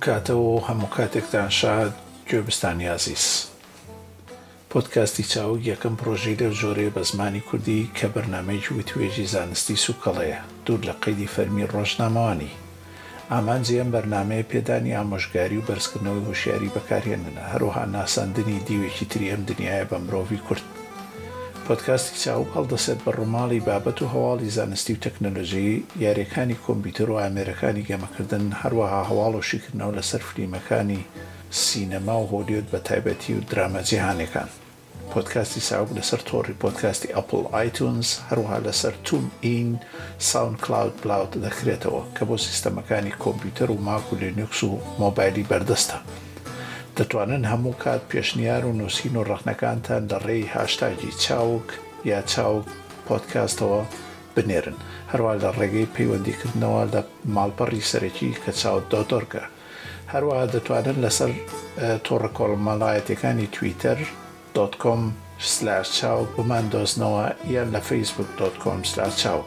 کاتەوە هەموو کاتێکتان شاد گوێبستانی عزیز. پۆدکاستی چاوگ یەکەم پرۆژەی لەو جۆرەیە بە زمانی کوردی کە بەرنامەیەکی وتوێژی زانستی سوکەڵەیە دوور لە قەیدی فەرمی ڕۆژنامەوانی. ئامانجی ئەم بەرنامەیە پێدانی ئامۆژگاری و بەرزکردنەوەی هوشیاری بەکارهێننە، هەروەها ناساندنی دیوێکی تری ئەم دنیایە بە مرۆڤی کورد. پۆدکاستی چاوگ هەڵدەسێت بە ڕووماڵی بابەت و هەواڵی زانستی و تەکنۆلۆژی، یاریەکانی کۆمپیوتەر و ئامێرەکانی گەمەکردن، هەروەها هەواڵ و شیکردنەوە لەسەر فیلمەکانی سینەما و هۆلیوود بە تایبەتی و درامە جیهانیەکان. پۆدکاستی چاوگ لەسەر تۆڕی پۆدکاستی ئەپڵ ئایتونز، هەروەها لەسەر تون ئین، ساوند کلاود بلاوت دەکرێتەوە کە بۆ سیستەمەکانی کۆمپیوتەر و ماک و لینوکس و مۆبایلی بەردەستە. دەتوانن هەموو کات پێشنیار و نووسین و ڕەخنەکانتان لە ڕێی هاشتاگی چاوگ یا چاوگ پۆدکاستەوە بنێرن، هەروەها لە ڕێگەی پەیوەندیکردنەوە لە ماڵپەڕی سەرەکی کە چاوگ.org. هەروەها دەتوانن لەسەر تۆڕە کۆڵمەڵایەتەکانی twitter.com/چاوگ بماندۆزنەوە یان لە facebook.com/چاوگ.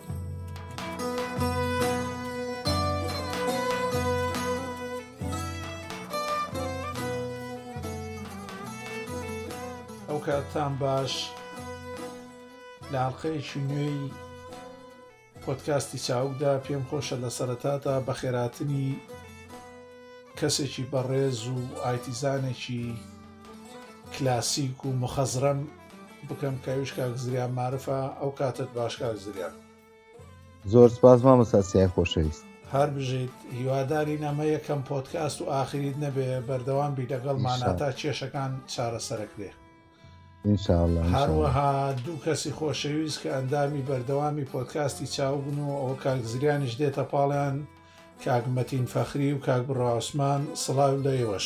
ئەو کاتتان باش. لە حەڵقەیەکی نوێی پۆدکاستی چاوگدا پێم خۆشە لە سەرەتادا بە خێراتنی کەسێکی بەڕێز و ئایتیزانێکی کلاسیک و مخەزرەم بکەم کاویش کاک زریان معرفە. ئەو کاتت باش کاک زریان. زۆر سپاس مامۆستا سیای خۆشەویست. هەر بژیت. هیوادارین ئەمە یەکەم پۆدکاست و ئاخریت نەبێ، بەردەوام بی لەگەڵمانە تا کێشەکان چارەسەرەکرێ. ئینشاءالله. هەروەها دوو کەسی خۆشەویست کە ئەندامی بەردەوامی پۆدکاستی چاوگن و ئەوە کاک زریانیش دێتە پاڵیان، کاک مەتین فەخری و کاک بڕا عوسمان. سڵاو لە ئێوەش.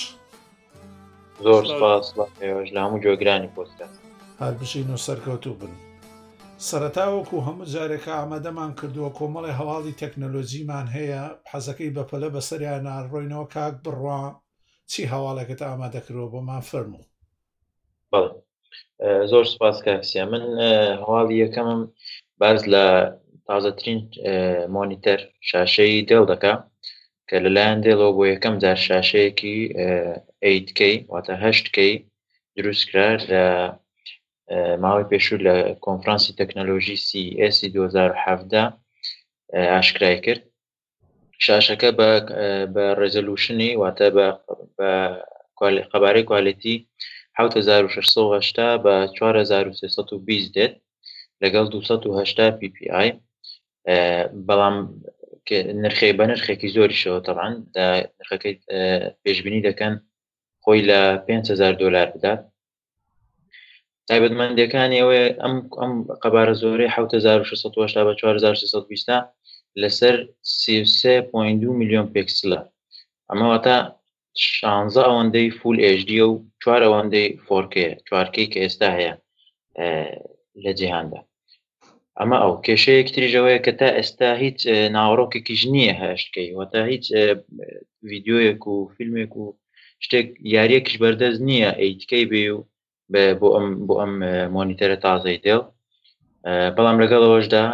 زۆر سپاس لە ئێوەش لە هەموو گوێگرانی پۆدکاست. هەر بژین و سەرکەوتوو بن. سەرەتاوەکو هەموو جارێکە ئامادەمان کردووە کۆمەڵی هەواڵی تەکنۆلۆجیمان هەیە، حەزەکەی بەپەلە بەسەریان ناڕۆینەوە. کاک بڕوا چی هەواڵێکت ئامادەکردەوە بۆمان فەرموو؟ بەڵێ، زۆر سپاس کاکسیا. من هەواڵی یەکەمم باز لە تازەترین مۆنیتەر شاشەی دێڵ دەکا کە لەلایەن دێڵەوە بۆ یەکەم جار شاشەیەکی 8K واتە 8K دروستکرا لە ماوەی پێشوو لە کۆنفرانسی تەکنۆلۆژی CES 2017 ئاشکرای کرد. شاشەکە بە ڕێزۆلوشنی واتە بە قەبارەی کوالیتی 7680 بە 4320 دێت لەگەڵ 280 ppi، بەڵام نرخی بە نرخێکی زۆریشەوە. تەبعاً نرخەکەی پێشبینی دەکەن خۆی لە $5,000 بدات. تایبەتمەندیەکانی ئەوەیە ئەم قەبارە زۆرەی 7680 بە 4320 لەسەر 33.2 میلیۆن پێکسلە. ئەمە واتە 16 ئەوەندەی فول HD و 4 ئەوەندەی 4K 4K کە ئێستا هەیە لە جیهاندا. ئەمە ئەو کێشەیەک تریژەوەیە کە تا ئێستا هیچ ناوەڕۆکێکیش نییە 8K، واتە هیچ ڤیدیۆیەک و فیلمێک و شتێک یاریەکیش بەردەست نییە 8K بێ و بۆ ئەم مۆنیتەرە تازەی دێڵ. بەڵام لەگەڵەوەشدا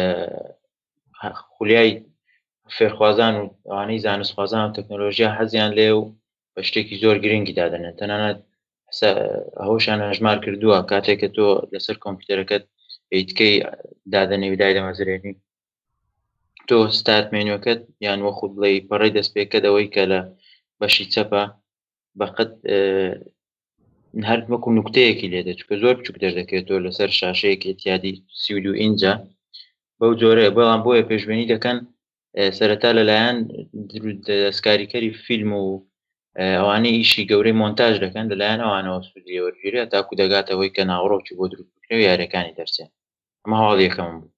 خولیای فێرخوازان و ئەوانەی زانستخوازان و تەکنۆلۆژیا حەزیان لێ و بە شتێکی زۆر گرنگی دادەنێت. تەنانەت هەوشان هەژمار کردووە کاتێککە تۆ لەسەر کۆمپیوتەرەکەت 8K دادەنێ و دایدەمەزرێنی، تۆ ستارت مێنوەکەت یان وەخود بڵێ پەڕەی دەستپێکەکەت ئەوەی کە لە بەشی چەپە بەقەت هەر وەکو نوکتەیەکی لێدێت، چکە زۆر بچووک دەردەکەوێتەوە لەسەر شاشەیەک ئێتیادی 32 ئینجە بەو جۆرەیە. بەڵام بۆیە پێشبینی دەکەن سەرەتا لەلایەن دەستکاریکەری فیلم و ئەوانەی ئیشی گەورەی مۆنتاژ دەکەن لەلایەن ئەوانەوە سوودی وەرگیرێت تاکو دەگاتەوەی کە ناوەڕۆکی بۆ دروستکردن و یاریەکانی دەرچێن. ئەمە هەواڵ یەکەمم بوو.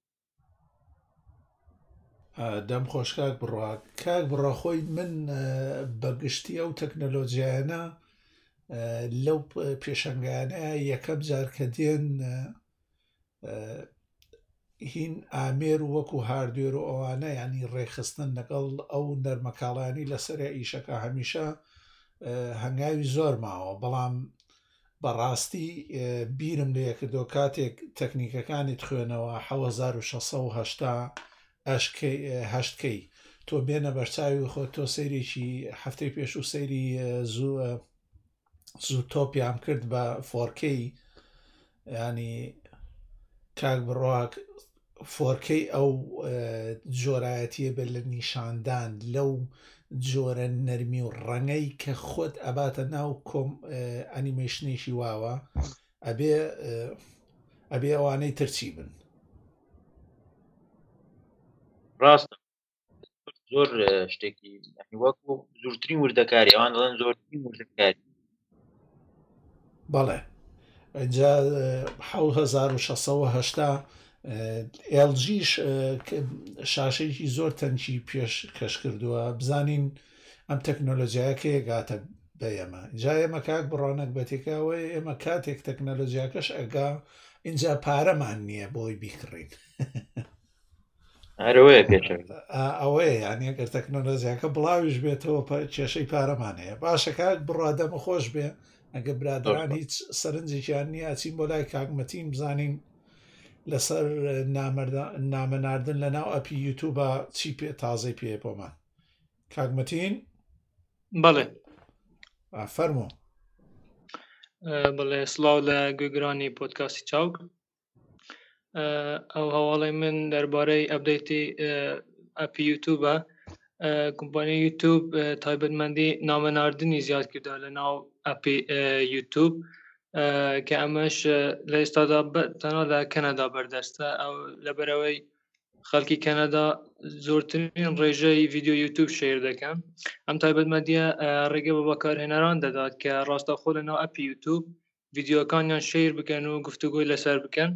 دەم خۆش کاک بڕوا. کاک بڕوا خۆی من بەگشتی ئەو تەکنۆلۆجیانە لەو پێشەنگانەیە یەکەم جار کە دێن هین ئامێر وەکو هاردوێر و ئەوانە ینی ڕێخستن لەگەڵ ئەو نەرمەکاڵانی لەسەر ئیشەکە هەمیشە هەنگاوی زۆر ماوە. بەڵام بەڕاستی بیرم لێ کردەوە کاتێک تەکنیکەکانی خوێنەوە 1680 8K تۆ بێنە بەرچاوی خۆ تۆ سەیرێکی هەفتەی پێش و سەیری زوو تۆپیان کرد بە 4K ینی کاک بڕواک 4K ئەو جۆرایەتیە بێت لە نیشاندان لەو جۆرە نەرمی و ڕەنگەی کە خۆت ئەباتە ناو کۆم ئەنیمێشنێکی واوە ئەبێ ئەوانەی ترچی بن. ڕاستە زۆر شتێکی وەکو زۆرترین وردەکاری ئەوان دەڵێن زۆرترین وردەکاری. بەڵێ اینجا 1680 LGش شاشەیەکی زۆر تەنکی پێش کەش کردووە. بزانین ئەم تەکنۆلۆژیاکە گاتە بە ئێمە اینجا ئێمە کاک بڕۆنەک بەتێکاوەی ئێمە کاتێک تەکنۆلۆژیاکەش ئەگا اینجا پارەمان نییە بۆی بیکڕین ئەوەیە یانی ئەگەر تەکنۆلۆژیاکە بڵاویش بێتەوە کێشەی پارەمان هەیە. باشە کاک بڕادەمە خۆش بێ ئەگە برادران هیچ سەرنجێکیان نییە ئاچین بۆ لای کاکمەتین بزانین لەسەر نامەناردن لە ناو ئەپی یوتوبە چی تازەی پێ بۆمان. کاکمەتین بەڵێ فەرموو. بەڵێ سڵاو لە گوێگرانی پۆدکاستی چاوک. ئەو هەواڵی من دەربارەی ئەپدەیتی ئەپی یوتوبە. کۆمپانیای یوتوب تایبەتمەندی نامەناردنی زیاد کردە لە ناو ئەپی یوتوب کە ئەمەش لە ئێستادا تەنها لە کەنەدا بەردەستە. ئەو لەبەرەوەی خەڵکی کەنەدا زۆرترین ڕێژەی ڤیدیۆ یوتوب شێر دەکەن. ئەم تایبەتمەندیە ڕێگە بە بەکارهێنەران دەدات کە ڕاستەخۆ لە ناو ئەپی یوتوب ڤیدیۆکانیان شێر بکەن و گفتوگۆی لەسەر بکەن.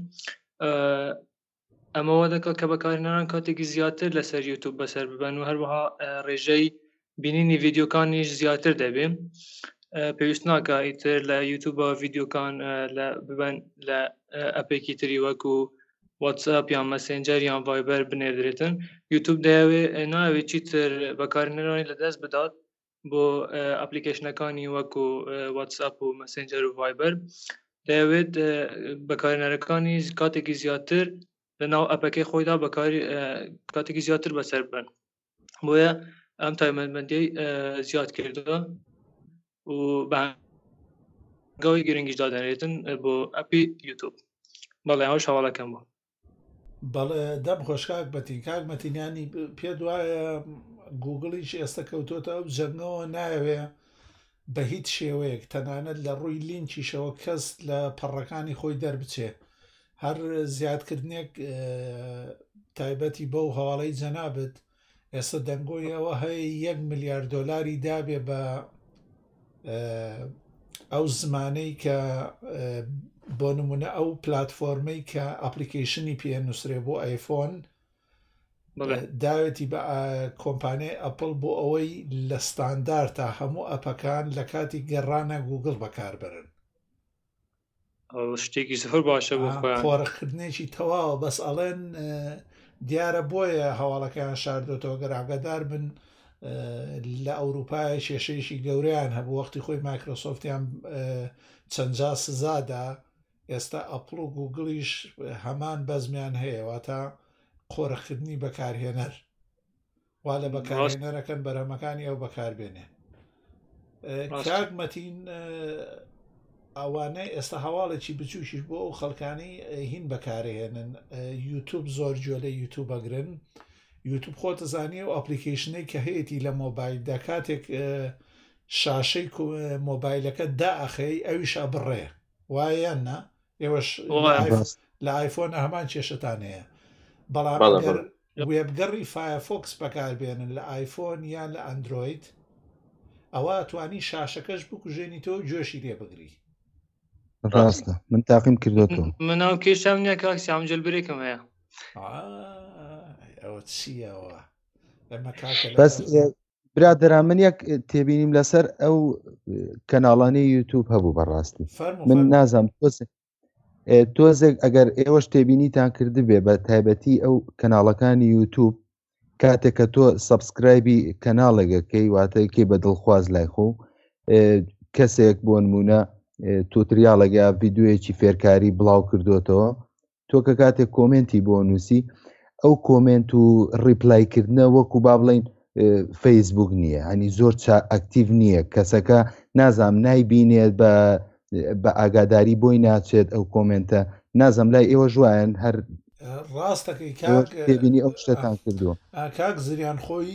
ئەمەوە دەکات کە بەکارهێنەران کاتێکی زیاتر لەسەر یوتوب بەسەر ببەن و هەروەها ڕێژەی بینینی ڤیدیۆکانیش زیاتر دەبێت. پێویست ناکە ئیتر لە یوتوبە ڤیدیۆکان ببەن لە ئەپێکی تری وەکو واتساپ یان مەسێنجەر یان ڤایبەر بنێردرێتن. یوتوب ناوێت چیتر بەکارهێنەرانی لەدەست بدات بۆ ئەپلیکیشنەکانی وەکو واتساپ و مەسێنجەر و ڤایبەر. دەیەوێت بەکارهێنەرەکانی کاتێکی زیاتر لە ناو ئەپەکەی خۆیدا کاتێکی زیاتر بەسەر بن. بۆیە ئەم تایبەتمەندیەی زیاد کردووە و بەهەنگاوی گرنگیش دادەنێتن بۆ ئەپی یوتوب. بەڵێ ئەوش هەواڵەکەم بوو. بەڵێ دەم خۆش کاکمەتین. کاکمەتینیانی پێ دوایە گوگڵیش ئێستا کەوتۆتە ئەو جەنگەوە نایەوێ بە هیچ شێوەیەک تەنانەت لە ڕووی لینکیشەوە کەس لە پەڕەکانی خۆی دەربچێ. هەر زیادکردنێک تایبەتی بەو هەواڵەی جەنابەت ئێستا دەنگۆیەوە هەیە 1 ملیار دۆلاری دابێ بە ئەو زمانەی کە بۆ نمونە ئەو پلاتفۆرمەی کە ئەپلیکیشنی پێ نووسرێ بۆ ئایفۆن داوێتی بە کۆمپانیای ئەپڵ بۆ ئەوەی لە ستاندارد تا هەموو ئەپەکان لە کاتی گەڕانە گوگڵ بەکاربرن. شتێکی زۆر باشە بۆ خۆڕەکردنێکی تەواوە. بەس ئەڵێن دیارە بۆیە هەواڵەکەیان شاردۆتەوە گەراگەدار بن لە ئەوروپای کێشەیەکی گەورەیان هەبوو وەختی خۆی مایکرۆسۆفتیان چەندجا سزادا. ئێستا ئەپڵ و گوگڵیش هەمان بەزمیان هەیەواتە قۆڕەکردنی بەکارهێنەر وا لە بەکارهێنەرەکەن بەرهەمەکانی ئەو بەکاربێنێ. کاکمەتین ئەوانەی ئێستا هەواڵێکی بچووشیش بۆ ئەو خەڵکانی هین بەکارهێنن. یوتوب زۆر جۆ لە یوتوب ئەگرن. یوتوب خۆتە زانیە و ئەپلیکیشنەی کە هەیەی لە مۆبایلدا کاتێک شاشەی مۆبایلەکە دائەخەی ئەویشە بڕێ وایەن نا ئێوەش لە ئایفۆن هەمان کێشتان هەیە. بەڵام وێبگەڕی فایرفۆکس بەکاربێنن لە ئایفۆن یان لە ئەندرۆید ئەوە توانی شاشەکەش بکوژێنی تۆ جۆشی لێ بگری. ڕاستە من تاقیم کردوتەوە. مناو کێشەم نییە کاکسی ئەمجل برێکم هەیە. ئەوە چیەوە ئەمە کاکە بەس برادران من یەک تێبینیم لەسەر ئەو کەناڵانی یوتوب هەبوو بەڕاستی من نازام تۆزێک ئەگەر ئێوەش تێبینیتان کردبێ بە تایبەتی ئەو کەناڵەکانی یوتوب کاتێک کە تۆ سەبسکرایبی کەناڵێکەکەی واتەکەی بە دڵخواز لای خۆ کەسێک بۆ نمونە توتریاڵەگە ڤیددیوەیەکی فێرکاری بڵاو کردوتەوە تۆ کە کاتێک کۆمنتی بۆ نووسی ئەو کۆمنت و ڕیپلایکردنە وەکو با بڵین فەیسبوک نییە، هەنی زۆر ئەکتیڤ نییە، کەسەکە نازام نایبینێت بە ئاگاداری بۆی ناچێت ئەو کۆمنتە، نازەم لای ئێوە ژوایەن هەر ڕاستەکەی تێبینی ئەو شتتان کردووە. کاک زریان خۆی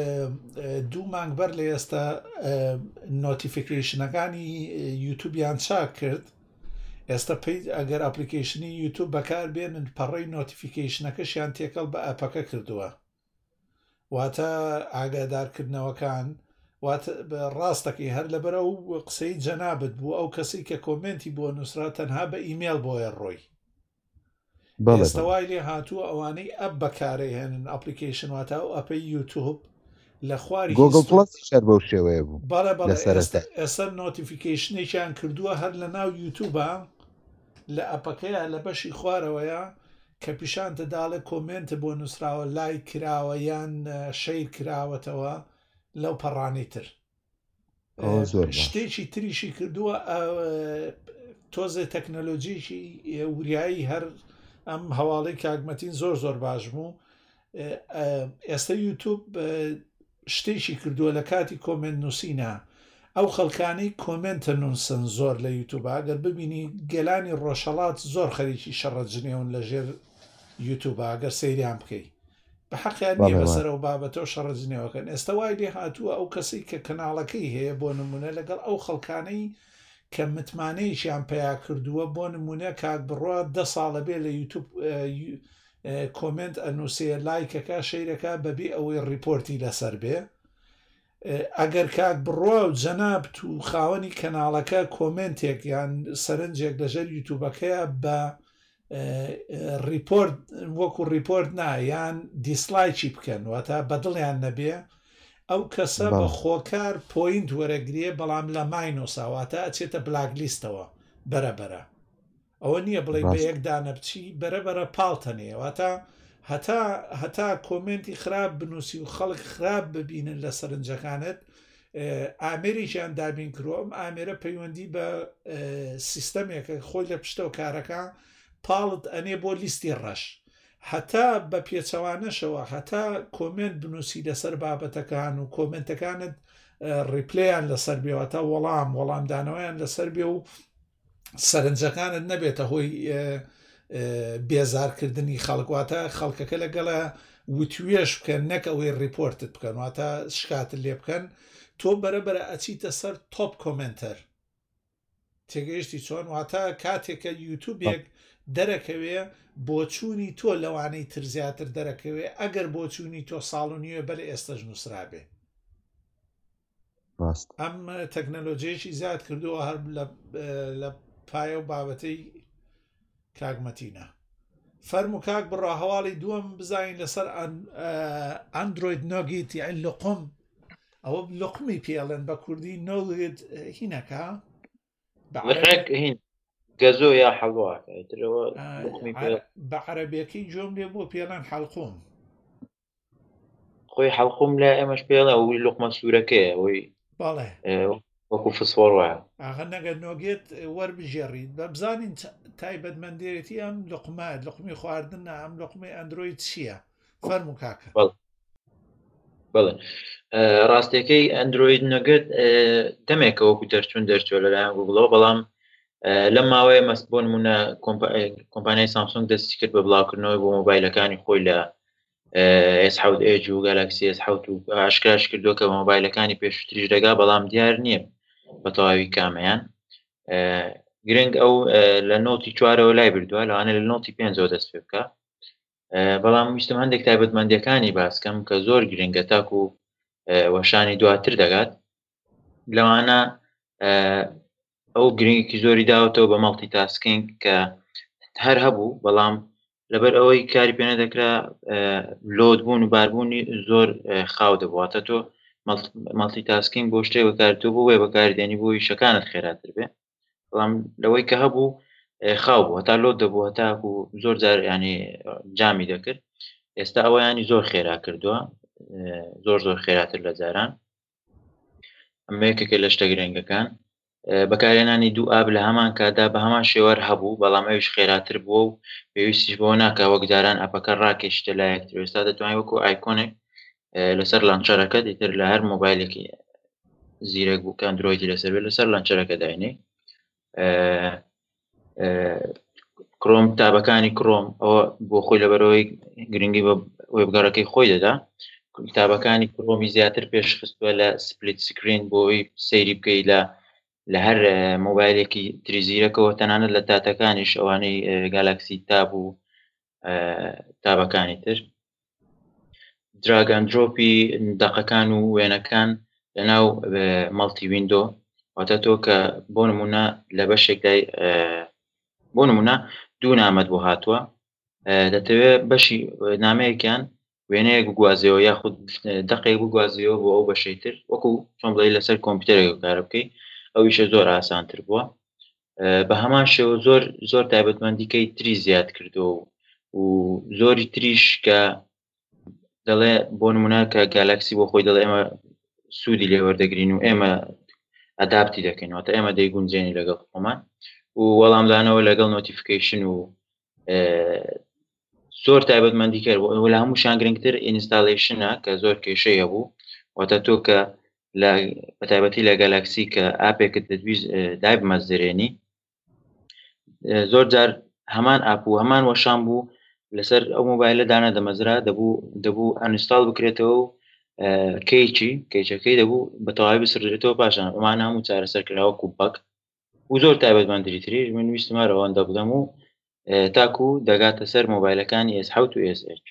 2 مانگ بەر لە ئێستا نۆتیفیکیشنەکانی یوتوبیان چاک کرد. ئێستا ئەگەر ئەپلیکیشنی یوتوب بەکار بێنن پەڕەی نۆتیفیکیشنەکەشیان تێکەڵ بە ئەپەکە کردووە، واتە ئاگادارکردنەوەکان ڕاستەکەی هەر لەبەرە و قسەی جەنابەت بوو ئەو کەسی کە کۆمنتی بۆ نووسرا تەنها بە ئیمێل بۆیە ڕۆی. ئێستاوای لێ هاتووە ئەوانەی ئەپ بەکارەی هێنن ئەپلیکیشن واتە و ئەپەی یوتوب لە خواری گۆگڵ پڵەس شەر بەو شێوەیە بوو. ئێستا نۆتیفیکیشنێکیان کردووە هەر لە ناو یوتوبە لە ئەپەکەیە لە بەشی خوارەوەیە کە پیشان دەداڵێ کۆمنتە بۆ نووسراوە لای کراوە یان شەیر کراوەتەوە لەو پەڕانی تر. شتێکی تریشی کردووە تۆزێ تەکنەلۆجیکی وریایی هەر ئەم هەواڵەی کاگمەتین زۆر زۆر باش بوو. ئێستا یوتوب شتێکی کردووە لە کاتی کۆمنت نووسینە ئەو خەڵکانەی کۆمنتە نووسن زۆر لە یوتوب ئەگەر ببینی گەلانی ڕۆژهەڵات زۆر خەریکی شەڕەجنێون لە ژێر یوتوب ئەگەر سەیریان بکەی بە حەقیان نیە بەسەر ئەو بابەتەوە شەڕەجنێوەکەن. ئێستا وای لێ هاتووە ئەو کەسی کە کەناڵەکەی هەیە بۆ نمونە لەگەڵ ئەو خەڵکانەی کە متمانەیەکیان پیا کردووە بۆ نمونە کاک بڕوا 10 ساڵە بێ لە یوتوب کۆمنت ئەنووسێ لایکەکە شەیرەکە بەبێ ئەوەی ڕیپۆرتی لەسەر بێ. ئەگەر کاک بڕوا و جەنابەت و خاوەنی کەناڵەکە کۆمنتێک یان سەرنجێک لەژەر یوتوبەکەیە بە ریپۆرت وەکو ریپۆرت نایان دیسلایکی بکەن واتە بەدڵیان نەبێ ئەو کەسە بە خۆکار پۆینت وەرەگرێ بەڵام لە ماینۆساواتە ئەچێتە بلاکلیستەوە بەرەبەرە. ئەوە نییە بڵێ بە یەکدانە بچی بەرەبەرە پاڵتەنێ هەتا کۆمنتی خراپ بنووسی و خەڵک خراپ ببینن لە سەرنجەکانت ئامێریشیان دابین کردووە. ئەم ئامێرە پەیوەندی بە سیستەمێکە خۆی لە پشتەوە کارەکە پاڵت ئەنێ بۆ لیستی ڕەش هەتا بە پێچەوانەشەوە هەتا کۆمنت بنووسی لەسەر بابەتەکان و کۆمنتەکانت ڕیپلیان لەسەر بێوەتە وەڵامدانەوەیان لەسەر بێ و سەرنجەکانت نەبێتە هۆی بێزارکردنی خەڵکواتە خەڵکەکە لەگەڵە وتوێش بکەن نەک ئەوەی ریپۆرتت بکەن واتە شکاتت لێ بکەن تۆ بەرەبەرە ئەچیتە سەر تۆپ کۆمنتەر تێگەیشتی چۆن واتە کاتێکە یوتوبێک دەرەکەوێ بۆچوونی تۆ لەوانەی تر زیاتر دەرەکەوێ ئەگەر بۆچوونی تۆ ساڵ و نیوە بەر ئێستەش نووسرابێ. ئەم تەکنەلۆجیەکی زیاد کردووە هەر لە پایە و بابەتەی کاگمەتینە. فەرمو کاک بڕا هەواڵی دووەم بزانین لەسەر ئەندروید نۆگیت یان لقم ئەوە لقمی پێڵێن بە کوردی نۆگیت هینەکە گەزۆ یا حەڵوا بە عەرەبیەکەی جۆم لێ بۆ پێڵەن حەڵقوم خۆی حەڵقوم لە ئێمەش پێڵە ئەوی لقمە سوورەکەیە ئەوی بەڵێ وەکو فسفۆر وایە ئاغا نەگەر نۆگێت وەربژێڕیت بە بزانین تایبەتمەندێتی ئەم لقمی خواردن ئەم لقمی ئەندروید چییە؟ فەرموو کاکە. بەڵێ ڕاستیەکەی ئەندروید نەگەت دەمێکە وەکو دەرچوون دەرچوە لەلایەن گوگڵەوە بەڵام لەم ماوەیە مەست بۆ نمونە کۆمپانیای سامسونگ دەستی کرد بە بڵاوکردنەوەی بۆ مۆبایلەکانی خۆی لە S7 و گالاکسی S7 و ئاشکراش کردووە کە مۆبایلەکانی پێشتریش دەگا بەڵام دیار نییە بە تەواوی کامەیان. گرنگ ئەو لە نۆتی 4ەوە لای بردووە لەوانە لە نۆتی 5ەوە دەست پێ بکە بەڵام ویستم هەندێک تایبەتمەندیەکانی باسکەم کە زۆر گرنگە تاکو وەشانی دواتر دەگات لەوانە ئەو گرنگێکی زۆری داوەتەوە بە مەڵتی تاسکینگ کە هەر هەبوو بەڵام لەبەر ئەوەی کاری پێ نەدەکرا لۆدبوون و باربوونی زۆر خاو دەبواتە تۆ مەڵتی تاسکینگ بۆ شتێک بەکارتۆ بۆ وێ بەکاردێنی بۆی شەکانت خێراتر بێ بەڵام لەوەی کە هەبوو خاو بوو هەتا لۆد دەبوو هەتاکو زۆر جار ینی جامی دەکرد. ئێستا ئەوە ینی زۆر خێرا کردووە زۆر خێراتر لە جاران ئەمە یەکێکە لە شتە گرنگەکان. بەکارهێنانی دوو ئاب لە هەمان کادا بە هەمان شێوەر هەبوو بەڵام ئەویش خێراتر بووە و پێویستیش بۆ ناکە وەک جاران ئەپەکە ڕاکێشتە لایەکتر. ئێستا دەتوانین وەکو ئایکۆنێک لەسەر لانچەرەکەت ئیتر لە هەر مۆبایلێکی زیرەک بوو کە ئەندرۆیدی لەسەر بێت لەسەر لانچەرەکە داینێ کرۆم کتابەکانی کرۆم ئەوە بۆ خۆی لەبەرەوەی گرنگی بە وێبگەڕەکەی خۆی دەدا کتابەکانی کرۆمی زیاتر پێشخستووە لە سپلیت سکرین بۆی سەیری بکەیت لە هەر مۆبایلێکی تریزیرەکەەوە تەنانەت لە تاتەکانیش ئەوانەی گالاکسی تاب و تابەکانی تر دراگەندرۆپی دەقەکان و وێنەکان لەناو مەڵتی ویندۆ واتە تۆ کە بۆ نمونە لە بەشێکدای بۆ نمونە دوو نامەت بۆ هاتووە دەتەوێت بەشی نامەیەکیان وێنەیەک بگوازیەوە یاخود دەقێک بگوازیەوە بۆ ئەو بەشەی تر وەکو چۆن بڵێ لەسەر کۆمپیوتەرێک کار بکەیت ئەویشە زۆر ئاسانتر بووە بە هەمان شێوە زۆر تایبەتمەندیکەی تری زیاد کردەوە و زۆری تریش کە دەڵێ بۆ نمونە کە گالاکسی بۆ خۆی دەڵێ ئێمە سوودی لێ وەردەگرین و ئێمە ئەداپتی دەکەینەوە تا ئێمە دەیگونجێنی لەگەڵ خۆمان و وەڵامدانەوە لەگەڵ نۆتیفیکیشن و زۆر تایبەتمەندی کرد و لە هەمووشان گرنگتر ئینستاڵیشنە کە زۆر کێشەیە بوو واتە تۆ کە بە تایبەتی لە گالاکسی کە ئاپێکت دەتویست دای بمەزرێنی زۆر جار هەمان ئاپ و هەمان وەشان بوو لەسەر ئەو مۆبایلە دانە دەمەزرا دەبوو ئەنستاڵ بکرێتەوە و کەیچەکەی دەبوو بە تەواوی بسڕێتەوە پاشان ئەمان هەموو چارەسەرکراوە کوبک و زۆر تایبەتمەندی تریش من ویستمارە ئەوەندە بدەم و تاکو دەگاتە سەر مۆبایلەکانی S7 و SH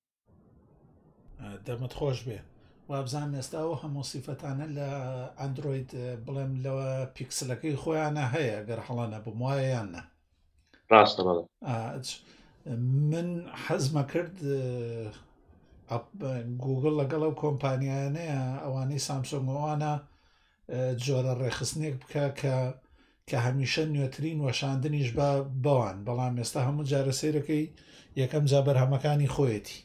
دەمت خۆش بێ وابزان ئێستاەوە هەموو سیفەتانە لە ئەندروید بڵێم لەوە پیکسلەکەی خۆیانە هەیە گەر هەڵەنە بم وایە یانە ڕاستە بەڵێ من حەزمە کرد گوگل لەگەڵ ئەو کۆمپانیانەیە ئەوانەی سامسۆنگەوانە جۆرە ڕێخستنێک بکە کە هەمیشە نوێترین وەشاندنیش بەوان بەڵام ئێستا هەموو جارە سیرەکەی یەکەم جا بەرهەمەکانی خۆیەتی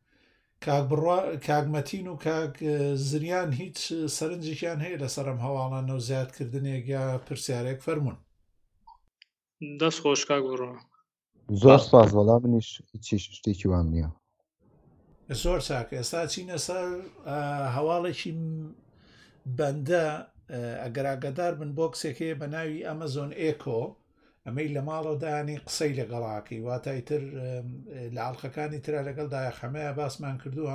کاگمەتین و کاک زریان هیچ سەرنجێکیان هەیە لەسەر ئەم هەواڵانە و زیادکردنێک یا پرسیارێک فەرمونون دەست خۆش کاک بڕۆ زۆر سپاس وەڵام منیش هیچ شتێکی وام نییە زۆر چاکە ئێستا چینە سەر هەواڵێکی بەندە ئەگەر ئاگادار بن بۆکسێکەیە بە ناوی ئەمەزۆن ئێکۆ ئەمەی لە ماڵەدانی قسەی لەگەڵاکەی واتایتر لە ئاڵلقەکانی ترە لەگەڵ دایەخەمەیە باسمان کردووە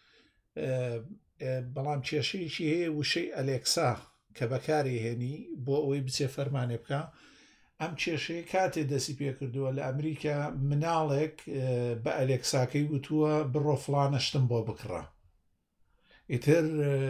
بەڵام کێشەیەکی هەیە وشەی ئەلێکسا کە بەکاری هێنی بۆ ئەوەی بچێ فەرمانێ بکە ئەم کێشەیە کاتێ دەسی پێ کردووە لە ئەمریکا مناڵێک بە ئەلێکساکەی وتووە بڕۆ فڵانە شتم بۆ بکڕە ئیتر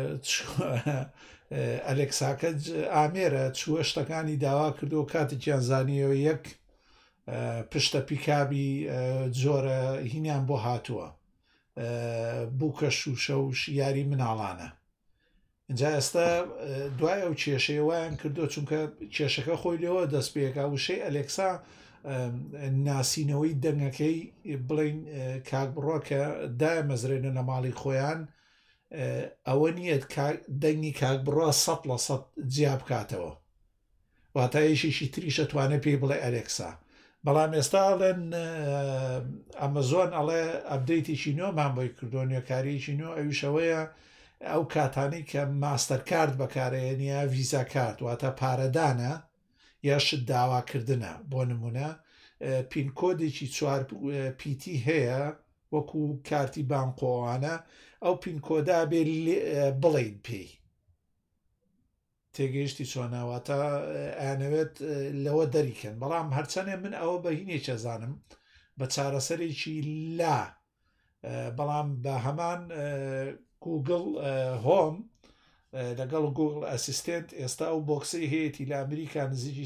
ئەلێکساکە ئامێرە چووە شتەکانی داوا کردو کاتێکیان زانیەوە یەک پشتە پیکابی جۆرە هینیان بۆ هاتووە بووکە شوشە و یاری مناڵانە اینجا ئێستا دوای ئەو کێشەیە وایان کردو چونکە کێشەکە خۆی لێەوە دەست پێکا وشەی ئەلێکسا ناسینەوەی دەنگەکەی بڵین کاک بڕۆ کە دایە مەزرێنە لە ماڵی خۆیان ئەوە نییە دەنگی کاک بڕۆ 100% جیا بکاتەوە واتایشیشی تریشە توانێت پێی بڵێ ئەلێکسا بەڵام ئێستا ئەڵێن ئەمەزۆن ئەڵێ ئەبدەیتێکی نۆمان بۆی کردو نوێکاریەکی نۆ ئەویشەوەیە ئەو کاتانی کە ماستەر کارت بەکارێنە ڤیزا کارت واتە پارەدانە یا شت داواکردنە بۆ نمونە پینکۆدێکی 4 پیتی هەیە وەکو کارتی بانقۆوانە ئەو پینکۆدا بێ بڵین پێی تێگەیشتی چۆناواتە ئەیانەوێت لەوە دەریکەن بەڵام هەرچەنێ من ئەوە بەهینێکە زانم بە چارەسەرێکی لا بەڵام بە هەمان گوگل هۆم لەگەڵ گوگل ئەسیستنت ئێستا ئەو بۆکسی هەیەی لە ئەمریکا نزیکی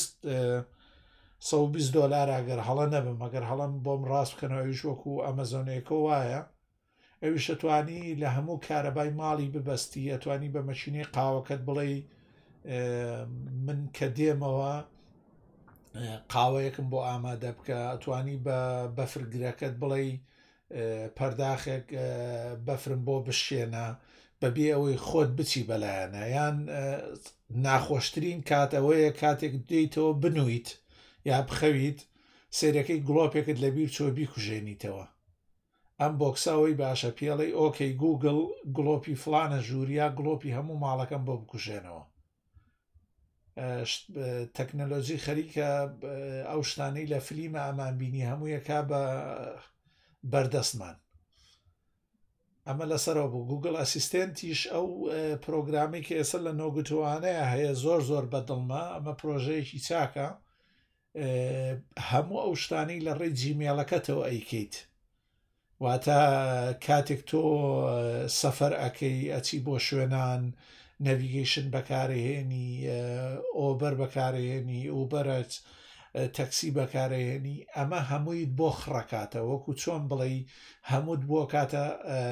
$120 ئەگەر هەڵە نەبم ئەگەر هەڵم بۆم ڕاست بکەنەوە ئەویش وەکو ئەمەزۆنێکە وایە ئەویش ئەتوانی لە هەموو کارەبای ماڵی ببەستی ئەتوانی بە مەشینەی قاوەکەت بڵێ من کە دێمەوە قاوەیەکم بۆ ئامادە بکە ئەتوانی بە بەفرگرەکەت بڵێ پەرداخێک بەفرم بۆ بشێنە بەبێ ئەوەی خۆت بچی بەلایەنە یان ناخۆشترین کاتەوەیە کاتێک دێیتەوە بنویت یا بخەویت سێرەکەی گڵۆپێکت لەبیر چۆ بیکوژێنیتەوە ئەم بۆکسەوەی باشە پێڵی ئۆکەی گوگل گڵۆپی فلانە ژووریا گڵۆپی هەموو ماڵەکەم بۆ بکوژێنەوە. تەکنەلۆژی خەریکە ئەو شتانەی لە فلیمە ئەمانبینی هەموویەکە بە بەردەستمان. ئەمە لەسەرەوە بوو. گوگل ئەسیستێنتیش ئەو پرۆگرامی کە ئێستا لە نۆگوتوانەیە هەیە زۆر بەدڵمە. ئەمە پرۆژەیەکی چاکە، هەموو ئەو شتانەی لە ڕێی جیمێڵەکەتەوە ئەیکەیت. واتە کاتێک تۆ سەفەر ئەکەی ئەچی بۆ شوێنان، نەڤیگەیشن بەکارهێنی، ئۆبەر بەکارهێنی، ئوبەرەت تەکسی بەکارهێنی، ئەمە هەموویت بۆ خڕەکاتە، وەکو چۆن بڵێ هەمووت بۆ کاتە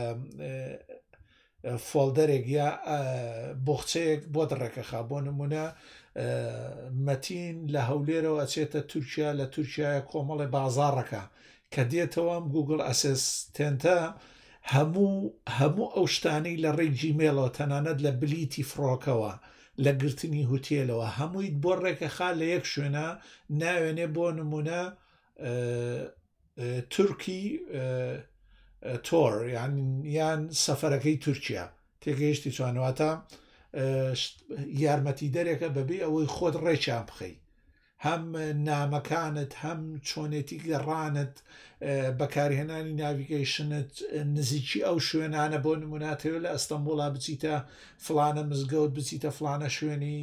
فۆلدەرێک یا بۆخچەیەک بۆ دڕێکەخا. بۆ نمونە مەتین لە هەولێرەوە ئەچێتە تورکیا، لە تورکیایە کۆمەڵی بازاڕەکە کە دێتەوە گوگل ئەسیستێنتە هەموو ئەو شتانەی لە ڕێی جیمێڵەوە تەنانەت لە بلیتی فڕۆکەوە، لە گرتنی هوتێلەوە هەموویت بۆ ڕێکەخا لە یەک شوێنە ناوێنێ. بۆ نمونە تورکی تۆر یان سەفەرەکەی تورکیا تێگەیشتی توانواتە یارمەتی دەرێکە بەبێ ئەوەی خۆت ڕێکیان بخەی، هەم نامەکانت هەم چۆنێتی گەڕانت، بەکارهێنانی ناڤیگەیشنت نزیکی ئەو شوێنانە. بۆ نموناتەوە لە ئەستەمبوڵا بچیتە فلانە مزگەوت، بچیتە فلانە شوێنی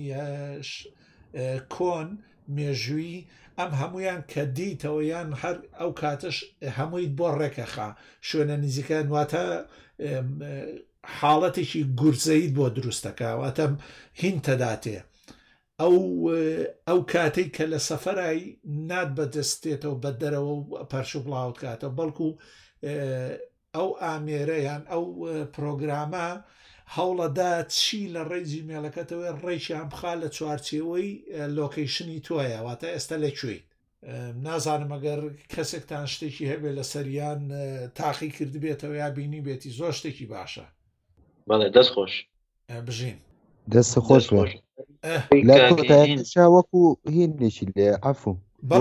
کۆن مێژووی، ئەم هەمویان کە دیتەوە یان هەر ئەو کاتش هەموویت بۆ ڕێکەخا شوێنە نزیکە، واتە حاڵەتێکی گورزەیت بۆ دروستەکە، واتە هین تەداتێ. ئەو کاتێک کە لە سەفەرایی نات بەدەستێتەوە بە دەرەوە و پەرش و بڵاوت کاتەوە، بەڵکو ئەو ئامێرە یان ئەو پرۆگرامە هەوڵەدا چی لە ڕێی جیمێڵەکەتەوەی ڕێکیان بخا لە چوارچێوەی لۆکەیشنی تۆیە، واتە ئێستا لەکوێیت. نازانم ئەگەر کەسێکتان شتێکی هەبێ لە سەریان تاقی کردبێتەوە یا بینی بێتی، زۆر شتێکی باشە. بەڵێ دەست خۆش بژین دەست خۆش وەکو هینێکی لێ عەفو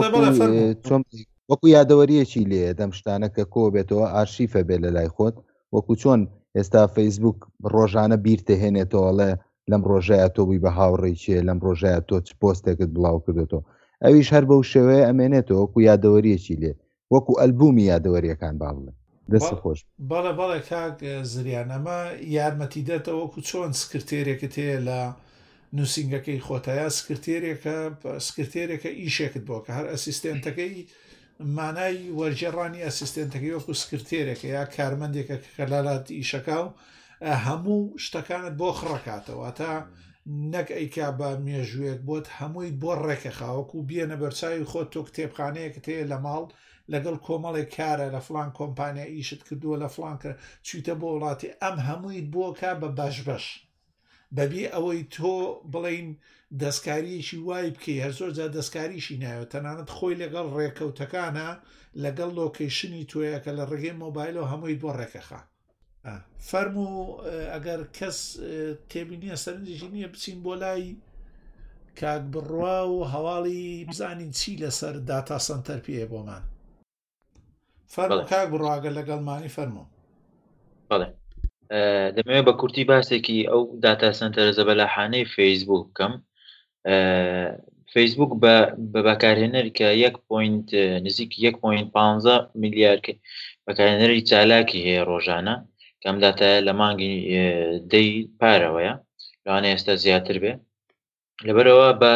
وەکو یادەوەریەکی لێ دەم شتانە کە کۆ بێتەوە ئارشیفە بێ لە لای خۆت، وەکو چۆن ئێستا فەیسبوک ڕۆژانە بیرتە هێنێتەوەڵێ لەم ڕۆژەیە تۆ بووی بە هاوڕێکیە، لەم ڕۆژەیە تۆ چ پۆستێکت بڵاو کردێتەوە، ئەویش هەر بەو شێوەیە ئەمێنێتەوە وەکو یادەوەریەکی لێ، وەکو ئەلبومی یادەوەریەکان با بڵێ. دەست خۆش. بەڵێ کاک زریان، ئەمە یارمەتی دێتەوە وەکو چۆن سکرتێرێکت هەیە لە نووسنگەکەی خۆتەیە، سکرتێرێکە ئیشێکت بۆ کە هەر ئەسیستێنتەکەی مانای وەرجێڕانی ئەسیستێنتەکەی وەکو سکرتێرێکە یا کارمەندێکە کە لەلات ئیشەکە و هەموو شتەکانت بۆ خڕەکاتەوە، تا نەک ئەیکا بە مێژوویەک بۆت هەمووی بۆ ڕێکەخاوەکو بێنە بەرچاوی خۆت. تۆ کتێبخانەیەکت هەیە لە ماڵ لەگەڵ کۆمەڵێک کارە لە فلان کۆمپانیا ئیشت کردووە لە فلان کە چویتە بۆ وڵاتی، ئەم هەموویت بۆ کا بە بەش بەبێ ئەوەی تۆ بڵین دەستکاریەکی وای بکەی. هەر زۆر جا دەستکاریشی نایەوە، تەنانەت خۆی لەگەڵ ڕێکەوتەکانە لەگەڵ لۆکەیشنی تۆیە کە لە ڕێگەی مۆبایلەوە هەمووی بۆ ڕێکەخا. فەرموو ئەگەر کەس تێبینیە سەرنجێکی نییە بچین بۆ لای کاک بڕوا و هەواڵی بزانین چی لەسەر داتا سنتەر پێیە بۆمان. فەرموو کاک بڕواگەر لەگەڵمانی فەرموو. بەڵێ دەمەوێت بە کورتی باسێکی ئەو داتا سنتەرە زەبەلاحانەی فەیسبوک بکەم. فەیسبوک بە بەکارهێنەر کە نزیک 1.15 میلیارد بەکارهێنەری چالاکی هەیە ڕۆژانە، کەم داتایە لە مانگی دەی پارەوەیە، لەوانە ئێستا زیاتر بێ. لەبەرەوە بە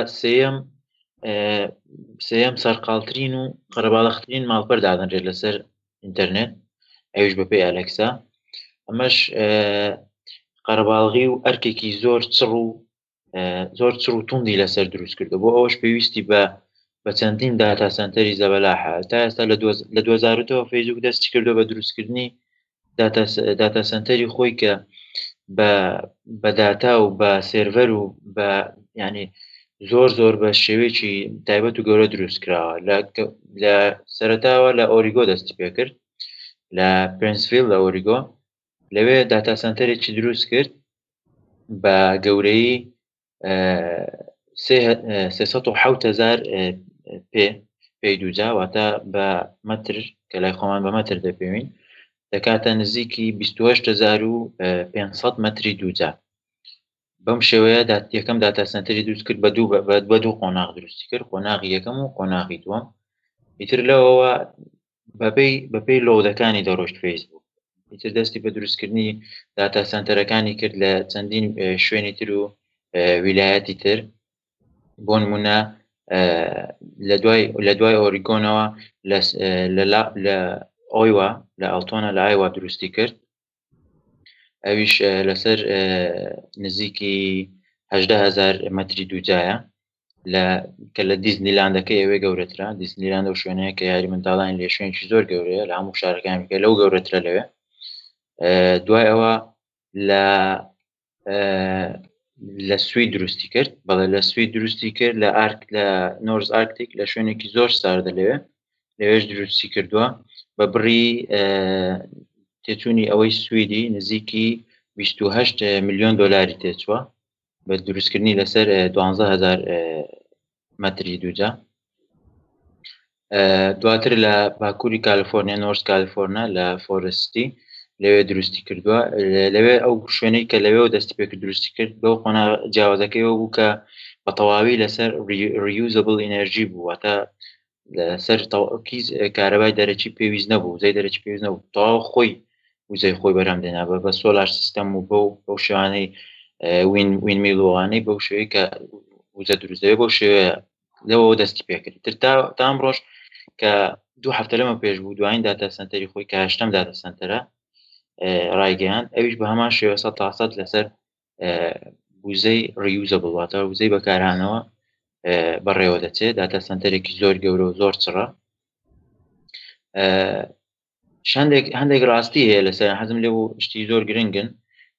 سێیەم سەرقاڵترین و قەرەباڵغترین ماڵپەر دادەنرێت لەسەر ئینتەرنێت، ئەویش بەپێی ئەلەکسا. ئەمەش قەرەباڵغی و ئەرکێکی زۆر چڕ و توندی لەسەر دروست کردو، بۆ ئەوەش پێویستی بە چەندین داتا سنتەری زەبەلاحە. تا ئێستا لە 2000 فەیسبوک دەستی کردو بە دروستکردنی داتا سنتەری خۆی کە بە داتا و بە سێرڤەر و بە ینی زۆر بە شێوەیەکی تایبەت و گەورە دروست کراوە. لە سەرەتاوە لە ئۆریگۆ دەستی پێ کرد، لە پرینسڤیل لە ئۆریگۆ، لەوێ داتا سنتەرێکی دروست کرد بە گەورەی 370,000 پێی دووجا، واتە بە مەتر کە لای خۆمان بە مەتر دەپێوین، دەکاتە نزیکی 28,500 مەتری دووجار. بەم شێوەیە یەکەم داتا سنتەری دروست کرد بە دوو قۆناغ دروستی کرد، قۆناغی یەکەم و قۆناغی دووەم. ئیتر لەوەوە بەپێی لۆدەکانی دەڕۆشت فەیسبوک. ئیتر دەستی بە دروستکردنی داتا سنتەرەکانی کرد لە چەندین شوێنی تر و ویلایەتی تر. بۆ نمونە لە دوای ئۆریگۆنەوە لە ئۆیوا لە ئەڵتۆنە لە ئایوا دروستی کرد، ئەویش لەسەر نزیکی 18,000 مەتری دووجایە کە لە دیزنیلاندەکەی ئەوێ گەورەترە. دیزنیلاند و شوێنەیە کە یاری منداڵان لێ شوێنی زۆر گەورەیە لە هەموو شارەکانیکە لەو گەورەترە لەوێ. دوای ئەوە لە سوید دروستی کرد، بەڵێ لە سوید دروستی کرد لە نۆرز ئارکتیک لە شوێنێکی زۆر ساردە لەوێش دروستی کردووە بە بڕی تێچوونی ئەوەی سویدی نزیکی 28 میلیۆن دۆلاری تێچووە بە دروستکردنی لەسەر 12,000 مەتری دووجا. دواتر لە باکووری کالیفۆرنیا نۆرس کالیفۆرنیا لە فۆرستی لەوێ دروستی کردووە. لەوێ ئەو شوێنەی کە لەوێ دەستی پێ دروستی کرد بەو قۆناغ جیاوازەکەیەوە بوو کە بە تەواوی لەسەر reusable energy بوو، واتە لەسەر کارەبای دەرەچی پێویست نەبوو، وزەی دەرەچی پێویست نەبوو، تەواو وزەی خۆی بەرهەم دێنا بە سۆلار سیستەم و بەو شێوانەی وینمیلوانەی بەو شێوەیە کە وزە دروست دەبێت بەو شێوەیە لەوە دەستی پێکرد. تر تا ئەمڕۆژ کە 2 هەفتە لەمە پێش بوو دوایین داتا سنتەری خۆی کە 8ەم داتا سنتەرە ڕایگەیاند، ئەویش بە هەمان شێوە 100% لەسەر وزەی reusable واتە وزەی بەکارهانەوە بەڕێوە دەچێت. داتا سنتەرێکی زۆر گەورە و زۆر چڕە. هەندێک ڕاستی هەیە لەسەر، حەزم لێ بوو شتی زۆر گرنگن،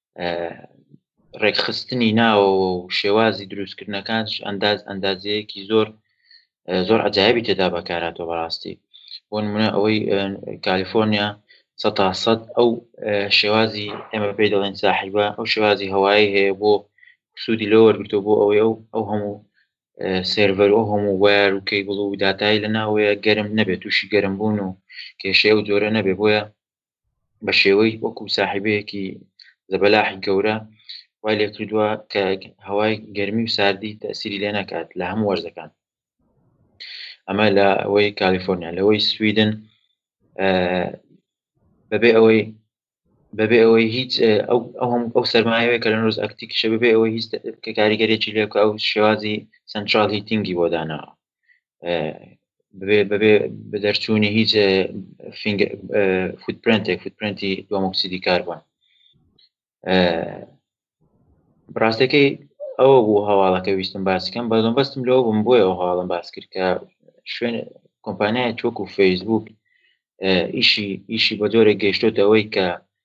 ڕێکخستنی ناوە و شێوازی دروستکردنەکانش ئەندازەیەکی زۆر عەجایبی تێدا بەکارهاتەوە بەڕاستی. بۆ نمونە ئەوەی کالیفۆرنیا 100% ئەو شێوازی ئێمە پێی دەڵێن ساحیبە ئەو شێوازی هەوایی هەیە بۆ سوودی لەوە وەرگرتەوە بۆ ئەوەی ئەو هەموو سێرڤەر و هەموو وایەر و کەیبڵ و داتایی لە ناوەیە گەرم نەبێت، تووشی گەرمبوون و کێشەیە و جۆرە نەبێت، بۆیە بە شێوەی وەکو ساحیبەیەکی زەبەلاحی گەورە وای لێ کردووە کە هەوای گەرمی و ساردی تەسیری لێ نەکات لە هەموو وەرزەکان. ئەمە لە ئەوەی کالیفۆرنیا. لەوەی سویدن بەبێ ئەوەی هیچ ئەو سەرمایەوەی کە لە نۆرز ئەکتیکشە بەبێ ئەوەی هیچ کاریگەرێکی لێ بکە ئەو شێوازی سنترال هیتینگی بۆ داناوە، بەبێ بە دەرچوونی هیچ فوتپرینتی دووەمۆکسیدی کاربۆن. بڕاستەکەی ئەوە بوو هەواڵەکە ویستم باسکەم، بەستم لەوە بووم بۆیە ئەو هەواڵم باس کرد کە شوێن کۆمپانیای وەکو فەیسبوک ئیشی بە جۆرێک گەیشتۆتە ئەوەی کە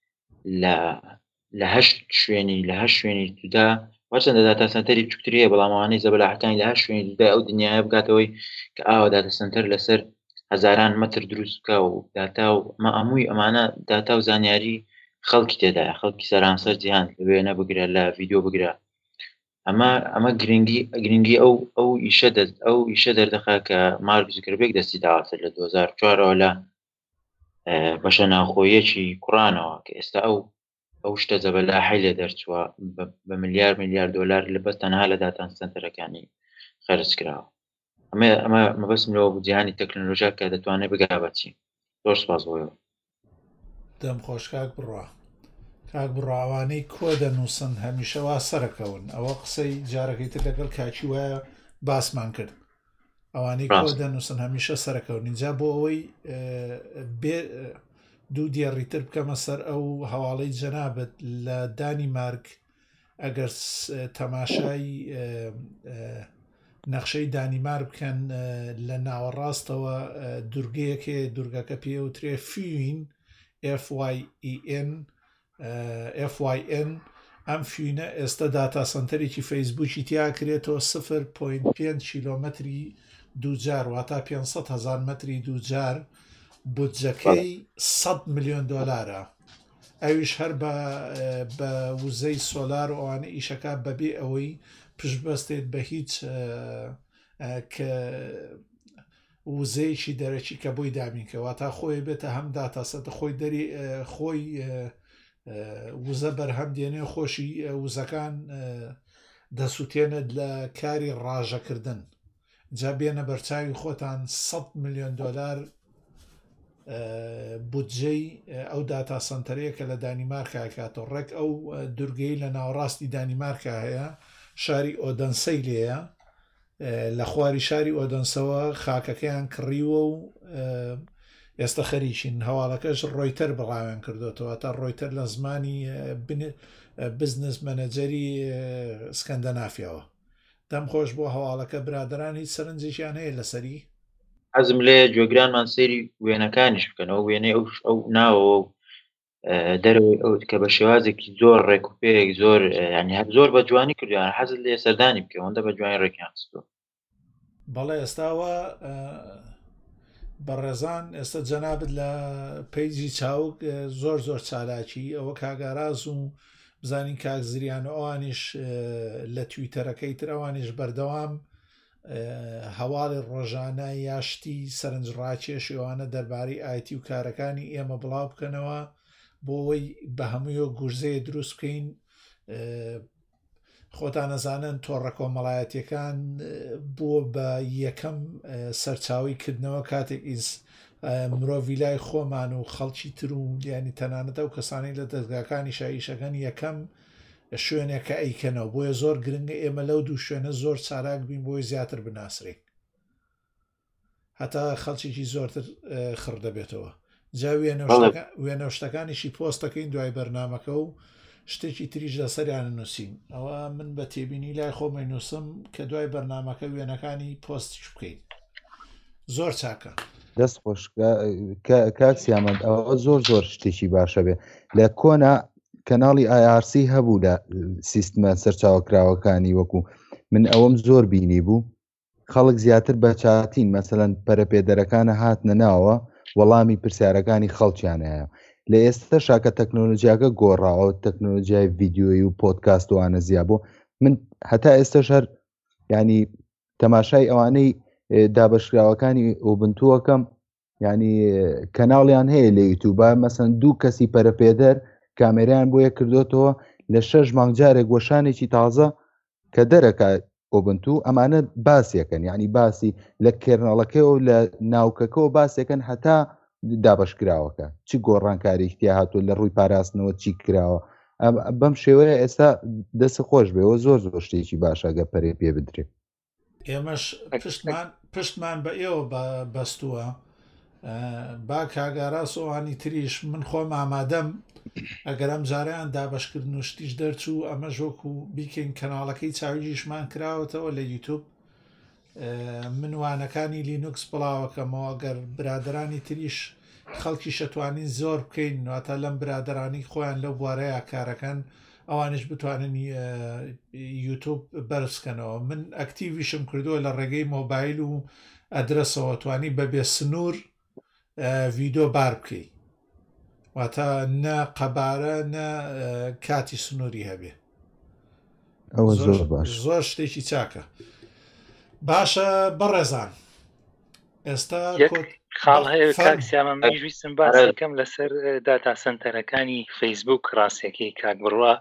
لە 8 شوێنی تودا وەچەندە داتا سنتەری بچووکترە بەڵام ئەوانەی زەبەلاحەکانی لە 8 شوێنی تودا ئەو دنیاە بگاتەوەی کە ئاوا داتا سنتەر لەسەر هەزاران مەتر دروست بکە و داتا و هەمووی ئەمانە داتا و زانیاری خەڵکی تێدایە، خەڵکی سەرانسەر جیهان لەوێنە بگرە لە ڤیدیۆ بگرە. ئەمە گرنگی ئەو ئیشە دەردەخا کە مارک زوکربێرگ دەستی داواتر لە 2004 لە بەشە ناوخۆیەکی کوڕانەوە کە ئێستا ئەو شتە زەبەلاحی لێ دەرچووە بە ملیار دۆلار لە بەس تەنها لە داتا سنتەرەکانی خەرج کراوە. ئەمە مەبەستم لەوە بوو جیهانی تەکنۆلۆژیا کە دەتوانێت بگا بەچی. زۆر سوپاس بۆیەوە. دەم خۆش کاک بڕاوانەی کۆ دەنووسن هەمیشە وا سەرەکەون. ئەوە قسەی جارەکەی تر لەگەڵ کاکی وایە باسمان کرد، ئەوانەی کۆ دەنووسن هەمیشە سەرەکەون. اینجا بۆ ئەوەی دوو دیێڕیتر بکەمە سەر ئەو هەواڵەی جەنابەت لە دانیمارک ئەگەر تەماشای نەخشەی دانیمارک بکەن لە ناوەڕاستەوە دورگەیەکێ دورگەکە پێوترێ فین FYN ئەم فینە ئێستا داتا سنتەرێکی فەیسبوکی تیا کرێتەوە 0.5 کیلۆمەتری دووجار واتە 500,000 مەتری دووجار، بودجەکەی 100 میلیۆن دۆلارە. ئەویش هەر بە وزەی سۆلار و ئەوانە ئیشەکە بەبێ ئەوەی پشت بەستێت بە هیچ وزەیەکی دەرەکی کە بۆی دامینکەوە تا خۆی بێتە هەم داتاسەتە خۆی دەری خۆی وزە بەرهەم دێنێ خۆشی وزەکان دەسووتێنێت لە کاری ڕاژەکردن جا بێنە بەرچاوی خۆتان 100 میلیۆن دۆلار بودجەی ئەو داتا سنتەرەیە کە لە دانیمارکا کاتۆ ڕێک ئەو دورگەی لە ناوەڕاستی دانیمارکا هەیە شاری ئۆدەنسەی لێیە لە خواری شاری ئۆدەنسەوە خاکەکەیان کڕیوە و ئێستا خەریکین هەواڵەکەش ڕۆیتەر بەڵاویان کردوێتەوە تا ڕۆیتەر لە زمانی بزنس مەنەجەری سکەندەنافیەوە دەم خۆش بۆ هەواڵەکە برادران هیچ سەرنجێکیان هەیە لەسەری حەزم لێ گوێگرانمان سەیری وێنەکانیش بکەنەوە وێنەی ئەو ناوەوە دەرەوەی ئەو کە بە شێوازێکی زۆر ڕێکوپێک زۆر ینی هەر زۆر بە جوانی کردویان حەزت لێ سەردانی بکەوەندە بە جوانی ڕێکیان خستووە بەڵێ ئێستاوە بەڕێزان ئێستا جەنابەت لە پەیجی چاوک زۆر زۆر چالاکی ئەوە کاگاراز و بزانین کاک زریان ئەوانیش لە تویتەرەکەی تر ئەوانیش بەردەوام هەواڵی ڕۆژانە یاشتی سەرنجڕاکێش ئەوانە دەربارەی ئایتی و کارەکانی ئێمە بڵاو بکەنەوە بۆەوەی بە هەموویۆ گورزەیە دروست بکەین خۆتان نەزانن تۆڕە کۆمەڵایەتیەکان بووە بە یەکەم سەرچاوی کردنەوە کاتێک مرۆڤ لای خۆمان و خەڵکی تر و ینی تەنانەتە و کەسانی لە دەستگاکانی شایشەکان یەکەم شوێنێکە ئەیکەنەوە بۆیە زۆر گرنگە ئێمە لەو دوو شوێنە زۆر چالاک بین بۆی زیاتر بناسرین هەتا خەڵکیی زۆرتر خڕ دەبێتەوە جا وێنە شتەکانیشی پۆستەکەین دوای بەرنامەکە و شتێکی تریش لەسەریان نووسین ئەوە من بە تێبینی لای خۆمەی نووسم کە دوای بەرنامەکە وێنەکانی پۆستیش بکەین زۆر چاکە دەست خۆش کاکسیامەند ئەوە زۆر زۆر شتێکی باشە بێ لە کۆنا کەناڵی IRC هەبوو لە سیستمە سەرچاوەکراوەکانی وەکو من ئەوەم زۆر بینی بوو خەڵک زیاتر بە چاتین مەسەلەن پەرەپێدەرەکانە هاتنە ناوە وەڵامی پرسیارەکانی خەڵکیان هەیە لە ئێستا شاکە تەکنۆلۆژیاکە گۆڕاوە تەکنۆلۆژیای ڤیددیۆی و پۆدکاستوانە زیابوو من هەتا ئێستا شەر ینی تەماشای ئەوانەی دابەشراوەکانی ئۆبنتووەکەم ینی کەناڵیان هەیە لە یوتیوبە مەسەن دوو کەسی پەرەپێدەر کامێرایان بۆیە کردوێتەوە لە 6 مانگ جارێک گۆشانێکی تازە کە دەرەکە ئۆبنتو ئەمانە باسیەکەن یعنی باسی لە کێرنەڵەکەی و لە ناوکەکەەوە باسیەکەن هەتا دابشکراوەکە چی گۆڕانکاریکتیا هاتووە لە ڕووی پاراستنەوە چی کراوە بەم شێوەیە ئێستا دەست خۆش بێەوە زۆر زۆر شتێکی باشەگە پەرێ پێ بدرێت ئێمەش پشتمان بە ئێوە بەستووە با کاگاڕاستەوانی تریش من خۆم ئامادەم ئەگەر ئەم جاریان دابشکردن و شتیش دەرچوو ئەمە ژۆک و بیکەین کەناڵەکەی چاویژیشمان کراوەتەوە لە یوتیوب منوانەکانی لینوکس بڵاوەکەمەوە گەر برادرانی تریش خەڵکی شەتوانین زۆر بکەین واتە لەم برادرانی خۆیان لەو بوارەیە کارەکەن ئەوانش بتوانن یوتیوب بەرزکەنەوە من ئەکتیڤیشم کردووە لە ڕێگەی مۆبایل و ئەدرسەوە توانی بەبێ سنوور ڤیدۆ بار بکەی واتە نە قەبارە نە کاتی سنووری هەبێ زۆر شتێکی چاکە باشە بەڕێزان ئێستا خاڵ هەیە کاکسیامە میویستم باسەکەم لەسەر داتا سنتەرەکانی فەیسبوک ڕاستێکی کاک بڕوا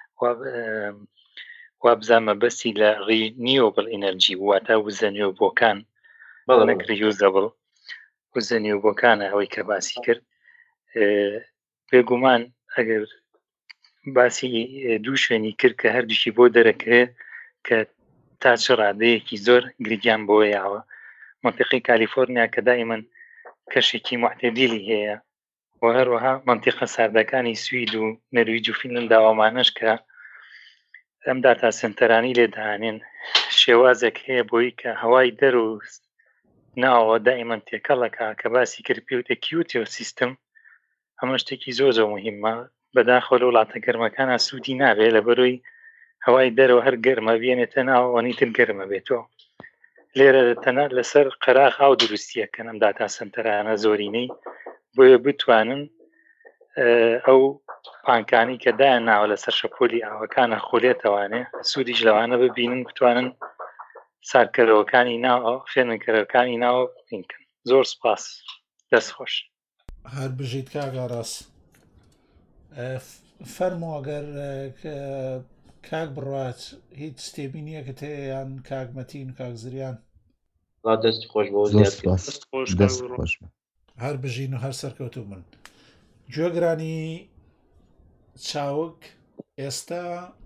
وابزانمە بەسی لە ڕینیوبل ئینەرجی واتە وزەنیۆبۆکان نەک ریوزەبڵ وزەنیۆبۆکانە ئەوەی کە باسی کرد بێگومان ئەگەر باسی دوو شوێنی کرد کە هەردووشی بۆ دەرەکرێت کە تا چ ڕادەیەکی زۆر گریان بۆ یاوە منطقی کالیفۆرنیا کە دائیمەن کەشێکی معتەدیلی هەیە و هەروەها منطقە ساردەکانی سوید و نەرویج و فینلەند داوامانش کە ئەم داتا سنتەرانی لێدانێن شێوازێک هەیە بۆی کە هەوای دەروست ناوە دائیمەن تێکەڵەکە کە باسی کردپیوتە کیوتیۆ سیستم ئەمە شتێکی زۆر زۆر مهمە بەداخۆ لە وڵاتە گەرمەکانە سوودی نابێت لە بەرۆی هەوای دەرەوە هەر گەرمە بێنێتە ناوەوەنی تر گەرمە بێتەوە لێرە تەنە لەسەر قەراغ ئاو دروستیەکەن ئەم داتا سنتەرانە زۆرینەی بۆیە بتوانن ئەو پانکانی کە دایان ناوە لەسەر شەپۆلی ئاوەکانە خولێتەوانێ سوودیش لەوانە ببینن بتوانن سارکەرەوەکانی ناوە فێنکەرەکانی ناوە بینکەن. زۆر سپاس، دەست خۆش. هەر بژیت کاگاڕاست فەرمو ئەگەر کاک بڕات هیچ شتێبینیەکەت هەیە یان کاگمەتین کاک زریان؟ دەستی خۆش بۆ هەر بژین و هەر سەرکەوتو من. گوێگرانی چاوک ئێستا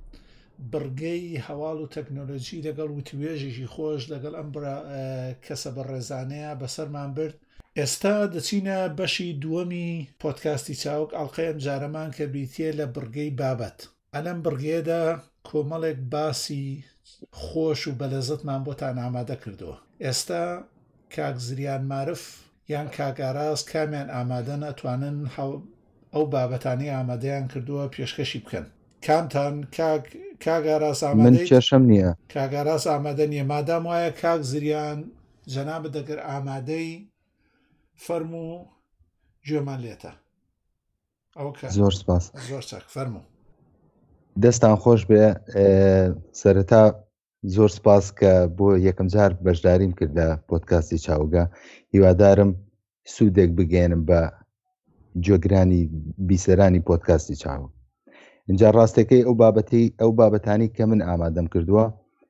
بڕگەی هەواڵ و تەکنۆلۆژی لەگەڵ وتوێژێکی خۆش لەگەڵ ئەم کەسە بەڕێزانەیە بەسەرمان برد. ئێستا دەچینە بەشی دووەمی پۆدکاستی چاوک ئەڵقەیەم جارەمان کە بیتێ لە بڕگەی بابەت. ئەلەم بڕگێدا کۆمەڵێک باسی خۆش و بەلەزەتمان بۆتان ئامادە کردووە. ئێستا کاک زریان معرف یان کاگاراز کامیان ئامادە نەتوانن ئەو بابەتانی ئامادەیان کردووە پێشکەشی بکەن. کامتان کاگاراز ئامادەیت؟ من کێشەم نییە. کاگاراز ئامادە نییە. مادام وایە کاک زریان جەنابە دەگەر ئامادەی فەرمو گوێمان لێتە. زۆر سپاس. زۆر چاک فەرمو. دەستان خۆش بێ. سەرەتا زۆر سپاس کە بۆ یەکەم جار بەشداریم کرد لە پۆدکاستی چاوگا. هیوادارم سوودێک بگێنم بە گوێگرانی بیسەرانی پۆدکاستی چاوگ. اینجا ڕاستەکەی ئەو بابەتانی کە من ئامادەم کردووە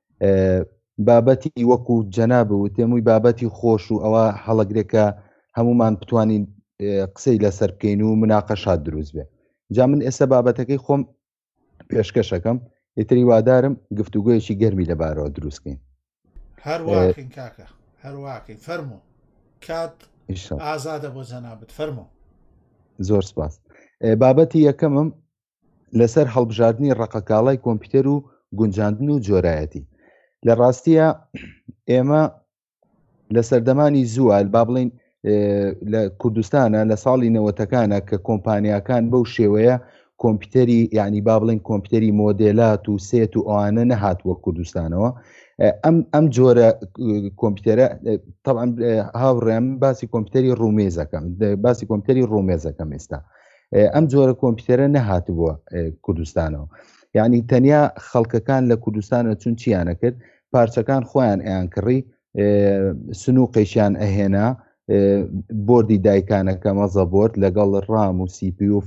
بابەتی وەکو جەنابە و تێمووی بابەتی خۆش و ئەوە هەڵەگرێکە هەمومان بتوانین قسەی لەسەر بکەین و مناقەشات دروست بێ. جا من ئێستا بابەتەکەی خۆم پێشکەشەکەم ئیتری وادارم گفتوگۆیەکی گەرمی لەبارەوە دروستکەین. هەرواکەین کاکە هەرواکەین. فەرموو کات ئازادە بۆ جەنابەت. فەرموو. زۆر سپاس. بابەتی یەکەمم لەسەر هەڵبژاردننی ڕقەکاڵای کۆمپیوتەر و گونجاندن و جۆرایەتی. لە ڕاستیە ئێمە لە سەردەمانی زووە با بڵین لە کوردستانە لە ساڵی 90ەکانە کە کۆمپانیاکان بەو شێوەیە کۆمپیوتەری یعنی با بڵین کۆمپیوتەری مۆدێلات و سێت و ئەوانە نەهاتووە کوردستانەوە. ئەم جۆرە کۆمپیوتەرە طبعا هاوڕێم باسی کۆمپیوتەری ڕومێزەکەم باسی کۆمپیوتەری ڕومێزەکەم ئێستا ئەم جۆرە کۆمپیوتەرە نەهاتبووە کوردستانەوە. یعنی تەنیا خەڵکەکان لە کوردستانە چون چیانە کرد پارچەکان خۆیان ئەیان کڕی سنووقیشیان ئەهێنا بۆردی دایکانەکە مەزەبۆرد لەگەڵ ڕام و سیپی و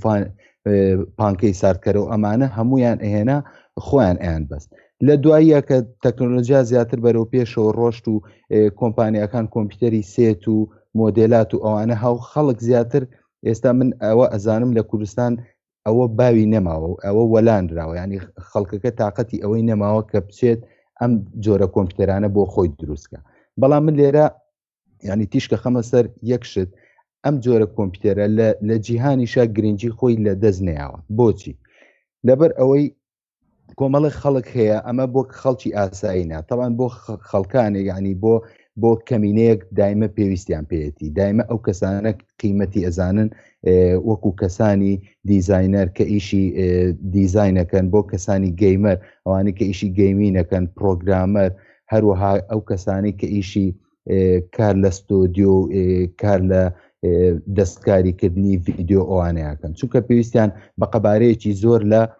پانکەی ساردکەرە و ئەمانە هەمویان ئەهێنا خۆیان ئەیان بەست. لە دواییە کە تەکنۆلۆژیا زیاتر بەرەو پێشەوە ڕۆشت و کۆمپانیەکان کۆمپیوتەری سێت و مۆدێلات و ئەوانە هاو خەڵک زیاتر ئێستا من ئەوە ئەزانم لە کوردستان ئەوە باوی نەماوە و ئەوە وەلاندراوە ینی خەڵکەکە تااقەتی ئەوەی نەماوە کە بچێت ئەم جۆرە کۆمپیوتەرانە بۆ خۆی دروستکە. بەڵام من لێرە ینی تیشکە خەمە سەر یەکشت ئەم جۆرە کۆمپیوتەرە لە جیهانیشە گرنگی خۆی لە دەست نەیاوە. بۆچی؟ لەبەر ئەوەی کۆمەڵی خەڵک هەیە ئەمە بۆ خەڵکی ئاساییە تەوان بۆ خەڵکانێک ینی بۆ کەمینەیەک دایمە پێویستیان پێێتی دایمە ئەو کەسانە قیمەتی ئەزانن وەکو کەسانی دیزاینەر کە ئیشی دیزاینەکەن بۆ کەسانی گەیمەر ئەوانی کە ئیشی گەیمینەکەن پرۆگرامەر هەروەها ئەو کەسانی کە ئیشی کار لە ستۆدیۆ کار لە دەستکاریکردنی ڤیددیۆ ئەوانەیەکەن چونکە پێویستیان بە قەبارەیەکی زۆر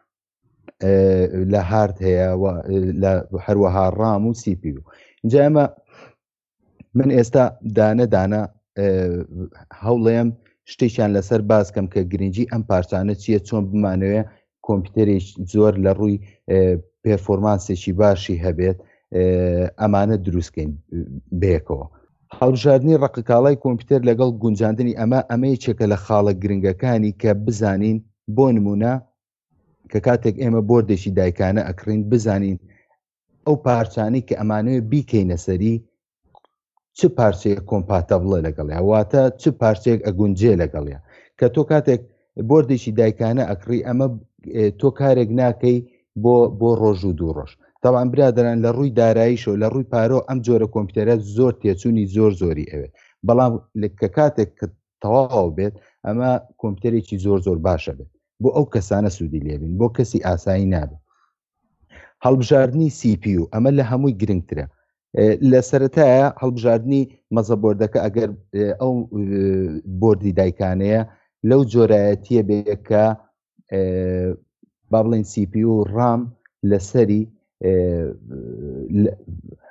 لە هارد هەیە لە هەروەها ڕام و سیپی و اینجا ئەمە من ئێستا دانە هەوڵێم شتێکیان لەسەر باسکەم کە گرنگی ئەم پارچانە چییە چۆن بمانەوێ کۆمپیوتەرێک زۆر لە ڕووی پێرفۆرمانسێکی باشی هەبێت ئەمانە دروستکەین بەیەکەوە. هەڵبژاردننی ڕقەکاڵای کۆمپیوتەر لەگەڵ گونجاندنی ئەمە یەکێکە لە خاڵە گرنگەکانی کە بزانین بۆ نمونە کە کاتێک ئێمە بۆردێکی دایکانە ئەکڕین بزانین ئەو پارچانەی کە ئەمانەوێ بیکەینە سەری چ پارچەیە کۆمپاتەبڵە لەگەڵیا واتە چ پارچەیەک ئەگونجێ لەگەڵیا کە تۆ کاتێک بۆردێکی دایکانە ئەکڕی ئەمە تۆ کارێک ناکەی بۆ ڕۆژ و دوو ڕۆژ. تاوان برادران لە ڕووی داراییشەوە لە ڕووی پارۆ ئەم جۆرە کۆمپیوتەرە زۆر تێچوونی زۆری ئەوێت بەڵام کە کاتێک کە تەواو بێت ئەمە کۆمپیوتەرێکی زۆر باشە بێت بۆ ئەو کەسانە سوودی لێبین بۆ کەسی ئاسایی نابێت. هەڵبژاردننی CPU ئەمە لە هەمووی گرنگترە. لە سەرەتایە هەڵبژاردننی مەزەبۆردەکە ئەگەر ئەو بۆردی دایکانەیە لەو جۆرایەتیە بێکە با بڵین CPU و ڕام لەسەری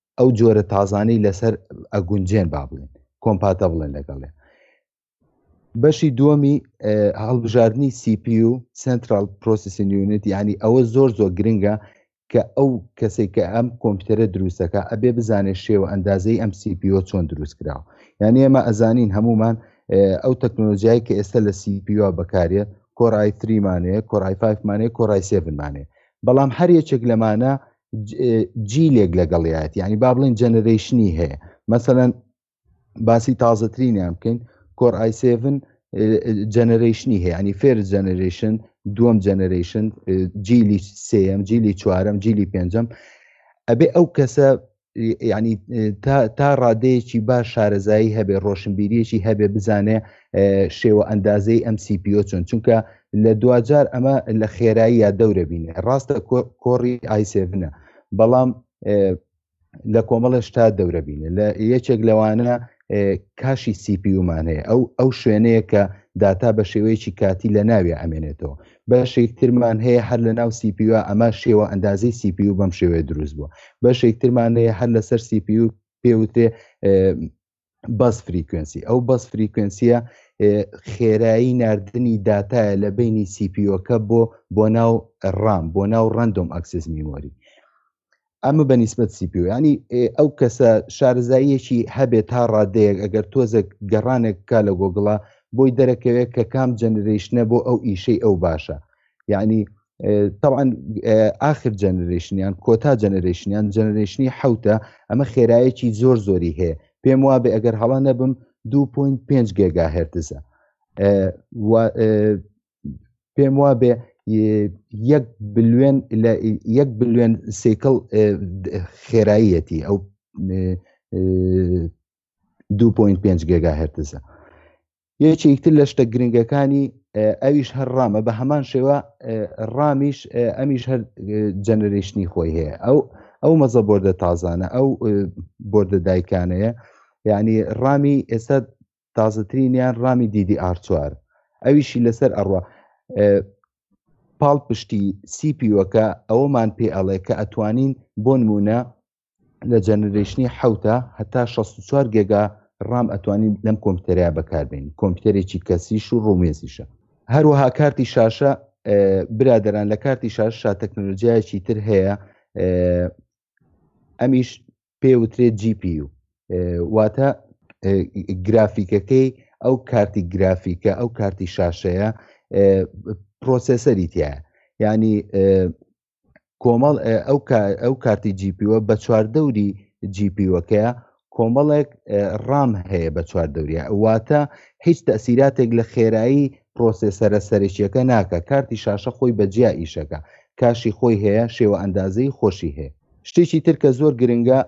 ئەو جۆرە تازانەی لەسەر ئەگونجێن با بڵێن کۆمپاتەبڵن لەگەڵێ. بەشی دووەمی هەڵبژاردننی CPU Central Processing Unit، یعنی ئەوە زۆر گرنگە کە ئەو کەسێک کە ئەم کۆمپیوتەرە دروستەکە ئەبێ بزانێت شێوە ئەندازەی ئەم CPU چۆن دروست کراوە. یعنی ئێمە ئەزانین هەمومان ئەو تەکنۆلۆژیایی کە ئێستا لە CPU بەکارێت Core i3 مانەیە، Core i5 مانەیە، Core i7 مانەیە، بەڵام هەر یەکێک لەمانە جیلێک لەگەڵیات، یعنی با بڵێن جەنەرەیشنی هەیە. مەسەلەن باسی تازەترینیان بکەین، Core i7 جەنەرەیشنی هەیە، ینی فێرست جەنەرەیشن، دووەم جەنەرەیشن، جیلی سێەم، جیلی چوارەم، جیلی پێنجەم. ئەبێ ئەو کەسە ینی تا ڕادەیەکی باش شارەزایی هەبێ، ڕۆشنبیریەکی هەبێ، بزانێ شێوە ئەندازەی ئەم CPU چۆن، چونکە لە دوجار ئەمە لە خێرایی یا دەورە بینێ. ڕاستە کۆڕی i7 بەڵام لە کۆمەڵە شتا دەورە بینێ. لە یەکێک لەوانە کاشی CPUمان هەیە، ئەو شوێنەیە کە داتا بە شێوەیەکی کاتی لە ناوی ئەمێنێتەوە. بەشێکترمان هەیە هەر لە ناو CPU، ئەمە شێوە ئەندازەی CPU بەم شێوەیە دروست بووە. بەشێکترمان هەیە هەر لەسەر CPU پێوتێ بەس فریکوێنسی. ئەو بەس فریکوێنسیە خێرایی ناردنی داتایە لە بینی CPUەکە بۆ ناو ڕام، بۆ ناو ڕەندۆم ئەکسس میمۆری. ئەمە بەنیسبەت CPU، ینی ئەو کەسە شارەزاییەکی هەبێت تا ڕادەیەک ئەگەر تۆزە گەڕانێک کا لە گۆگڵا بۆی دەرەکەوێت کە کام جەنەرەیشنە بۆ ئەو ئیشەی ئەو باشە. یعنی طبعا آخر جەنەرەیشنیان کۆتا جەنەرەیشنیان جەنەرەیشنی حوتە، ئەمە خێرایەکی زۆری هەیە. پێم وابێ ئەگەر هەڵا نەبم 2.5 گیگاهرتزە، پێم وابێ 1 بلیۆن سیکل خێراییەتی ئەو 2.5 گیگاهرتزە. یەکێکتر لە شتە گرنگەکانی ئەویش هەر ڕامە، بە هەمان شێوە ڕامیش ئەمیش هەر جەنەرەیشنی خۆی هەیە. ئەو مەزە بۆردە تازانە، ئەو بۆردە دایکانەیە، یعنی ڕامی ئێستا تازەترینیان ڕامی DDR4 ئەویشی لەسەر ئەڕوا پاڵ پشتی CPUەکە ئەوەمان پێ ئەڵێ کە ئەتوانین بۆ نمونە لە جەنەرەیشنی حوتە هەتا 64 گێگا ڕام ئەتوانین لەم کۆمپیوتەریا بەکاربێنین. کۆمپیوتەرێکی کەسیش و ڕومێزیشە. هەروەها کارتی شاشە، برادەران لە کارتی شاشە تەکنۆلۆژیایەکی تر هەیە، ئەمیش پێوترێت GPU، واتە گرافیکەکەی ئەو کارتی گرافیکە، ئەو کارتی شاشەیە پرۆسەسەری تایە، ینی کۆمەڵ ئەو کارتی GPU بە چواردەوری GPUەکەیە کۆمەڵێک ڕام هەیە بە چواردەوریە، واتە هیچ تەسیراتێک لە خێرایی پرۆسەسەرە سەرەکیەکە ناکە. کارتی شاشە خۆی بەجیا ئیشەکە، کاشی خۆی هەیە، شێوە ئەندازەی خۆشی هەیە. شتێکی تر کە زۆر گرنگە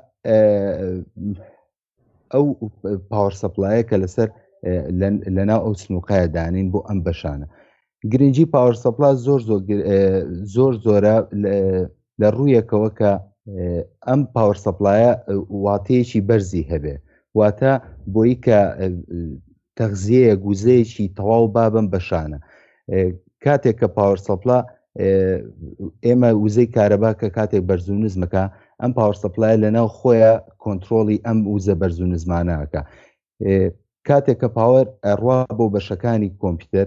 ئەو پاوەر سەپلایە کە لەسەر لەناو ئەو سنووقایە دانین بۆ ئەم بەشانە. گرنگی پاوەر سەپلا زۆرە لە ڕوویەکەوە کە ئەم پاوەر سەپلایە واتەیەکی بەرزی هەبێ، واتە بۆی کە تەغزیەیە گوزەیەکی تەواو بابم بەشانە. کاتێک کە پاوەر سەپلا ئێمە وزەی کارەبا کە کاتێک بەرز و نزمەکە، ئەم پاوەر سەپلایە لەناو خۆیە کۆنتترۆڵی ئەم وزە بەرز و نزمانەکە. کاتێک کە پاوەر ئەڕوا بۆ بەشەکانی کۆمپیوتەر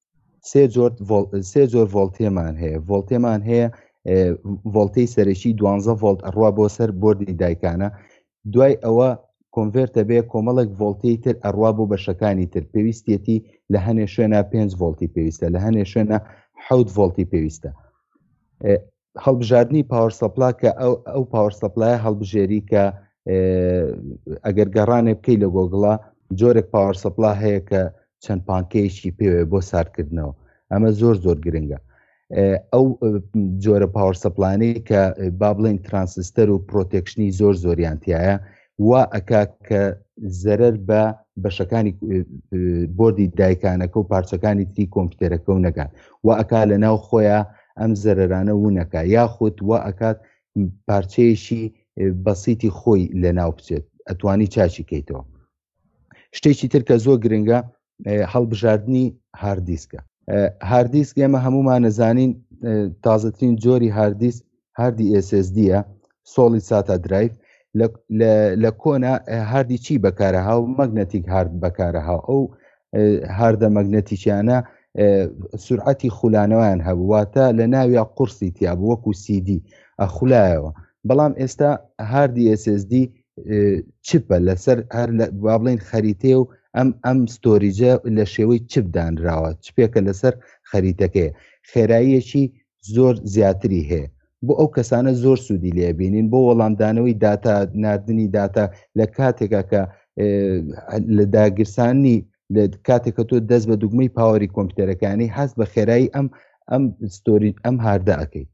سێ جۆر ڤۆڵتێمان هەیە. ڤۆڵتێمان هەیە ڤۆڵتەی سەرەکی 12 ڤۆڵت ئەڕوا بۆ سەر بۆردی دایکانە، دوای ئەوە کۆنڤێرتە بێ کۆمەڵێک ڤۆڵتەی تر ئەڕوا بۆ بەشەکانی تر، پێویستێتی لە هەنێ شوێنە 5 ڤۆڵتی پێویستە، لە هەنێ شوێنە 7 ڤۆڵتی پێویستە. هەڵبژاردننی پاوەر سەپلا کە ئەو پاوەر سەپلایە هەڵبژێری کە ئەگەر گەڕانێ بکەی لە گۆگڵا جۆرێک پاوەر سەپلا هەیە کە چەند پانکەیەکی پێوێ بۆ ساردکردنەوە. ئەمە زۆر گرنگە. ئەو جۆرە پاوەر سەپلانەی کە با بڵێن ترانسستەر و پرۆتێکشنی زۆریانتیایە، وا ئەکا کە زەرەر بە بەشەکانی بۆردی دایکانەکە و پارچەکانی تری کۆمپیوتەرەکە و نەکات، وا ئەکا لە ناو خۆیان ئەم زەرەرانە وونەکە، یاخود وا ئەکات پارچەیەشی بەسیتی خۆی لە ناو بچێت، ئەتوانی چاچی کەیتەوە. شتێکی تر کە زۆر گرنگە هەڵبژاردننی هاردیسکە. هاردیسک ئێمە هەمومان نەزانین تازەترین جۆری هاردیسک هاردی SSDە، سۆڵی ساتا درایڤ. لە کۆنا هاردی چی بەکارەها و مەگنەتیک هارد بەکارەها ئەو هاردە مەگنەتیکیانە سورعەتی خولانەوەیان هەبواتە لە ناوی قورسی تیاب وەکو CD ئەخولایەوە بەڵام ئێستا هاردی SSD چپە لەسەر هەر با بڵین خەریتێ و ئەم ستۆریجە لە شێوەی چپ دانراوە چپێکە لەسەر خەریتەکەی خێراییەکی زۆر زیاتری هەیە بۆ ئەو کەسانە زۆر سوودی لێبینین بۆ وەڵامدانەوەی داتا نردنی داتا لە کاتێکە کە لە داگیرسانی لە کاتێکە تۆ دەست بە دوگمەی پاوەری کۆمپیوتەرەکانی هەست بە خێرایی ستۆری ئەم هاردە ئەەکەی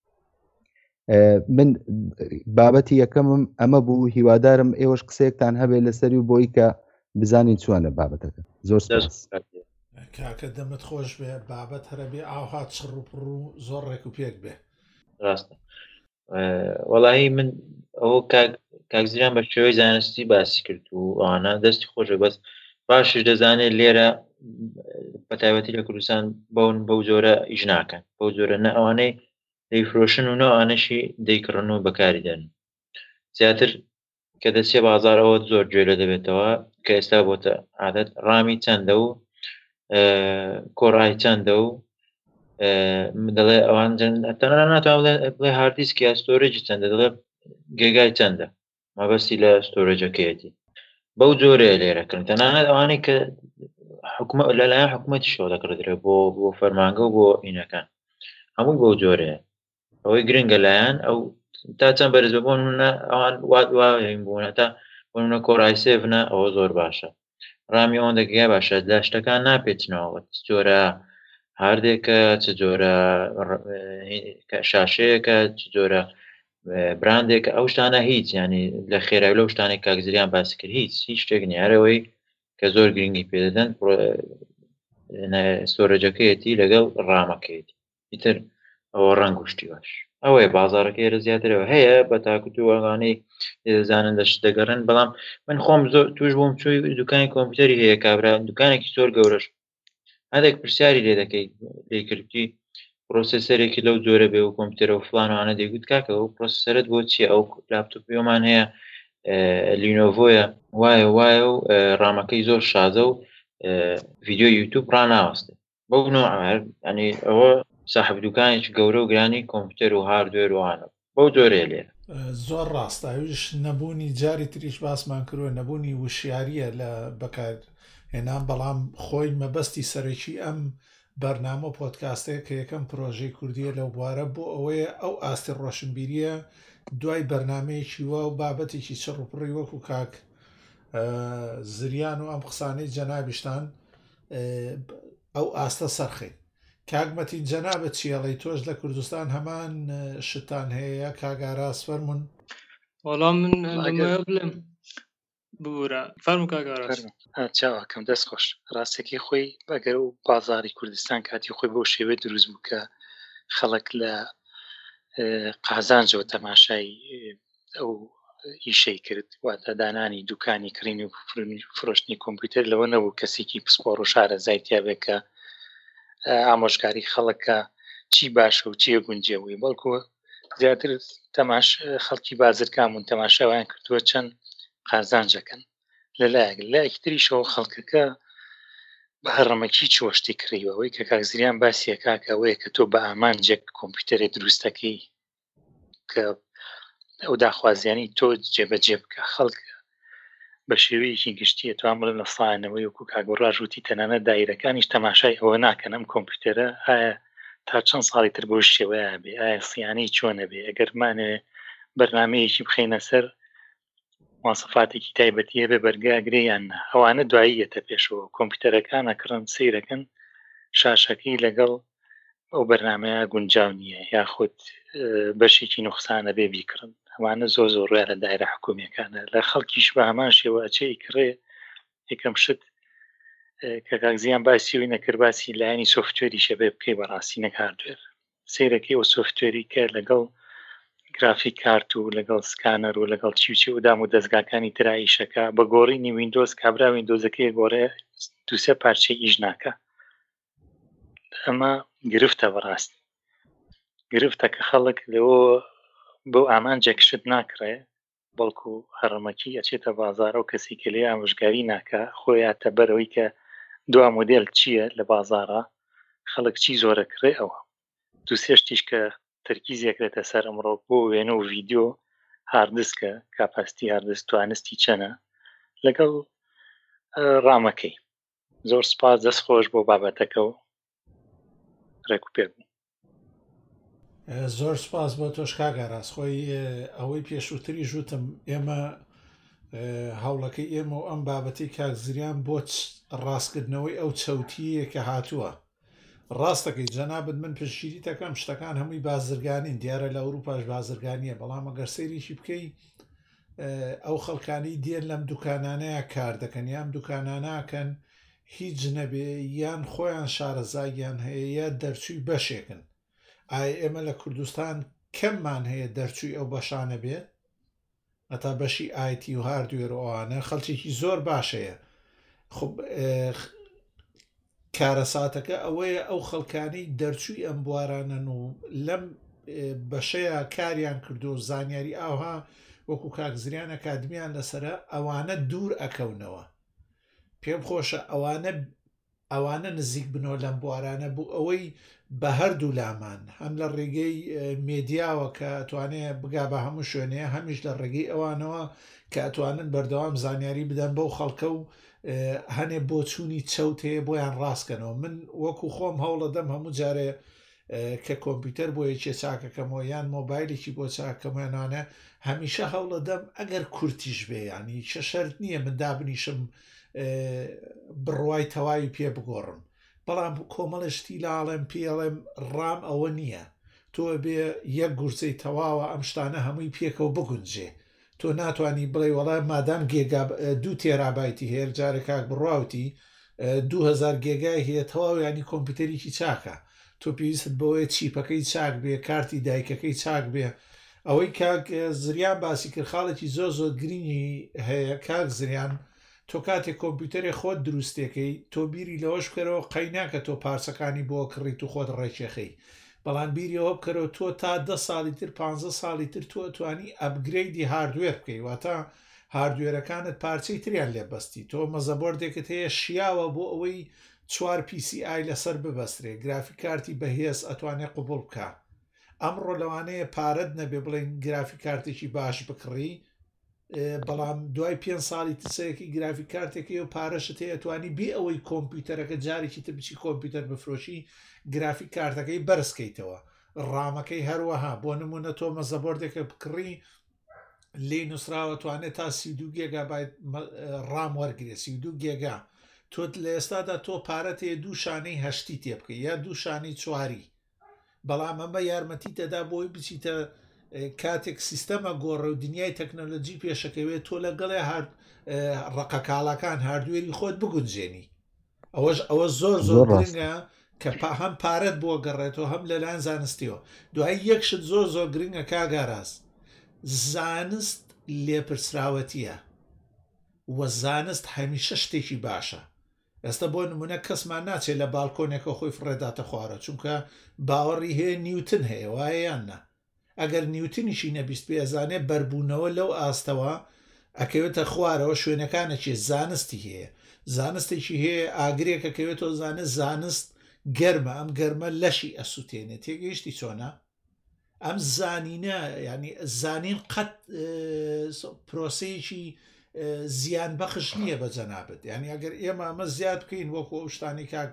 من بابەتی یەکەمم ئەمە بوو هیوادارم ئێوەش قسەیەکتان هەبێت لەسەری و بۆی کە بزانین چوانە بابەتەکە زۆر کاکە دەمت خۆش بێ بابەت هەرەبێ ئاوهات چڕوپڕ و زۆر ڕێک و پێک بێ ڕاستە وەڵاهی من ئەوە کاکزیران بە شێوەی زانستی باسی کرد و ئەوانە دەستی خۆشە بەس باشش دەزانێت لێرە بەتایبەتی لە کوردستان بەون بەو جۆرە ئیش ناکەن بەو جۆرە نە ئەوانەی دەیفرۆشن و نەوانەشی دەیکڕن و بەکاری دەن زیاتر کە دەچێ بازارەوە زۆر گوێ لە دەبێتەوە کە ئێستا بۆتە عادەت ڕامی چەندە و کۆڕای چەندە و دەڵێ ئەوان تەنها ناتوان بڵێ هاردیسکی یا ستۆرێجی چەندە دەڵێ گێگای چەندە مەبەستی لە ستۆرێجەکەیەتی بەو جۆرەیە لێرەکردن تەنانەت ئەوانەی کە لەلایەن حکوومەتی شۆ دەکردرێت بۆ فەرمانگە و بۆ ئینەکان هەمووی بەو جۆرەیە ئەوەی گرنگە لایەن ئەو تا چەند بەرز ببوون ئەوان وادواین بوون تا بۆنە کۆڕای سێڤنە ئەوە زۆر باشە ڕامی ئەوەندە گیا باشە لە شتەکان ناپێچنەوە چ جۆرە هاردێکە چ جۆرە شاشەیەکە چ جۆرە براندێکە ئەو شتانە هیچ ینی لە خێرای لەو شتانێک کاکزریان باسی کرد هیچ شتێک نیارەوەی کە زۆر گرنگی پێدەدەن ستۆرەجەکەیەتی لەگەڵ ڕامەکەیەتی ئیتر ئەوە ڕنگ وشتی باش ئەوەیە بازارەکە ئێرە زیاترەوە هەیە بە تاکوتووەگانەی دەزانن دەشت دەگەڕن بەڵام من خۆم زۆر توش بووم چووی دوکانی کۆمپیوتەری هەیە کابرا دوکانێکی زۆر گەورەش هەندێک پرسیاری لێ دەکەی لێکردی پرۆسسەرێکی لەو جۆرە بێ و کۆمپیوتەرە و فلانوانە دەیگوت کاکە و پرۆسسەرت بۆ چییە ئەو لاپتۆپیۆمان هەیە لینۆڤۆیە وایە و ڕامەکەی زۆر شازە و ڤیدیۆ یوتیوب ڕناوەستێ بەو نوع ئەنی ئەوە صاحب دوکانێکی گەورە و گرانی کۆمپیوتەر و هاردوێر وانە بەو جۆرەیە لێرە زۆر ڕاستە ئەوش نەبوونی جاری تریش باسمان کردوە نەبوونی وشیاریە لە بەکار هێنان بەڵام خۆی مەبەستی سەرەکی ئەم بەرنامە پۆدکاستەیە کە یەکەم پرۆژەی کوردیە لەو بوارە بۆ ئەوەیە ئەو ئاستی ڕۆشنبیریە دوای بەرنمەیەکی وە و بابەتێکی چڕوپڕی وەکو کاک زریان و ئەم قسانەی جەنابیشتان ئەو ئاستە سەرخێن کاگمەتی جەنابەت چیەڵی تۆش لە کوردستان هەمان شتان هەیە کاگاراس فەرمون وەڵام من بڵێم بورە فەرمو کاگاراس چاوەکەم دەست خۆش ڕاستێکی خۆی بەگەر و بازاری کوردستان کاتی خۆی بۆ شێوێ دروست بوو کە خەڵک لە قازانجەوە تەماشای ئەو ئیشەی کرد واتە دانانی دوکانی کڕین و فرۆشتنی کۆمپیوتەر لەوە نەبوو کەسێکی پسپۆڕ و شارە زایتیابێت کە ئامۆژگاری خەڵکە چی باشە و چیە گونجێەوەی بەڵکو زیاتر تەماش خەڵکی بازرگامون تەماشاویان کردووە چەند قازانجەکەن لەلایەک لایەکتریشەوە خەڵکەکە بە هەڕەمەکی چۆشتی کڕیوەوەی کە کاکزریان باسیە کاکەوەیە کە تۆ بە ئامانجێک کۆمپیوتەرێ دروستەکەی کە ئەو داخوازیانی تۆ جێبەجێ بکە خەڵک بە شێوەیەکی گشتیە توان بڵێن لە ساڵانەوەی وەکو کاگۆڕاژ وتی تەنانەت دایرەکانیش تەماشای ئەوە ناکەن ئەم کۆمپیوتەرە ئایا تا چەند ساڵی تر بۆ شێوەیە بێ ئایا سیانەی چۆنە بێ ئەگەرمانێ بەرنمەیەکی بخینە سەر مواصفاتێکی تایبەتیە بێ بەرگاگرێیان ئەوانە دواییەتە پێشەوە کۆمپیوتەرەکانە کڕن سیرەکەن شاشەکەی لەگەڵ ئەو بەرنمەیە گونجاو نییە یاخود بەشێکی نوقسانە بێ بیکڕن ئەوانە زۆر زۆر ڕێ لە دایرە حکوومیەکانە لە خەڵکیش بە هەمان شێوە ئەچەی کڕێ یەکەم شت کە کاکزیان باسیەوەی نەکرد باسی لایەنی سۆفتوێری شەبێ بکەی بەڕاستی نەک هاردوێر سیرەکەی ئەو سۆفتوێری کە لەگەڵ گرافیک کارت و لەگەڵ سکانەر و لەگەڵ چیوچی و دام و دەستگاکانی تراییشەکە بە گۆڕینی ویندۆز کابرا ویندۆزەکەی گۆڕێ دووسێ پارچەی ئیش ناکە ئەمە گرفتە بەڕاستی گرفتە کە خەڵک لەوە بۆ ئامانجێک شت ناکڕێ بەڵکو هەڕەمەکی ئەچێتە بازارە و کەسی کە لێ ئامۆژگاری ناکە خۆیاتە بەرەوەی کە دوا مۆدێل چییە لە بازارە خەڵک چی زۆرە کڕێ ئەوە دو سێشتیش کە تەرکیزێکرێتە سەر ئەمڕۆ بۆ وێنە و ڤیددیۆ هاردسکە کاپاستی هاردس توانستی چەنە لەگەڵ ڕامەکەی زۆر سپاس دەستخۆش بۆ بابەتەکە و ڕێک و پێ بوو. زۆر سپاس بۆ تۆش کاگەڕاست خۆی ئەوەی پێشووتری ژوتم ئێمە هەوڵەکەی ئێمە و ئەم بابەتی کاکزریان بۆ ڕاستکردنەوەی ئەو چەوتیە کە هاتووە ڕاستەکەی جەنابەت من پشگیری دەکەم شتەکان هەمووی بازرگانین دیارە لە ئەوروپاش بازرگانیە بەڵام ئەگەر سەیریشی بکەی ئەو خەڵکانی دێن لەم دوکانانەیە کار دەکەن یان دوکاناناکەن هیچ نەبێ یان خۆیان شارەزاییان هەیە یا دەرچووی بەشێکن ئایا ئێمە لە کوردستان کەممان هەیە دەرچووی ئەو بەشانە بێت ئەتا بەشی ئایتی و هاردوێرەوەوانە خەڵکێکی زۆر باشەیە خب کارەساتەکە ئەوەیە ئەو خەڵکانی دەرچووی ئەم بوارانن و لەم بەشەیە کاریان کردو و زانیاری ئاوها وەکو کاکزریان ئەکادمیان لەسرە ئەوانە دوور ئەکەونەوە پێم خۆشە ئەوانە نزیک بنەوە لەم بوارانە بوو ئەوەی بە هەردوو لامان هەم لە ڕێگەی مێدیاوە کە ئەتوانێت بگا بە هەموو شوێنەیە هەمیش لە ڕێگەی ئەوانەوە کە ئەتوانن بەردەوام زانیاری بدەن بەو خەڵکە و هەنێ بۆ چوونی چەوتەیە بۆیان ڕاستکەنەوە من وەکو خۆم هەوڵە دەم هەموو جارێ کە کۆمپیوتەر بۆ یەکێ چاکەکەمەوە یان مۆبایلێکی بۆ چاکەمێنانە هەمیشە هەوڵە دەم ئەگەر کورتیش بێ ینی چه شەرت نییە من دابنیشم بڕوای تەواوی پێ بگۆڕم بەڵام کۆمەڵشتی لاڵێم پێڵێم ڕام ئەوە نییە تۆ بێ یەک گورچەی تەواوە ئەم شتانە هەمووی پێکەوە بگونجێ تۆ ناتوانانی بڵێ وەڵای مادام گێگا 2 تێرابایتی هەیە جارێک کاک بڕاوتی 2000 گێگای هەیە تەواو ینی کۆمپیوتەرێکی چاکە تۆ پێویست بەوەیە چیپەکەی چاک بێ کارتی دایکەکەی چاک بێ ئەوەی کاک زریان باسی کرد خاڵێکی زۆر زۆر گرنگی هەیە کاک زریان تۆ کاتێک کۆمپیوتەرێ خۆت دروستەکەی تۆ بیری لەوەش بکەرەوە قەیناکە تۆ پارچەکانی بۆ کڕیت و خۆت ڕێکێخەی بەڵام بیریەوە بکەرەوە تۆ تا 10 ساڵی تر 15 ساڵی تر تۆ توانی ئەپگرەیدی هاردوێر بکەی واتە هاردوێرەکانت پارچەی تریان لێبەستی تۆ مەزەبۆردێکت هەیە شیاوە بۆ ئەوەی 4 PCI لەسەر ببەسترێ گرافیک کارتی بەهێز ئەتوانێت قوبڵ بکە ئەمڕۆ لەوانەیە پارەت نەبێ بڵێن گرافیک کارتێکی باش بکڕی بەڵام دوای 5 ساڵی تسەیەکی گرافیک کارتێکی و پارەشت هەیە توانی بێ ئەوەی کۆمپیوتەرەکە جارێکی تر بچی کۆمپیوتەر بفرۆشی گرافیک کارتەکەی بەرزکەیتەوە ڕامەکەی هەروەها بۆ نمونە تۆ مەزەبۆردێکە بکڕی لێ نووسراوە توانێت تا 32 گێگا ڕام وەرگێ 32 گێگا تۆ لە ئێستادا تۆ پارەتێ دوو شانەی هەشتی تێ بکەی یا دوو شانەی چواری بەڵام ئەمە یارمەتی تەدا بۆی بچیتە کاتێک سیستەمە گۆڕە و دنیای تەکنۆلۆجی پێشەکەوێت تۆ لەگەڵێ ڕقە کاڵەکان هاردوێری خۆت بگونجێنی ئەوە زۆر زۆر گرنگە کە هەم پارەت بۆ گەڕێتەوە هەم لەلایەن زانستیەوە دوای یەکشت زۆر زۆر گرنگە کاگاراز زانست لێپرسراوەتیە وە زانست هەمیشە شتێکی باشە ئێستا بۆ نمونە کەسمان ناچێت لە باڵکۆنێکە خۆی فڕێداتە خوارە چونکە باوەڕی هەیە نیوتن هەیە وایە یاننا ئەگەر نیوتنیشی نەبیست پێزانێ بەربوونەوە لەو ئاستەوە ئەکەوێتە خوارەوە شوێنەکانەکی زانستی هەیە زانستێکی هەیە ئاگرێکەکەوێتەوە زانست گەرمە ئەم گەرمە لەشی ئەسووتێنێت تێگەیشتی چۆنە ئەم زانینە ینی زانین قەت پرۆسەیەکی زیان بەخش نییە بە جەنابەت ینی ئەگەر ئێمە ئەمە زیاد بکەین وەکو ئەو شتانی کاک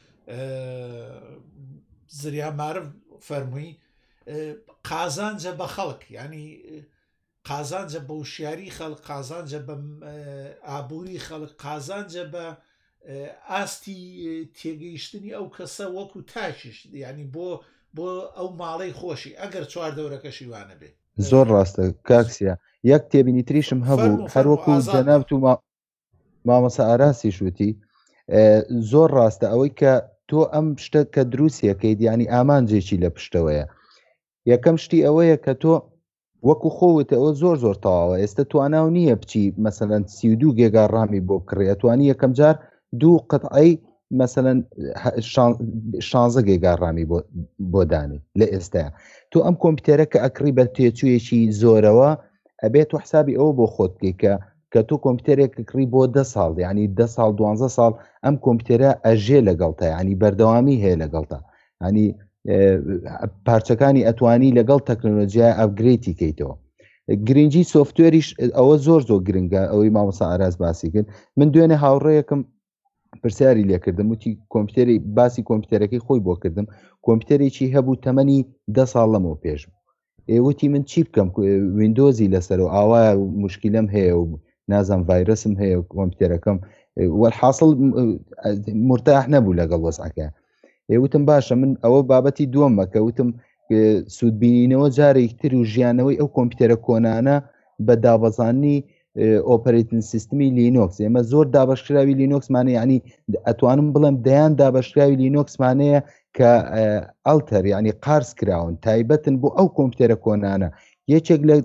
زریان معرف فەرمووی قازانجە بە خەڵک ینی قازانجە بە وشیاری خەڵک قازانجە بە ئابووری خەڵک قازانجە بە ئاستی تێگەیشتنی ئەو کەسە وەکو تاکیش ینی بۆ ئەو ماڵەی خۆشی ئەگەر چوار دەورەکەشی وانە بێ زۆر ڕاستە کاکسیە یەک تێبینی تریشم هەبوو هەروەکو جەنابەت و مامەسا ئاراسی شووتی زۆر ڕاستە ئەوەی کە تۆ ئەم شتە کە دروستیەکەیت ینی ئامانجێکی لە پشتەوەیە یەکەم شتی ئەوەیە کە تۆ وەکو خۆوتە ئەوە زۆر زۆر تەواوە ئێستا تواناو نییە بچی مەسەلەن 32 گێگا ڕامی بۆ بکڕێ توانی یەکەم جار دوو قەتعی مەسەلەن 16 گێگا ڕامی بۆ دانی لە ئێستاە تۆ ئەم کۆمپیوتەرە کە ئەکڕی بە تێچوویەکی زۆرەوە ئەبێت و حسابی ئەوە بۆ خۆت بکەیت کە تۆ کۆمپیوتەرێک کڕی بۆ 10 ساڵ یعنی 10 ساڵ 12 ساڵ ئەم کۆمپیوتەرە ئەژێ لەگەڵتە ینی بەردەوامی هەیە لەگەڵتە ینی پارچەکانی ئەتوانی لەگەڵ تەکنۆلۆژیای ئەپگرێتی کەیتەوە. گرنگی سۆفتوێریش ئەوە زۆر گرنگە ئەوەی مامۆستا ئاراس باسی کرد. من دوێنێ هاوڕێیەکم پرسیاری لێکردم وتی کۆمپیوتەری باسی کۆمپیوتەرەکەی خۆی بۆ کردم کۆمپیوتەرێکی هەبوو تەمەنی 10 ساڵ لەمەوە پێش ئێوەتی من چی بکەم ویندۆزی لەسەر و ئاوایە مشکلم هەیە و نازم ڤایرسم هەیە کۆمپیوتەرەکەم وەحاصل مرتاح نەبوو لەگەڵ وەزعەکە. وتم باشە من ئەوە بابەتی دووەمە کە وتم سوودبینینەوە جارێکی تر و ژیانەوەی ئەو کۆمپیوتەرە کۆنانە بە دابەزاننی ئۆپەرێتنگ سیستمی لینۆکس. ئێمە زۆر دابەشکراوی لینۆکسمانە ینی ئەتوانم بڵێم دەیان دابەشکراوی لینۆکسمانەیە کە ئەڵتەر ینی قارس کراون تایبەتن بۆ ئەو کۆمپیوتەرە کۆنانە. یەکێک لە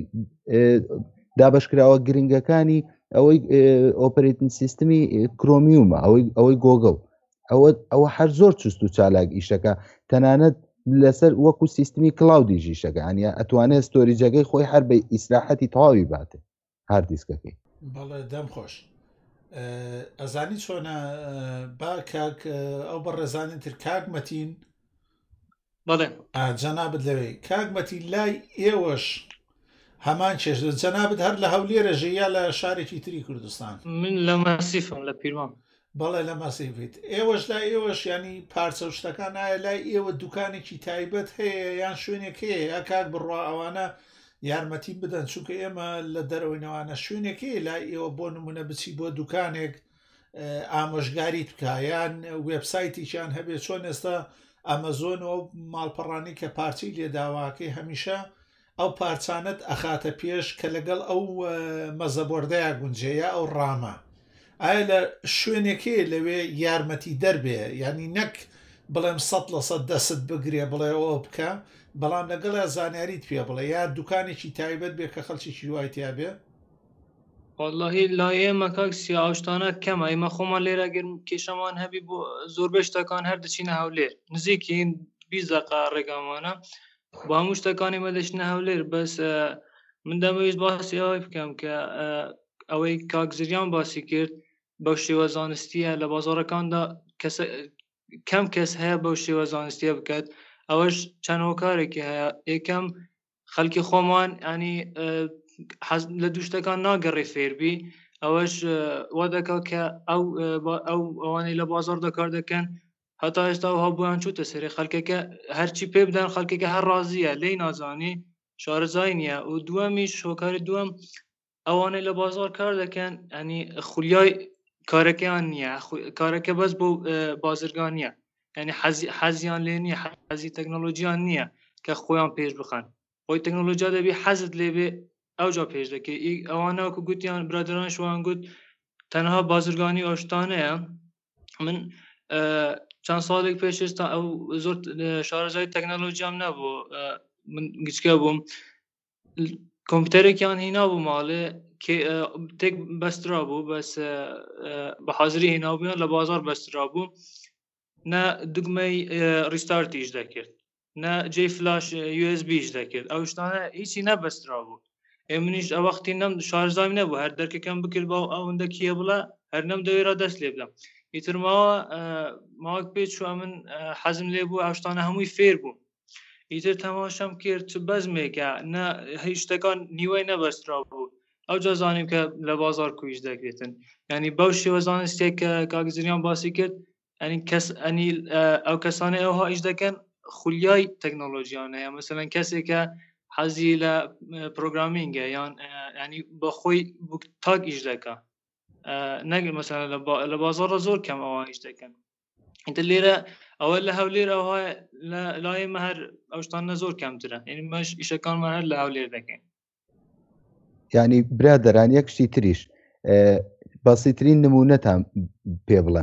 دابەشکراوە گرنگەکانی ئەوەی ئۆپەرێتنگ سیستمی کرۆمیومە ئەوەی گۆگڵ ئەوە هەر زۆر چست و چالاک ئیشەکە تەنانەت لەسەر وەکو سیستمی کلااودی ژیشەکە ئەنیا ئەتوانێت ستۆریجەکەی خۆی هەر بە ئیسراحەتی تەواوی باتێ هەر دیسکەکەی. بەڵێ دەم خۆش ئەزانی چۆنە با کاک ئەو بە ڕێزانین تر کاک مەتین بەڵێ جەنابەت لەوەی کاک مەتین لای ئێوەش هەمان چێش جەنابەت هەر لە هەولێرەژە یا لە شارێکی تری کوردستان؟ من لە مەسیفم لە پیرمان. بەڵێ لە مەسیفیت ئێوەش لای ئێوەش ینی پارچە و شتەکان ئایا لای ئێوە دوکانێکی تایبەت هەیە یان شوێنێک هەیە یا کاک بڕوا ئەوانە یارمەتی بدەن چونکە ئێمە لە دەرەوەینەوانە شوێنێکی لای ئێوە بۆ نمونە بچی بۆ دوکانێک ئامۆژگاریت بکە یان وێبسایتیشان هەبێت چۆن ئێستا ئەمەزۆن و ماڵپەڕانی کە پارچەی لێداواکەی هەمیشە ئەو پارچانت ئەخاتە پێش کە لەگەڵ ئەو مەزەبۆردەیە گونجەیە ئەو ڕامە ئایا لە شوێنێکی لەوێ یارمەتی دەربێ ینی نەک بڵێم 100% دەست بگرێ بڵێ ئەوە بکە بەڵام لەگەڵە زانیاریت پێ بڵێ یا دوکانێکی تایبەت بێ کە خەڵکیی دوایتیا بێ؟ واللهی لایەمە کاکسی ئاشتانە کەمە ئێمە خۆمان لێرە گەرم کێشەمان هەبی بۆ زۆربەی شتەکان هەر دەچینە هەولێر نزیکین 20 دقیقە ڕێگامانە بۆ هەموو شتەکانی مە دەچنە هەولێر بەس من دەمەویست باسی ئەوەی بکەم کە ئەوەی کاک زریان باسی کرد بەو شێوە زانستیە لە بازاڕەکاندا کەم کەس هەیە بەو شێوە زانستیە بکات ئەوەش چەند هۆکارێکی هەیە یەکەم خەڵکی خۆمان ینی لە دوو شتەکان ناگەڕێ فێربی ئەوەش وا دەکا کە ئەوانەی لە بازار دەکار دەکەن هەتا ئێستا و هەبوویان چوتە سەری خەڵکەکە هەرچی پێ بدەن خەڵکەکە هەر ڕازیە لی نازانی شارەزای نییە و دووەمیش هۆکاری دووەم ئەوانەی لە بازار کار دەکەن ینی خولیای کارەکەیان نییە کارەکە بەس بۆ بازرگان نییە ینی حەزیان لێ نییە حەزی تەکنۆلۆژیان نییە کە خۆیان پێش بخەن خۆی تەکنۆلۆژیا دەبی حەزت لێبێ ئەوجا پێش دەکەی ئەوانەوەکو گوتیان برادران شوان گوت تەنها بازرگانی ئاشتانەیە. من چەند ساڵێک پێش ئێستا ئەو زۆر شارەزای تەکنۆلۆژیام نەبوو من گچکە بووم کۆمپیوتەرێکیان هینا بوو ماڵێ تێک بەسترا بوو بەس بە حاضری هێناوبوویان لە بازار بەسترا بوو نە دوگمەی ریستارتیش دەکرد نە جێ فلاش USB دەکرد ئەو شتانە هیچی نەبەسترا بوو منیش ئەوەختی نەم شارژایم نەبوو هەر دەرکەکەم بکرد بە ئەوەندە کیە بڵە هەر نەم دەوێرا دەست لێ بدەم ئیتر ماوەک پێچ چووە من حەزم لێ بوو ئەو شتانە هەمووی فێر بوو ئیتر تەماشام کرد چ بەزمێکە نە هیچ شتەکان نیوەی نەبەسترا بوو ئەو جا زانیم کە لە بازار کویش دەکرێتن ینی بەو شێوە زانستێک کە کاک زریان باسی کرد ئەنی ئەو کەسانەی ئەوها ئیش دەکەن خولیای تەکنۆلۆژیانەیە مەسەلەن کەسێکە حەزی لە پرۆگرامینگە یان ینی بە خۆی تاک ئیش دەکە نەگەر مەسەلەن لە بازاڕە زۆر کەم ئەوان ئیش دەکەن ئینتر لێرە ئەوە لە هەولێر ئەوها لایەمە هەر ئەو شتانە زۆر کەمترە یعنی مەش ئیشەکانمان هەر لە هەولێر دەکەین. یعنی برادەران یەک شتی تریش بەسیترین نمونەتان پێ بڵێم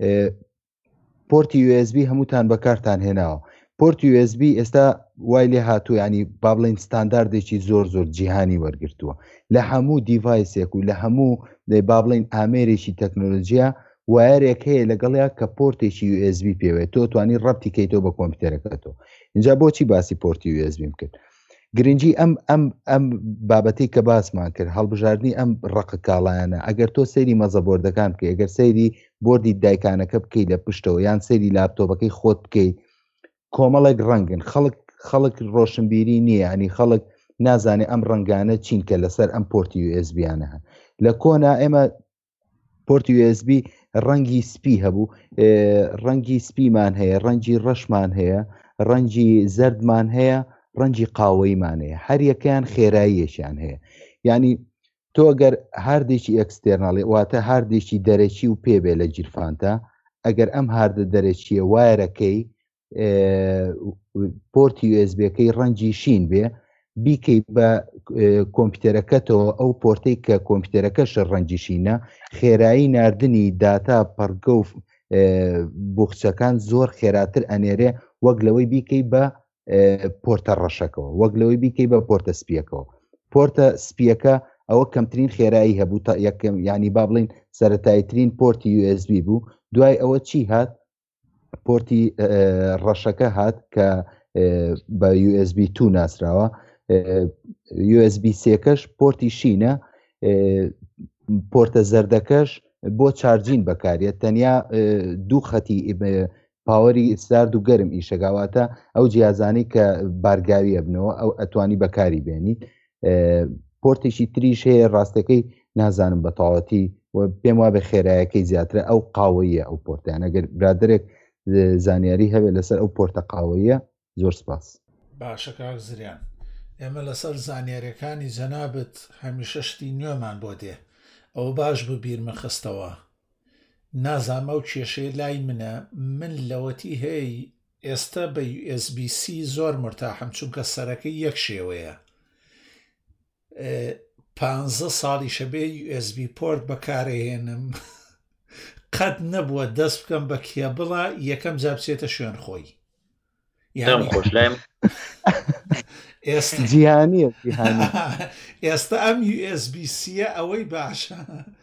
پۆرتی USB هەمووتان بەکارتان هێناوە پۆرتی USB ئێستا وای لێ هاتوو ینی با بڵین ستانداردێکی زۆر جیهانی وەرگرتووە لە هەموو دیڤایسێک و لە هەموو با بڵین ئامێرێکی تەکنۆلۆژیا وایەرێک هەیە لەگەڵیا کە پۆرتێکی USB پێوێت تۆ توانی ڕەبتی کەیتەوە بە کۆمپیوتەرەکەتەوە اینجا بۆچی باسی پۆرتی USB کرد گرنگی ئەم بابەتی کە باسمان کرد هەڵبژاردننی ئەم ڕقە کاڵایانە ئەگەر تۆ سەیری مەزە بۆردەکان بکەی ئەگەر سەیری بردی دایکانەکە بکەی لە پشتەوە یان سەیری لاپتۆپەکەی خۆت بکەی کۆمەڵێک ڕەنگن خەڵک ڕۆشنبیری نییە ینی خەڵک نازانێ ئەم ڕنگانە چینکە لەسەر ئەم پۆرتی USB-یانە هەن لە کۆنا ئێمە پۆرتی USB ڕەنگی سپی هەبوو ڕەنگی سپیمان هەیە ڕەنگی ڕەشمان هەیە ڕەنگی زەردمان هەیە ڕەنگی قاوەیمان هەیە هەر یەکەیان خێراییەشیان هەیە ینی تۆ گەر هاردێکی ئەکستێرناڵی واتە هاردێکی دەرەکی و پێبێ لە جیرفانتە ئەگەر ئەم هاردە دەرەچیە وایەرەکەی پۆرتی USB-ەکەی ڕەنگی شین بێ بیکەی بە کۆمپیوتەرەکەتەوە ئەو پۆرتەی کە کۆمپیوتەرەکەش ڕەنگی شینە خێرایی ناردنی داتا پەرگە و بوخچەکان زۆر خێراتر ئەنێرێ وەک لەوەی بیکەی بە پۆرتە ڕەشەکەەوە وەک لەوەی بیکەی بە پۆرتە سپیەکەەوە پۆرتە سپیەکە ئەوە کەمترین خێرایی هەبوو تا یەکەم ینی با بڵین سەرەتایترین پۆرتی USB بوو دوای ئەوە چی هات پۆرتی ڕەشەکە هات کە بە USB 2 ناسراوە USB 3کەش پۆرتی شینە پۆرتە زەردەکەش بۆ چارجین بەکارێت تەنیا دوو خەتی پاوەری سارد و گەرم ئیشەگاواتە ئەو جیازانی کە بارگاویە بنەوە ئەو ئەتوانی بەکاری بێنیت پۆرتێکی تریش هەیە ڕاستەکەی نازانم بە تاواتی پێم وا بە خێرایەکەی زیاترە ئەو قاوەیە ئەو پۆرتیان ئەگەر برادێک زانیاری هەبێت لەسەر ئەو پۆرتە قاوەیە زۆر سپاس باشە کاک زریان ئێمە لەسەر زانیاریەکانی جەنابەت هەمیشە شتی نوێمان بۆ دێ ئەو باش ببیرمە خستەوە نازانم ئەو کێشەیە لای منە من لەوەتی هەیە ئێستا بە USB-C زۆر مرتاحم چونکە سەرەکەی یەک شێوەیە 15 ساڵیشە بێ USB پۆرت بەکارهێنم قەت نەبووە دەست بکەم بە کێبڵە یەکەم جا بچێتە شوێن خۆی جیهانیە ئێستا ئەم USB-Cە ئەوەی باشە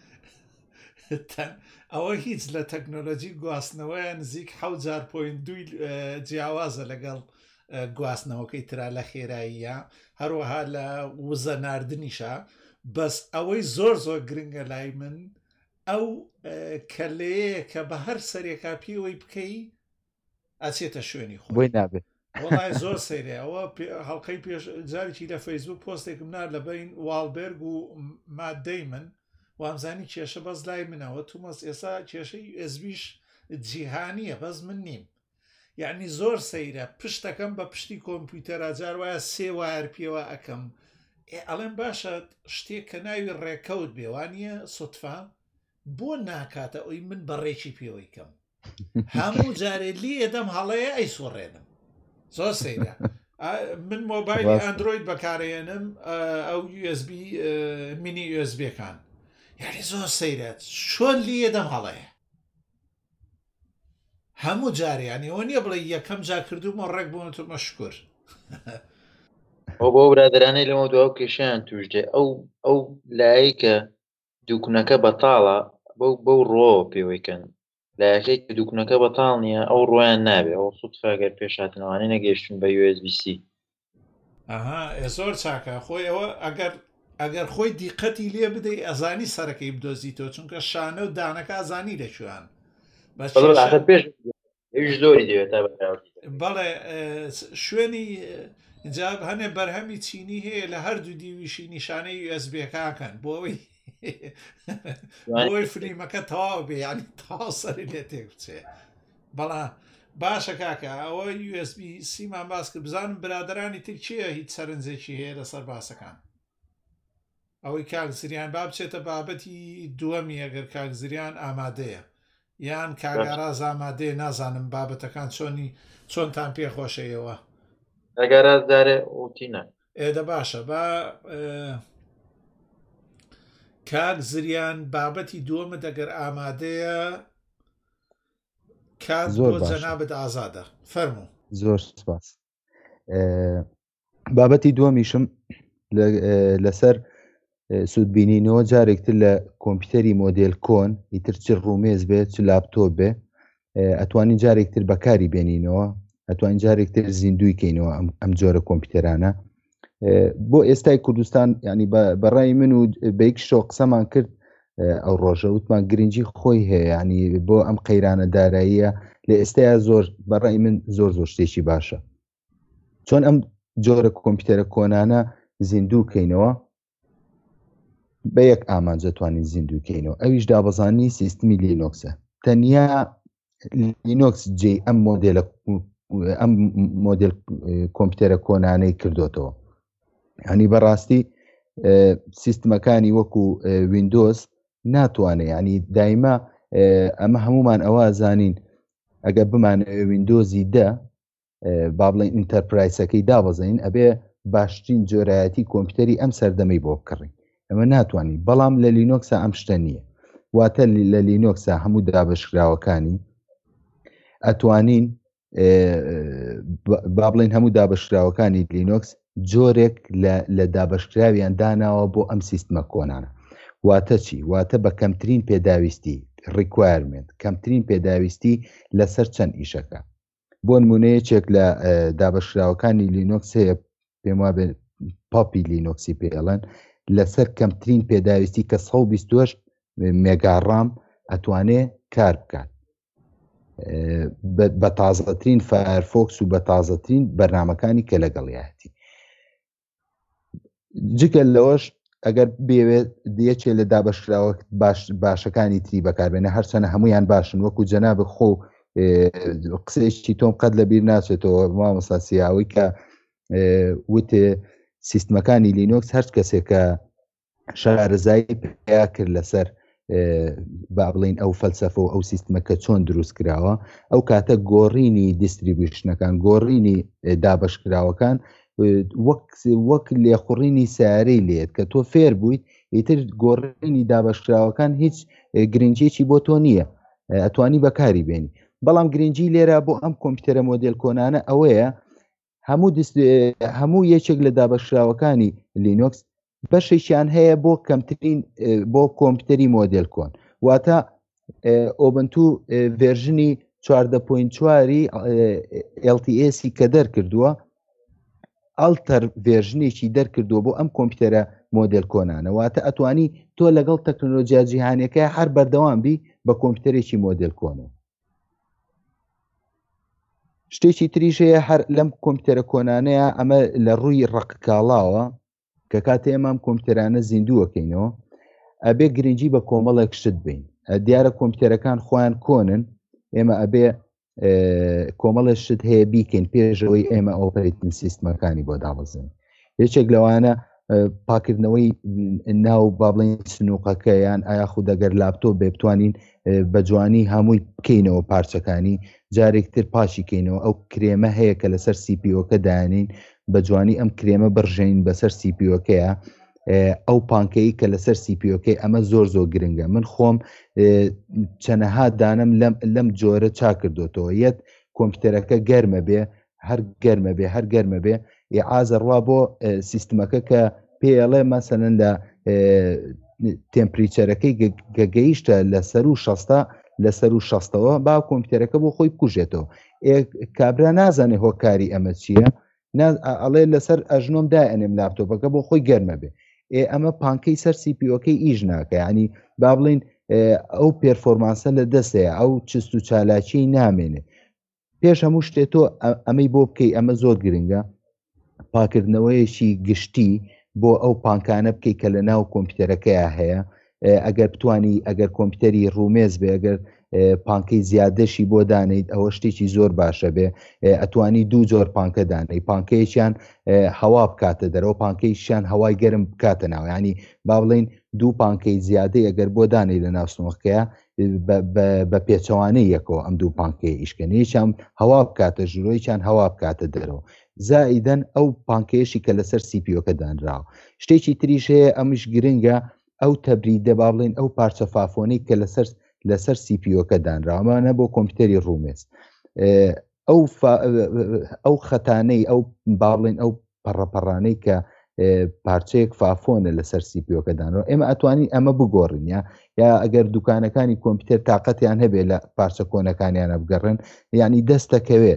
ئەوە هیچ لە تەکنۆلۆژی گواستنەوەیە نزیک 7.2 جیاوازە لەگەڵ گواستنەوەکەی ترا لە خێراییە هەروەها لە وزە ناردنیشە بەس ئەوەی زۆر گرنگە لای من ئەو کەلەیە کە بە هەر سەرێکا پێوەی بکەی ئاچێتە شوێنی خۆی نابێت وڵای زۆر سەیرێ ئەوە هەڵلقەی پێش جارێکی لە فەیسبوک پۆستێکم نا لە بین واڵبێرگ و مادەی من وامزانی کێشە بەس لای منەوە تومەس ئێستا کێشەی ئSBش جیهانیە بەس من نیم یعنی زۆر سەیرە پشتەکەم بە پشتی کۆمپیوتەرە جار وایە سێ وایر پێوە ئەەکەم ئەڵێن باشە شتێک کە ناوی ڕێکەوت بێوانە سوتفا بۆ ناکاتە ئەوی من بەڕێکی پێوەی کەم هەموو جارێ لی ئێدەم هەڵەیە ئەی سوڕێنم زۆر سەیرە من مۆبایلی ئەندرۆید بەکارێنم ئەو USB مینی USB-کان یعنی زۆر سەیرەت چۆن لی ئێدەم هەڵەیە هەموو جاریانی ئەوە نییە بڵێ یەکەم جا کردومە ڕێک بوون تو مەشکور ئەو بۆ برادرانەی لەمە دو کێشیان توش دێ ئەو لایە کە دووکونەکە بەتاڵە بەو ڕۆ پێوەیکەن لایەکەی کە دووکونەکە بەتاڵ نییە ئەو ڕۆیان نابێت ئەو سوتفاگەر پێشاتنەوەی نەگەیشتون بە USB-C زۆر چاکە خۆی ئەوە ئەگەر خۆی دیقەتی لێ بدەی ئەزانی سەرەکەی بدۆزیتەوە چونکە شانە و دانەکە ئازانی دەکوێن زۆری دەوێت بەڵێ شوێنی جاب هەنێ بەرهەمی چینی هەیە لە هەردوو دیویشی نیشانەی USB-کاکەن بۆ ئەوەی فلیمەکە تەواو بێ ینی تاو سەری لێ تێک بچێ بەڵا باشە کاکە ئەوە USB-Cمان باس کرد بزانم برادرانی تر چییە هیچ سەرنجێکی هەیە لەسەر باسەکان ئەوەی کاکزریان با بچێتە بابەتی دووەمی ئەگەر کاکزریان ئامادەیە یان کاگاراز ئامادەیە نازانم بابەتەکان چۆنتان پێخۆشەیەوە ئەگەراز دارێ ئوتینە ئێدە باشە با کاک زریان بابەتی دووەمە دەگەر ئامادەیە کات بۆ جەنابەت ئازادە فەرموو زۆر سپاس بابەتی دووەمیشم لەسەر سوودبینینەوە جارێکتر لە کۆمپیوتەری مۆدێل کۆن ئیتر چ ڕومێز بێت چ لاپتۆپ بێ ئەتوانین جارێکتر بەکاری بێنینەوە ئەتوانین جارێکتر زیندوی کەینەوە ئەم جۆرە کۆمپیوتەرانە بۆ ئێستای کوردستان ینی بەڕای من و بەیکشۆ قسەمان کرد ئەو ڕۆژە وتمان گرنگی خۆی هەیە ینی بۆ ئەم قەیرانە داراییە لە ئێستایا زۆر بەڕای من زۆر شتێکی باشە چۆن ئەم جۆرە کۆمپیوتەرە کۆنانە زیندووکەینەوە بە یەک ئامانجە توانین زیندووکەینەوە ئەویش دابەزانی سیستمی لینۆکسە تەنیا لینۆکس جێ ئەم مۆدل کۆمپیوتەرە کۆنانەی کردوتەوە ینی بەڕاستی سیستمەکانی وەکو ویندۆز ناتوانێت ینی دایما ئەمە هەمومان ئەوە زانین ئەگە بمانە ویندۆزی با بڵێن ئینتەرپرایسەکەی دابەزین ئەبێ باشترین جۆرایەتی کۆمپیوتەری ئەم سەردەمەی بۆ بکڕین ئەمە ناتوانین بەڵام لە لینۆکسە ئەم شتە نییە واتە لە لینۆکسە هەموو دابەشکراوەکانی ئەتوانین با بڵێن هەموو دابەشکراوەکانی لینۆکس جۆرێک لە دابەشکراویان داناوە بۆ ئەم سیستمە کۆنانە واتە چی واتە بە کەمترین پێداویستی ریکوایرمنت کەمترین پێداویستی لەسەر چەند ئیشەکە بۆ نمونەیەکێک لە دابەشکراوەکانی لینۆکس هەیە پێم وابێ پاپی لینۆکسی پێڵەن لەسەر کەمترین پێداویستی کە 128 مێگاڕام ئەتوانێ کار بکات بە تازەترین فایرفۆکس و بە تازەترین بەرنامەکانی کە لەگەڵیەتی جگە لەوەش ئەگەر بێوێت دیەکێ لە دابەشکراوە باشەکانی تری بەکاربێنە هەرچەنە هەمویان باشن وەکو جەنابە خۆ قسەیەکی تۆم قەت لەبیر ناچێتەوە مامۆستا سیاوی کە وتێ سیستمەکانی لینۆکس هەر کەسێکە شارەزایی پیا کرد لەسەر با بڵین ئەو فەلسەفە و ئەو سیستمەکە چۆن دروست کراوە ئەو کاتە گۆڕینی دیستریبیوشنەکان گۆڕینی دابەشکراوەکان وەک لێخوڕینی سیارەی لێت کە تۆ فێر بوویت ئیتر گۆڕینی دابەشکراوەکان هیچ گرنگێکی بۆ تۆ نییە ئەتوانی بەکاری بێنی بەڵام گرنگی لێرە بۆ ئەم کۆمپیوتەرە مۆدل کۆنانە ئەوەیە هەموو یەکێک لە دابەشکراوەکانی لینۆکس بەشێکیان هەیە بۆ کەمترین بۆ کۆمپیوتەری مۆدل کۆن واتە ئۆبنتو ڤێرژنی 14.4 LTS کە دەرکردووە ئەڵتەر ڤێرژنێکی دەرکردووە بۆ ئەم کۆمپیوتەرە مۆدل کۆنانە واتە ئەتوانی تۆ لەگەڵ تەکنۆلۆژیا جیهانیەکە هەر بەردەوام بی بە کۆمپیوتەرێکی مۆدل کۆنەوە شتێکی تریش هەیە هەر لەم کۆمپیوتەرە کۆنانەیە ئەمە لە ڕووی ڕقکاڵاوە کە کاتێ ئێمام کۆمپیوتەرانە زیندووەکەینەوە ئەبێ گرنگی بە کۆمەڵێک شت بین دیارە کۆمپیوتەرەکان خۆیان کۆنن ئێمە ئەبێ کۆمەڵە شت هەیە بیکەین پێشەوەی ئێمە ئۆپەرێتنگ سیستمەکانی بۆ دابەزین یەکێک لەوانە پاکردنەوەی ناو با بڵێن سنووقەکە یان ئایا خود ئەگەر لاپتۆپ بێ بتوانین بە جوانی هەمووی بکەینەوە پارچەکانی جارێکتر پاشی کەینەوە ئەو کرێمە هەیە کە لەسەر CPO-کە دانین بە جوانی ئەم کرێمە بڕژین بەسەر CPO-کەیە ئەو پانکەی کە لەسەر CPO-کەی ئەمە زۆر گرنگە من خۆم چەنەها دانم لەم جۆرە چا کردوتەوە یەت کۆمپیوتەرەکە گەرمە بێ هەر گەرمە بێ ئازەڕوا بۆ سیستمەکە کە پێڵێ مەسەنن لە تێمپریچەرەکەی گەگەیشتە لەسەر و 60ەوە با کۆمپیوتەرەکە بۆ خۆی بکوژێتەوە کابرا نازانێ هۆکاری ئەمە چییە ئەڵێ لەسەر ئەژنۆم دائێنێم لاپتۆپەکە بۆ خۆی گەرمە بێ ئەمە پانکەی سەر CPO-کەی ئیژ ناکە ینی با بڵین ئەو پێرفۆرمانسە لە دەستەیە ئەو چست و چالاکی نامێنێ پێش هەموو شتێتۆ ئەمەی بۆ بکەی ئەمە زۆر گرنگە پاکردنەوەیەکی گشتی بۆ ئەو پانکانە بکەی کە لە ناو کۆمپیوتەرەکەیە هەیە ئەگەر بتانی ئەگەر کۆمپیوتەری ڕومێز بێ ئەگەر پانکەی زیادەشی بۆ دانیت ئەوە شتێکی زۆر باشە بێ ئەتوانی دوو جۆر پانکە دانەی پانکەیەکیان هەوا بکاتە دەرەوە پانکەیشیان هەوای گەرم بکاتە ناو ینی با بڵین دوو پانکەی زیادەی ئەگەر بۆ دانەی لە ناوسنوەکەیە بە پێچەوانەی یەکەوە ئەم دوو پانکەی ئیشکەنیشان هەوا بکاتە ژورۆیان هەوا بکاتە دەرەوە زائیدەن ئەو پانکەیەشی کە لەسەر CPO-کە دانراوە شتێکی تریش هەیە ئەمش گرنگە ئەو تەبریدە با بڵین ئەو پارچە فافۆنەی کە لەسەر CPO-کە دانراوەمانە بۆ کۆمپیوتەری ڕومێز ئەو خەتانەی ئەو با بڵین ئەو پەڕەپەڕانەی کە پارچەیەک فافۆنە لەسەر CPO-کە دانەوە ئێمە ئەتوانین ئەمە بگۆڕین یا ئەگەر دوکانەکانی کۆمپیوتەر تااقەتیان هەبێت لە پارچە کۆنەکانیانە بگەڕن یعنی دەستەکەوێت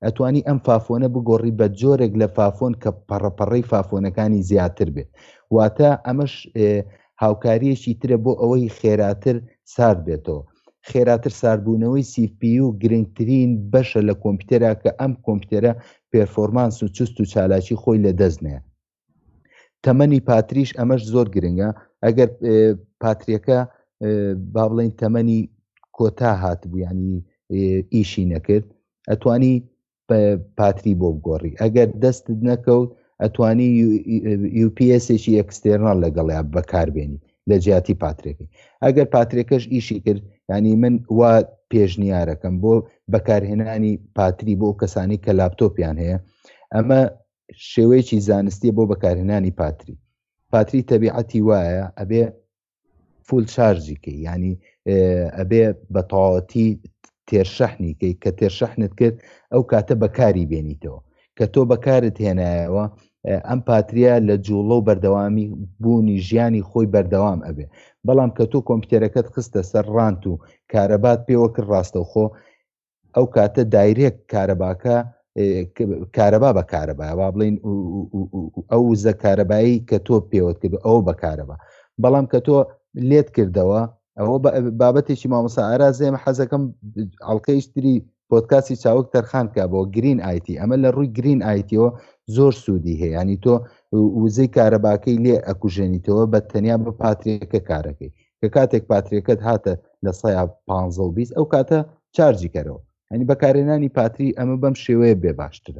ئەتوانی ئەم فافۆنە بگۆڕی بە جۆرێک لە فافۆن کە پەڕەپەڕەی فافۆنەکانی زیاتر بێت واتە ئەمەش هاوکاریەکی ترە بۆ ئەوەی خێراتر سارد بێتەوە خێراتر ساربوونەوەی CPU گرنگترین بەشە لە کۆمپیوتەرە کە ئەم کۆمپیوتەرە پێرفۆرمانس و چست و چالاکی خۆی لە دەستنەیە تەمەنی پاتریش ئەمەش زۆر گرنگە ئەگەر پاتریەکە با بڵێن تەمەنی کۆتا هاتبوو ینی ئیشی نەکرد ئەتوانی پاتری بۆ بگۆڕی ئەگەر دەستت نەکەوت ئەتوانی UPS-ێکی ئەکستێرنال لەگەڵیا بەکاربێنی لە جیاتی پاترێکی ئەگەر پاترێکەش ئیشی کرد ینی من وا پێشنیارەکەم بۆ بەکارهێنانی پاتری بۆ کەسانی کە لاپتۆپیان هەیە ئەمە شێوەیەکی زانستیە بۆ بەکارهێنانی پاتری تەبیعەتی وایە ئەبێ فول چارجیکەی ینی ئەبێ بە تەواوەتی تێرشەحنیکەی کە تێرشەحنت کرد ئەو کاتە بەکاری بێنیتەوە کە تۆ بەکارت هێنایەوە ئەم پاتریە لە جوڵە و بەردەوامی بوونی ژیانی خۆی بەردەوام ئەبێ بەڵام کە تۆ کۆمپیوتەرەکەت خستە سەر ڕانت و کارەبات پێوە کرد ڕاستەوخۆ ئەو کاتە دایرێک کارەباکە کارەبا بە کارەبا وا بڵین ئەو زە کارەبایی کە تۆ پێوت کرد ئەوە بەکارەبا بەڵام کە تۆ لێت کردەوە ئەوە بابەتێکی مامۆستا ئارازێمە حەزەکەم ئەڵلقەیشتری پۆدکاستی چاوەک تەرخان کا بۆ گرین ئایتی ئەمە لە ڕووی گرین ئایتیەوە زۆر سوودی هەیە ینی تۆ وزەی کارەباکەی لێ ئەکوژێنیتەوە بە تەنیا بە پاتریەکە کارەکەی کە کاتێک پاتریەکەت هاتە لە 150 ئەو کاتە چارجی کەرەوە ینی بەکارهێنانی پاتری ئەمە بەم شێوەیە بێ باشترە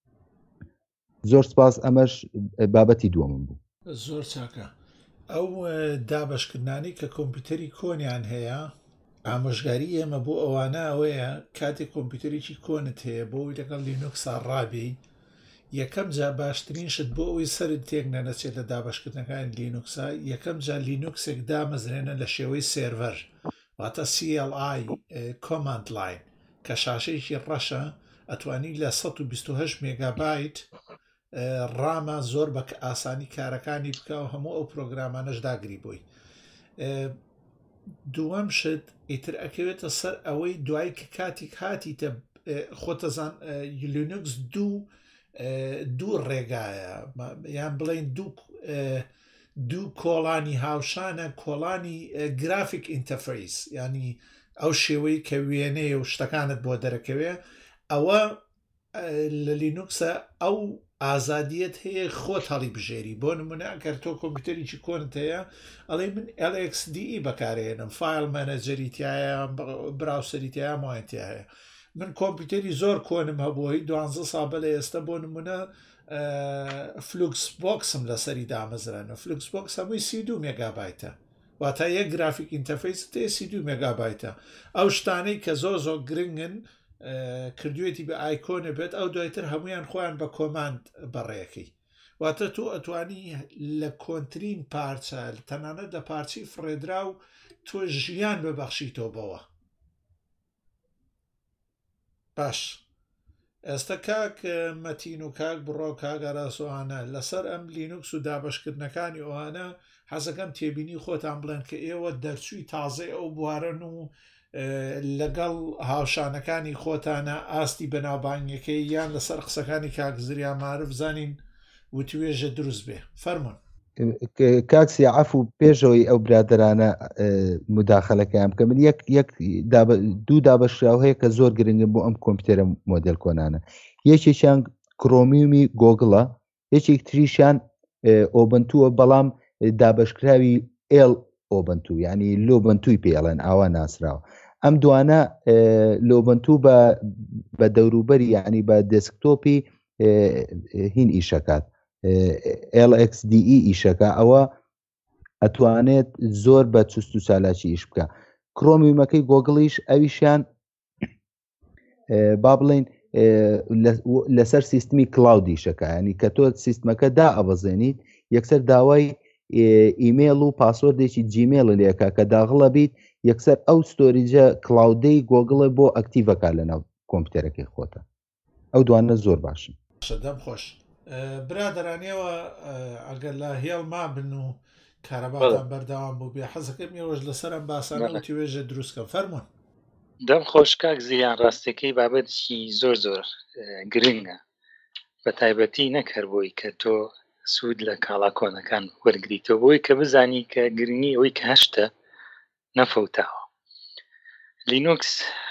زۆر سپاس ئەمەش بابەتی دووەمم بوو زۆر چاکە ئەو دابشکردانی کە کۆمپیوتەری کۆنیان هەیە ئامۆژگاری ئێمە بۆ ئەوانە ئەوەیە کاتێک کۆمپیوتەرێکی کۆنت هەیە بۆی لەگەڵ لینوکسا ڕابی یەکەم جا باشترین شت بۆ ئەوی سەرت تێک نەنەچێت لە دابشکردنەکان لینوکسا یەکەم جا لینوکسێک دامەزرێنە لە شێوەی سێرڤەر واتە CLI کۆماند لاین کە شاشەیەکی ڕەشە ئەتوانی لە 128 مێگابایت ڕامە زۆر بە ئاسانی کارەکانی بکە و هەموو ئەو پرۆگرامانەش داگری بووی دووەم شت ئیتر ئەکەوێتە سەر ئەوەی دوای کە کاتێک هاتیتە خۆتەزان لینوکس دوو ڕێگایە یان بڵێن دوو کۆڵانی هاوشانە کۆڵانی گرافیک ئینتەرفەیس ینی ئەو شێوەی کە وێنەیە و شتەکانت بۆ دەرەکەوێ ئەوە لە لینوکسە ئەو ئازادیت هەیە خۆت هەڵی بژێری بۆ نمونە ئەگەر تۆ کۆمپیوتەرێکی کۆنت هەیە ئەڵێ من LXDE بەکارێنم فایل مەنەجەریتیایە براوسەریتیایە مایەتی هەیە من کۆمپیوتەری زۆر کۆنم هەبووی 12 سا بە لە ئێستا بۆ نمونە فلوکس بۆکسم لەسەری دامەزرانە فلوکس بۆکس هەمووی 32 مێگابایتە واتە یەک گرافیک ئینتەرفەیس تێ 32 مێگابایتە ئەو شتانەی کە زۆر گرنگن کردوێتی بە ئایکۆنە بێت ئەو دوایتر هەمویان خۆیان بە کۆماند بەڕێەکەی واتە تۆ ئەتوانی لە کۆنترین پارچە تەنانەت لە پارچی فڕێدرا و تۆ ژیان ببەخشیتەوە بەوە باش ئێستا کاک مەتین و کاک بڕۆ کاگەراسوانە لەسەر ئەم لینوکس و دابشکردنەکانی ئەوانە حەزەکەم تێبینی خۆتان بڵێن کە ئێوە دەرچووی تازەی ئەو بوارن و لەگەڵ هاوشانەکانی خۆتانە ئاستی بەناوبانگەکەی یان لەسەر قسەکانی کاکزریان معرف زانین وتوێژە دروست بێ فەرمون کاکسی عەفو پێشەوەی ئەو برادرانە مداخەلەکەیان بکە من دوو دابەشراو هەیە کە زۆر گرنگن بۆ ئەم کۆمپیوتەرە مۆدێل کۆنانە یەکێکیان کرۆمیومی گۆگڵە یەکێک تریشیان ئۆبنتووە بەڵام دابشکراوی ئۆبنتو ینی لۆبنتوی پێڵێن ئاوا ناسراوە ئەم دوانە لۆبنتو بە دەوروبەری یعنی بە دەسکتۆپی هین ئیشەکات LXDE ئیشەکە ئەوە ئەتوانێت زۆر بە چست و چالاکی ئیش بکە کرۆمیومەکەی گۆگڵیش ئەویشیان با بڵێن لەسەر سیستمی کلااودی شەکە ینی کە تۆ سیستمەکە دا ئەبەزێنیت یەکسەر داوای ئیمێل و پاسوەردێکی جیمێڵ لێکە کە داغڵە بیت یەکسەر ئەو ستۆریجە کلااودەی گۆگڵە بۆ ئەکتیڤەکە لەناو کۆمپیوتەرەکەی خۆتە ئەو دوانە زۆر باشن دەم خۆش برادرانیەوە ئەگەر لە هێڵ ما بن و کارەباتان بەردەوام بوو بێ حەزەکەم ئێوەش لەسەر ئەم باسانە توێژە دروستکە فەرمون دەم خۆش کاک زیان ڕاستەکەی بابەتێکی زۆر گرنگە بە تایبەتی نەکەر بۆی کە تۆ سوود لە کاڵا کۆنەکان وەرگریتەوە بۆی کە بزانی کە گرنگی ئەوەی کە هەشتە نەفەوتاوە. لینوکس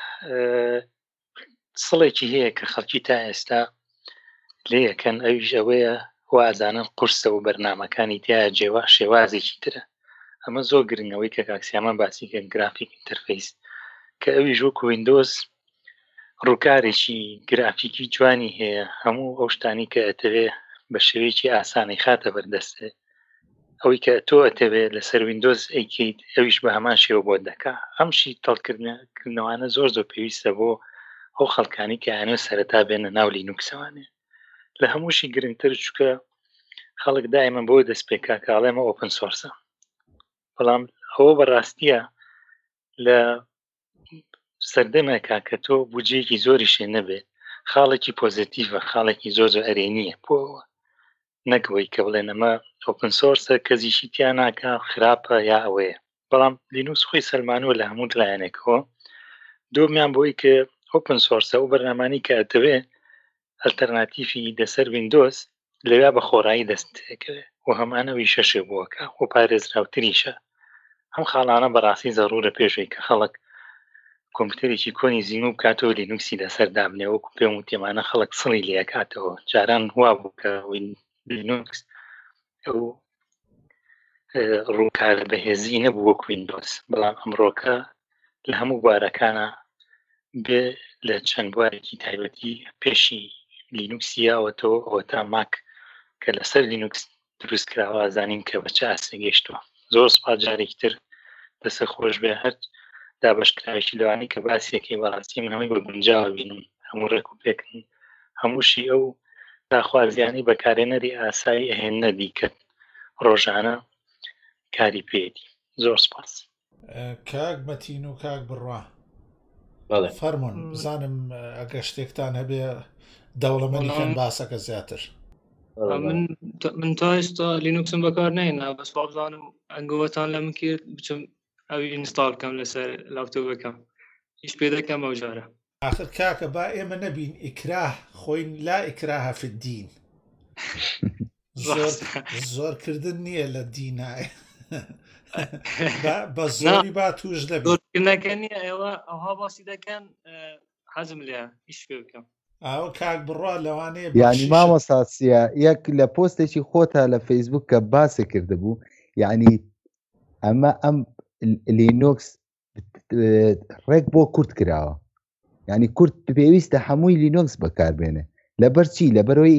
سڵێکی هەیە کە خەڵکی تا ئێستا لێ یەکەن ئەویش ئەوەیە وازانن قورسە و بەرنامەکانی تایە جێوا شێوازێکی ترە. ئەمە زۆر گرنگەوەی کە کاکسیامان باسی کە گرافیک ئینتەرفەیس کە ئەویش وەکو ویندۆز ڕووکارێکی گرافیکی جوانی هەیە هەموو ئەو شتانی کە ئەتەوێ بە شێوەیەکی ئاسانی خاتە بەردەستێ ئەوەی کە تۆ ئەتەوێت لەسەر ویندۆز ئەیکەیت ئەویش بە هەمان شێوە بۆ دەکا. ئەمشی تەڵکردنەوانە زۆر پێویستە بۆ ئەو خەڵکانی کە یانێ سەرەتا بێنە ناو لینوکسەوانێ. لە هەمووشی گرنگتر چووکە خەڵک دائما بۆ دەست پێکا کاڵێمە ئۆپن سۆرسە، بەڵام ئەوە بەڕاستیە لە سەردەمێکا کە تۆ بودجێکی زۆری شێ نەبێت خاڵێکی پۆزیتیڤە، خاڵێکی زۆر ئەرێنیە بۆەوە نەکەوەی کە بڵێن ئەمە ئۆپن سۆرسە کەزیشی تیان ناکە خراپە یا ئەوەیە. بەڵام لینوکس خۆی سەلمانوە لە هەموو لایەنێکەوە دۆمیان بۆی کە ئۆپن سۆرسە و بەرنامانی کە ئەتەوێ ئەلتەرناتیفی دەسەر ویندۆز لەویا بە خۆڕایی دەستەکەوێت و هەمانەوەی شەشێ بووەکە و پارێزراوتریشە. ئەم خاڵانە بەڕاستی زەڕورە پێشەوەی کە خەڵک کۆمپیوتەرێکی کۆنی زیین و بکاتەوە لینوکسی لەسەر دابنێ وەکو پێم و تێمانە خەڵک سڵی لێکاتەوە. جاران وا بوو کە لینوکس ئەو ڕووکار بەهێزی نەبوو وەکو ویندۆز، بەڵام ئەمڕۆکە لە هەموو بوارەکانە بێ لە چەند بوارێکی تایبەتی پێشی لینوکسیاوەتەوە ئەوە تا ماک کە لەسەر لینوکس دروست کراوە زانین کە بە چه ئاسە گەیشتووە. زۆر سوپاس جارێکی تر دەسە خۆش بێ هەر دابشکراوێکی لەوانی کە باسیەکەی بەڕاستی من هەمووی بە گونجاوە بینم هەموو ڕێک و پێکن هەمووشی ئەو داخوازیانی بەکارێنەری ئاسایی ئەهێنە دیکەن ڕۆژانە کاری پێێتی. زۆر سپاس. کاک مەتین و کاک بڕوا فەرمونون بزانم ئەگە شتێکتان هەبێ دەوڵەمەندیکەن باسەکە زیاتر. من تا ئێستا لینوکسم بەکار نێنا بەس بابزانم ئەنگەوەتان لە من کرد بچم ئەوی ئینستال کەم لەسەر لاپتۆپەکەم هیچ پێ دەکەم ئەو جارە. آخر کاکە با ئێمە نەبین ئیکراه خۆین لا ئیکراهە فی الدین. زۆرکردن نییە لە دینایە بە زۆری با توش دەبێت. زۆرکردنەکە نییە ئەوها باسی دەکەن حەزم لێ هیچ پێ بکەم. ئەو کاک بڕوا لەوانەیە یعنی مامۆساسیە یەک لە پۆستێکی خۆتە لە فەیسبوک کە باسی کردبوو یعنی ئەم لینوکس ڕێک بۆ کورت کراوە، یعنی کورت پێویستە هەمووی لینوکس بەکاربێنێ لەبەرچی لەبەرەوەی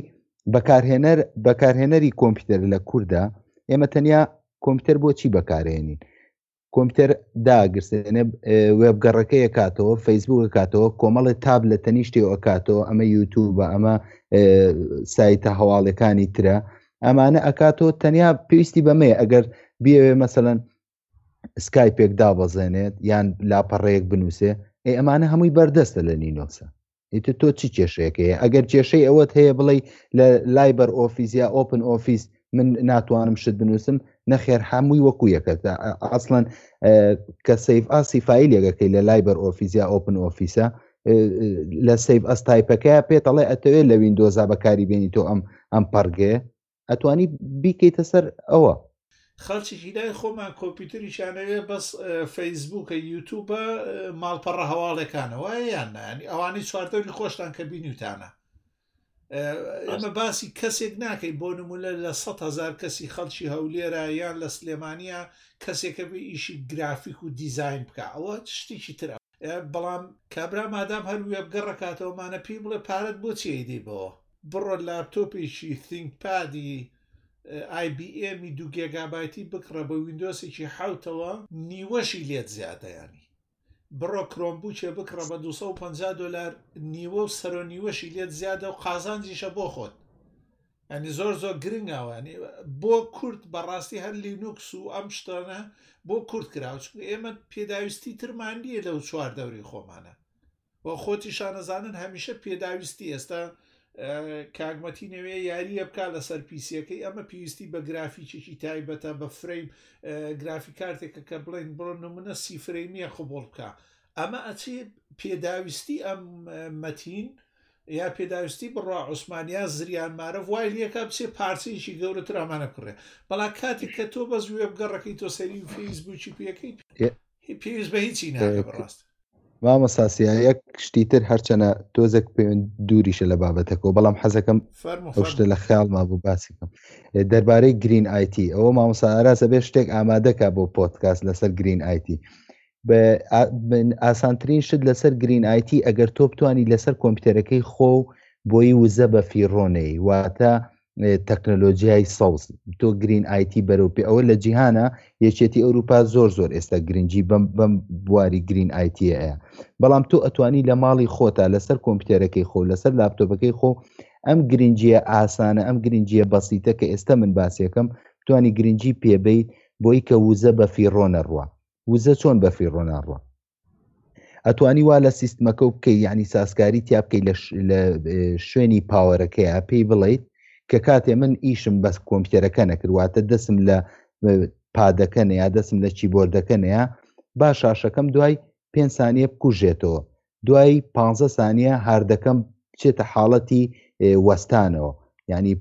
بەکارهێنەری کۆمپیوتەر لە کووردا ئێمە تەنیا کۆمپیوتەر بۆ چی بەکارهێنین؟ کۆمپیوتەر داگرسێنێ وێبگەڕەکە یەکاتەوە فەیسبوک کاتەوە کۆمەڵی تاب لە تەنیشتی ئەکاتەوە ئەمە یوتیوبە ئەمە سایتە هەواڵەکانی ترە ئەمانە ئەکاتەوە تەنیا پێویستی بەمەیە ئەگەر بیاوێ مەسەڵەن سکایپێک دابەزێنێت یان لاپەڕەیەک بنووسێ ئەمانە هەمووی بەردەستە لە لینوکسە. ئیتر تۆ چی کێشەیەکەیە؟ ئەگەر کێشەی ئەوەت هەیە بڵێ لە لایبەر ئۆفیس یا ئۆپن ئۆفیس من ناتوانم شت بنووسم نەخێر هەمووی وەکو یەکەتە ئەسڵەن کە سیف ئاسی فایلێگەکەی لە لایبەر ئۆفیس یا ئۆپن ئۆفیسە لە سیف ئەس تایپەکەی پێتەڵێ ئەتەوێت لە ویندۆزا بەکاری بێنی تۆ ئەم پەرگێ ئەتوانی بیکەیتە سەر ئەوە. خەڵکی لای خۆمان کۆمپیوتەریشانەوێ بەس فەیسبووکە یوتیوبە ماڵپەڕە هەواڵەکانەوە یان نانی ئەوانەی چواردەوری خۆشتان کە بینیوتانە. ئەمە باسی کەسێک ناکەی بۆ نمونە لە 100,000 کەسی خەڵکی هەولێرە یان لە سلێمانیا کەسێکە بێ ئیشی گرافیک و دیزاین بکە ئەوە شتێکی ترە. بەڵام کابرا مادام هەر وێبگەڕەکاتەوەمانە پێی بڵێ پارەت بۆ چێدی بەوە بڕۆ لاپتۆپێکی تینکپادی IBM 2 گیگابایتی بکڕە بە ویندۆسێکی حوتەوە نیوەشی لێت زیادەیانی بڕۆ کرۆمبوچێ بکڕە بە $250 نیوە و سەرۆ نیوەشی لێت زیادە و قازانجیشە بۆ خۆت. ئەنی زۆر گرنگاوانی بۆ کورت بەڕاستی هەر لینوکس و ئەم شتانە بۆ کورت کراوە چون ئێمە پێداویستی ترمانیە لەو چواردەوری خۆمانە و خۆتی شانەزانن هەمیشە پێداویستی ئێستا کاگمەتینەوێ یاریە بکە لەسەر پیسیەکەی ئەمە پێویستی بە گرافیکێکی تایبەتە بە فرەیم گرافیک کارتێکە کە بڵێن بڕۆ نمونە 30 فرەیمیە خۆبڵ بکە ئەمە ئەچێ پێداویستی ئەم مەتین یا پێداویستی بڕوا عوسمانیا زریانمارە وای لەکە بچێ پارچەیەکی گەورەتر ئەمانە بکڕێ بەڵام کاتێک کە تۆ بەس وێ بگەڕەکەی تۆ سەری فەیسبووکی پێەکەیت پێویست بە هیچی ناکە بەڕاست مامەساسیە یەک شتیتر هەرچەنە تۆزێک پێوێن دووریشە لە بابەتەکەەوە بەڵام حەزەکەم ئەو شتە لە خیاڵما بوو باسیکەم دەربارەی گرین ئایتی ئەوە مامۆساراسە بێ شتێک ئامادەکە بۆ پۆدکاست لەسەر گرین ئایتی بە ئاسانترین شت لەسەر گرین ئایتی ئەگەر تۆ بتوانی لەسەر کۆمپیوتەرەکەی خۆ بۆی وزە بە فیڕۆنەی واتە تەکنۆلۆژیای سەوز تۆ گرین ئایتی بەرەوپی ئەوە لە جیهانە یەکێتی ئەوروپا زۆر ئێستا گرنگی بەم بواری گرین ئایتیەیە بەڵام تۆ ئەتوانی لە ماڵی خۆتا لەسەر کۆمپیوتەرەکەی خۆ لەسەر لاپتۆپەکەی خۆ ئەم گرنگیە ئاسانە ئەم گرنگیە بەسیتە کە ئێستا من باسیەکەم توانی گرنگی پێبیت بۆی کە وزە بە فیڕۆنە ڕوە وزە چۆن بە فیڕۆنە ڕوە ئەتوانی وا لە سیستمەکە بکەی یعنی سازکاری تیا بکەی لە شوێنی پاوەرەکەیە پێی بڵیت کە کاتێ من ئیشم بەس کۆمپیوتەرەکە نەکردواتە دەسم لە پادەکەنە یا دەسم لە چیبۆردەکەنەیە با شاشەکەم دوای 5 سانیە بکوژێتەوە دوای 15 سانیە هاردەکەم بچێتە حاڵەتی وەستانەوە ینی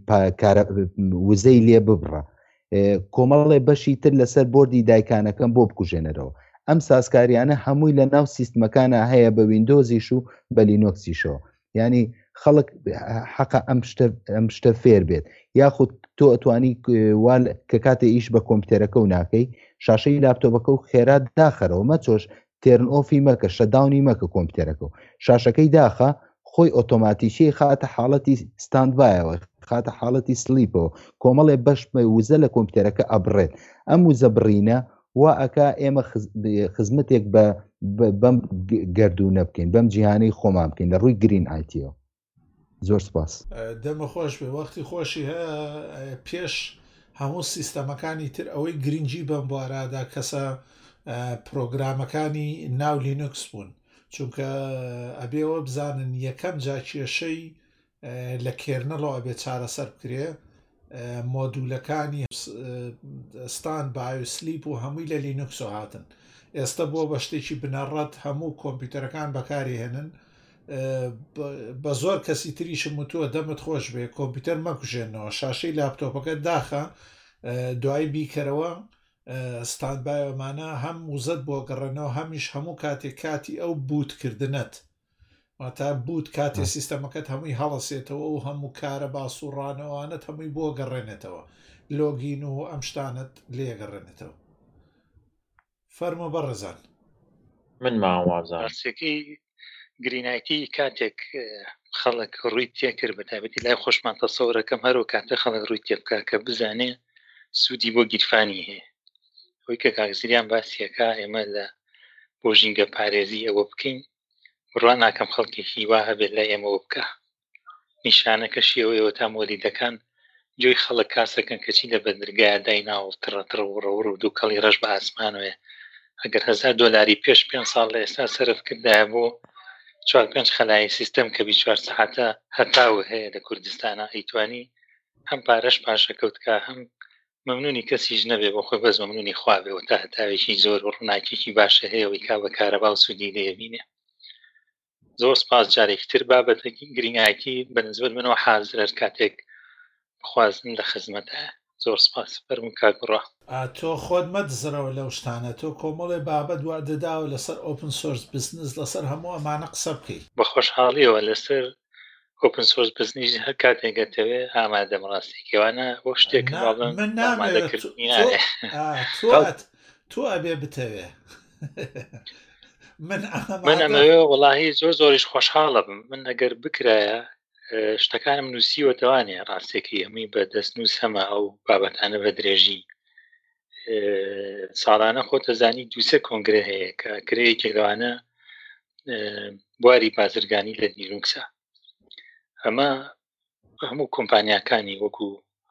وزەی لێ ببڕە کۆمەڵێ بەشی تر لەسەر بۆردی دایکانەکەم بۆ بکوژێنەرەوە ئەم سازکاریانە هەمووی لە ناو سیستمەکانە هەیە بە ویندۆزیش و بە لینۆکسیشەوە ینی خەڵک حەقە ئەم شتە فێر بێت یاخود تۆ ئەتوانی کە کاتێ ئیش بە کۆمپیوتەرەکە و ناکەی شاشەی لاپتۆپەکە و خێرات داخەرەوە مەچۆش تێرن ئۆفی مەکە شەداونی مەکە کۆمپیوتەرەکە و شاشەکەی داخە خۆی ئۆتۆماتیشی خاتە حاڵەتی ستاندبایەوە خاتە حاڵەتی سلیپەوە کۆمەڵێ بەش وزە لە کۆمپیوتەرەکە ئەبڕێت ئەم وزە بڕینە وا ئەکا ئێمە خزمەتێک بەم گردوونە بکەین بەم جیهانەی خۆمان بکەین لە ڕووی گرین ئایتیەوە زۆر سپاس دەمە خۆش بێ وەختی خۆشی هەیە پێش هەموو سیستەمەکانی تر ئەوەی گرنگی بەم بوارەدا کەسە پرۆگرامەکانی ناو لینوکس بوون چونکە ئەبێەوە بزانن یەکەم جا کێشەی لە کێرنەڵەوە ئەبێ چارەسەر بکرێ مۆدولەکانی ستان بایۆسلیپ و هەمووی لە لینوکسۆ هاتن ئێستا بۆ بە شتێکی بنەڕەت هەموو کۆمپیوتەرەکان بەکاری هێنن بە زۆر کەسی تریشم وتووە دەمت خۆش بێ کۆمپیوتەر مەکوژێنەوە شاشەی لاپتۆپەکە داخە دوای بیکەرەوە ستاندبایۆمانە هەم وزت بۆ گەڕێنەوە هەمیش هەموو کاتێک کاتی ئەو بوتکردنت تا بوت کاتێ سیستەمەکەت هەمووی هەڵەسێتەوە و هەموو کارە باسوڕانەوەوانت هەمووی بۆ گەڕێنێتەوە لۆگین و ئەم شتانت لێگەڕێنێتەوە فەرمە بەڕێزان من ماوازانسێکی گرینایتی کاتێک خەڵک ڕووی تێکرد بە تایبەتی لای خۆشمان تەسەورەکەم هەرو کاتە خەڵک ڕووی تێ بکە کە بزانێ سوودی بۆ گیرفانی هەیە ئەوەی کە کاکزریان باسیەکە ئێمە لە بۆ ژینگە پارێزی ئەوە بکەین ڕوان ناکەم خەڵکێکی وا هەبێت لای ئێمەوە بکە نیشانەکەشی ئەوەیەوە تا مۆلیدەکان جۆی خەڵک کاسەکەن کەچی لە بەدرگایە دایناوە تڕەتڕ و ڕەور و دوو کەڵی ڕەش بە ئاسمانوێ ئەگەر $1000 پێش 5 ساڵ لە ئێستا سەرف کردایە بۆ 4-5 خەلای سیستەم کە 24 ساعتە هەتاوە هەیە لە کوردستانە ئەیتوانی هەم پارەش پاشەکەوتکە هەم مەمنونی کەسیش نەبێ بۆ خۆی بەس مەمنونی خواابێەوە تا هەتاوێکی زۆر و ڕووناکێکی باشە هەیەەوەی کا بە کارەبا و سوودی لێبینێ زۆر سپاس جارێکی تر بابەتێکی گرنگایەتی بەنسبەت منەوە حازرەر کاتێک خوازن لە خزمەتە زۆر سپاس فەرموو کاگوڕا تۆ خۆت مەدزرەوە لەو شتانە تۆ کۆمەڵێ بابەت وا دەداوە لەسەر ئۆپن سۆرس بزنس لەسەر هەموو ئەمانە قسە بکەی بە خۆشحاڵیەوە لەسەر ئۆپن سۆرس بزنس هەر کاتێکگەتەوێ ئامادە ڕاستێکیوانە بۆ شتێک من تۆ ئەبێ بتەوێ من ئەمەوێ وەڵاهی زۆریش خۆشحاڵە بم من ئەگەر بکرایە شتەکانم نووسیوەتەوانێ ڕاستێکی هەمووی بە دەستنووس هەمە ئەو بابەتانە بە درێژی ساڵانە خۆتەزانی دووسێ کۆنگرە هەیە کە کرەیەکی لەوانە بواری بازرگانی لە نیلوکسە ئەمە هەموو کۆمپانیاکانی وەکو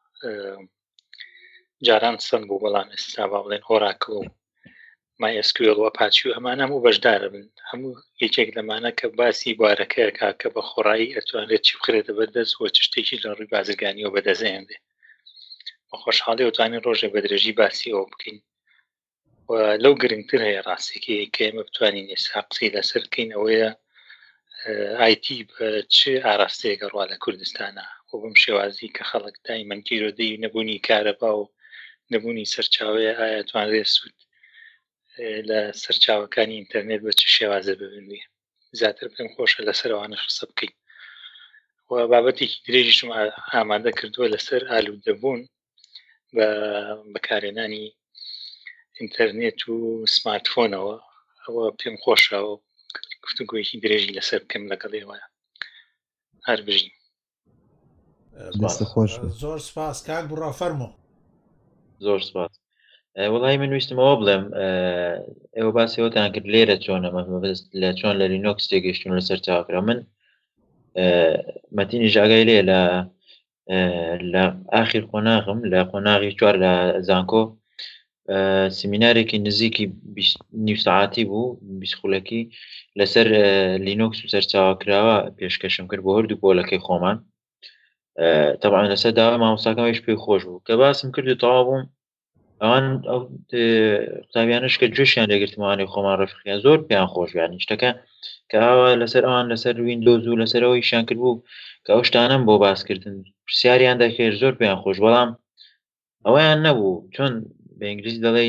جاران سند بوو بەڵام ئێستا با بڵێن هۆراکڵ و MySQL و پاچی و هەمان هەموو بەشدارە بن هەموو یەکێک لەمانە کە باسی بوارەکەیەکە کە بە خۆڕایی ئەتوانێت چی بخرێتە بەردەست وە شتێکی لە ڕووی بازرگانی و بەدەزێنێ بە خۆشحاڵی وتوانین ڕۆژێ بە درێژی باسی ئەوە بکەین لەو گرنگتر هەیە ڕاستێکی کە ئێمە بتوانین ئێستا قسەی لەسەر بکەین ئەوەیە ئایتی بە چ ئاراستەیەکە ڕوا لە کوردستانە و بەم شێوازی کە خەڵک دایمەن تیرۆدەی نەبوونی کارەبا و نەبوونی سەرچاوەیە ئایا توانرێت سوود لە سەرچاوەکانی ئینتەرنێت بە چ شێوازە ببێ زیاتر پێم خۆشە لەسەرەوانە قسە بکەین و بابەتێکی درێژیشم ئامادە کردووە لەسەر ئالوودەبوون بە بەکارهێنانی ئینتەرنێت و سمارتفۆنەوە ئەوە پێم خۆشەوە گفتوگویەکی درێژی لەسەر بکەم لەگەڵ ئێوەیە هەر بژین. زۆر سپاس کاک بڕا فەرموو. زۆر سپاس. وڵی من ویستمەوە بڵێم ئێوە باسیەوەتان کرد لێرە چۆنە لە چۆن لە لینۆکس تێگەیشتون لەسەر چاوەکرا من مەتینی ژاگای لێ لە ئاخیر قۆناغم لە قۆناغی 4 لە زانکۆ سیمینارێکی نزیکی 20 ساعتی بوو 20 خولەکی لەسەر لینۆکس و سەرچاوەکراوە پێشکەشم کرد بۆ هەردوو پۆلەکەی خۆمان طبعا لەسەر داوا مامۆستاکەمەوەش پێی خۆش بوو کە باسم کرد و تەواو بووم ئەوان ئەو قوتابیانش کە گوێشیان لێگرتمەوانەی خۆمان ڕەفیقیان زۆر پێیان خۆش یانی شتەکە کە ئاوا لەسەر ئەوان لەسەر ویندۆز و لەسەرەوەیشیان کرد بوو کە ئەو شتانەم بۆ باسکردن پرسیاریان دەکرد زۆر پێیان خۆش بەڵام ئەوەیان نەبوو چۆن بە ئینگلیزی دەڵێ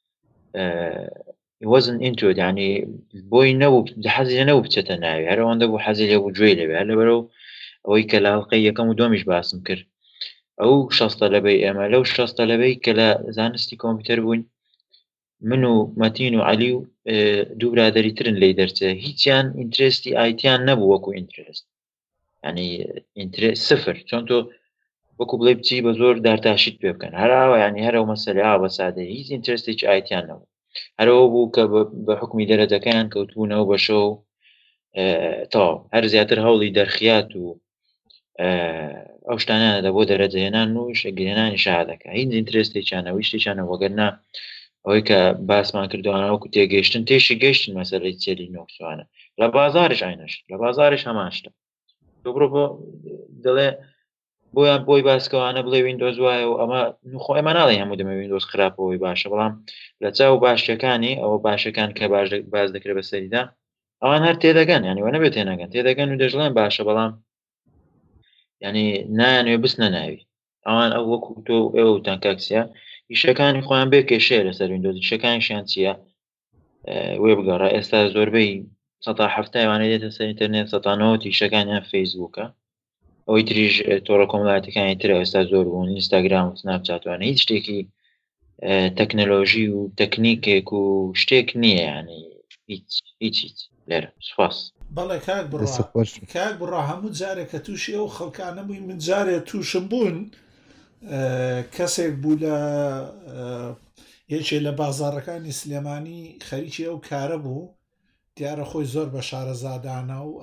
wasn't into it يعني بۆی نەبوو حەزی نەبوو بچێتە ناوی هەر ئەوەندە بوو حەزی لێ بوو گوێی لێبێ هەر لەبەرەو ئەوەی کە لە هەڵقەی یەکەم و دووەمیش باسم کرد ئەو 60 تەلەبەی ئێمە لەو 60 تەلەبەی کە لە زانستی کۆمپیوتەر بووین من و مەتین و عەلی و دوو برادەری ترن لێی دەرچێ هیچیان ئینترێستی ئایتیان نەبوو وەکو ئینترێست ینی ئینترێست سفر چۆن تۆ وەکو بڵێ بچی بە زۆر دارتاشیت پێ بکەن هەراوە ینی هەرەو مەسەلە بە سادەی هیچ ئینترێستێکی ئایتیان نەبوو هەرەوە بوو کە بە حکمی دەرەجەکەیان کەوتبوونەوە بەشە و تەواو هەر زیاتر هەوڵی دەرخیات و ئەو شتانیانەدا بۆ دەرەجەهێنان و شەگەهێنانی شەهادەکە هیچ ئینترێستێکیانە شتێکیانە وەگەرنا ئەوەی کە باسمان کردوانە وەکو تێگەیشتن تێشی گەیشتن مەسەلەی چێلی نۆکسوانە لە بازاڕش ئاینەش لە بازاڕش هەمان شتە تۆ بڕۆ بۆ دەڵێ بۆیان بۆی باسکەوانە بڵێ ویندۆز وایە و ئەمە خۆ ئێمە ناڵێ هەموو دەمە ویندۆز خراپەوەی باشە بەڵام لە چاو باشەکانی ئەوە باشەکان کە باز دەکرێت بەسەریدا ئەوان هەر تێدەگەن یانیوە نەبێت تێنەگەن تێدەگەن و دەژڵێن باشە بەڵام ینی نایانوێ بستنە ناوی ئەوان ئەو وەکو تۆ ئێوە وتان کاکسیا ئیشەکانی خۆیان بێ کێشەیە لەسەر ویندۆز ئیشەکانیشیان چییە وێ بگەڕە ئێستا زۆربەی 170 وانە دێتە سەر ئینتەرنێت 190 ئیشەکانیان فەیسبووکە ئەوەی تریژ تۆڕە کۆمەڵایەتەکانی ترە ئێستا زۆر بوون ئینستاگرام و سناپچاتوانە هیچ شتێکی تەکنەلۆژی و تەکنیکێک و شتێک نییە ینی هیچ لێرە سوپاس. بەڵێ کاک بڕا هەموو جارێک کە تووشی ئەو خەڵکانە بووی من جارێک تووشم بوون کەسێک بوو لە یەکێ لە بازاڕەکانی سلێمانی خەریکی ئەو کارە بوو دیارە خۆی زۆر بە شارەزادانە و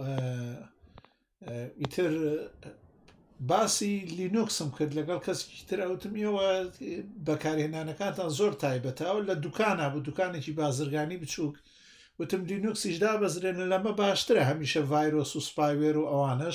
ئیتر باسی لینوکسم کرد لەگەڵ کەسێکی تر ئەوتمیەوە بەکارهێنانەکانتان زۆر تایبەتەوە لە دوکانە بوو دوکانێکی بازرگانی بچووک وتم لینوکسیشدا بەزرێنە لەمە باشترە هەمیشە ڤایرۆس و سپایوێر و ئەوانش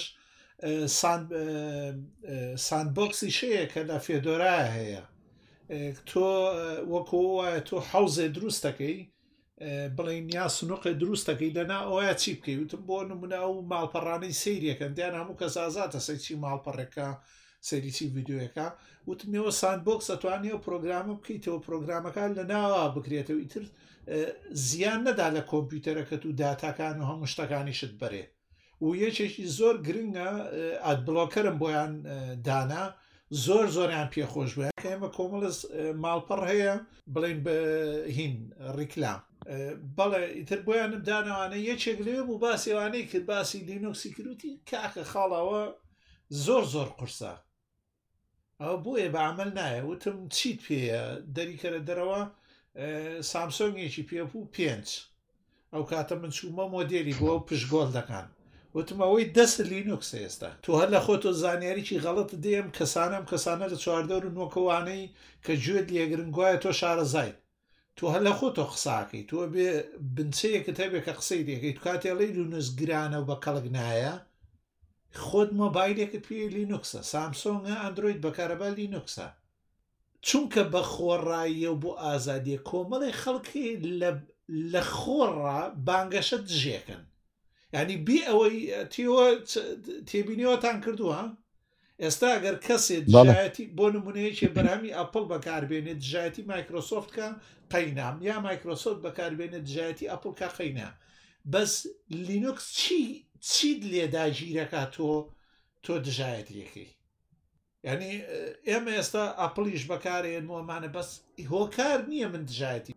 ساندبۆکسی شەیە کە لە فێدۆرایە هەیە تۆ وەکو وایە تۆ حەوزێ دروستەکەی بڵین یا سنووقێ دروستەکەی لەنا ئەوە چی بکەی وتم بۆ نمونە ئەو ماڵپەڕانەی سەیریەکەن دیان هەموو کەس ئازاتە سەرچی ماڵپەڕێکە سەریچی ڤیددیۆیەکە وتمیەوە ساندبۆکس ئەتوانێت و پرۆگرامە بکەیتەوە پرۆگرامەکان لە ناوە بکرێتەوە ئیتر زیان نەدا لە کۆمپیوتەرەکەت و داتاکان و هەموو شتەکانیشت بەرێ و یەکێکی زۆر گرنگە ئادبلۆکەرم بۆیان دانا زۆر زۆریان پێخۆش بووە کە ئێمە کۆمەڵ ماڵپەڕ هەیە بڵین بە هین ڕیکلام بەڵێ ئیتر بۆیانم دانەوانە یەکێک لێ بوو باسیێوانەی کرد باسی لینۆکسی کروتی کاکە خاڵەوە زۆر قورسە ئەو بۆیە بە عمل نایە وتم چیت پێیە دەریکەرە دەرەوە سامسۆنگێکی پێبوو 5 ئەو کاتە من چوومە مۆدێلی بۆ پشگۆڵ دەکان وتم ئەوەی دەست لینوکس ئێستا تو هەر لە خۆتۆ زانیاریی غەڵت دێم کەسانە لە 4 کە گوێت لێگرنگوایە تۆ شارەزایت تو هەر لە خۆتۆ قساکەی تۆ بێ بنچەیەکت هەبێ کە قسەی دەکەی تو کاتێڵی لینوکس گرانە و بە کەڵک نایە خۆت مۆبایلێکت پێ لینوکسە سامسۆنگە ئەندروید بەکارەبا لینوکسە چونکە بە خۆڕاییە و بۆ ئازادیە کۆمەڵی خەڵکی لە خۆڕا بانگەشە دژێکن ینی بی ئەوەی تێبینیەوەتان کردووە ئێستا ئەگەر کەسێ دژایەتی بۆ نمونەیەکی بەرهەمی ئەپڵ بەکاربێنێت دژایەتی مایکرۆسۆفتکە قەینام یا مایکرۆسۆفت بەکاربێنێت دژایەتی ئەپڵکە قەینا بەس لینوکس چیت لێداگیرەکە تۆ دژایەتیەکەی ینی ئێمە ئێستا ئەپڵیش بەکارێنمەمانە بەس هۆکار نییە من دژایەتی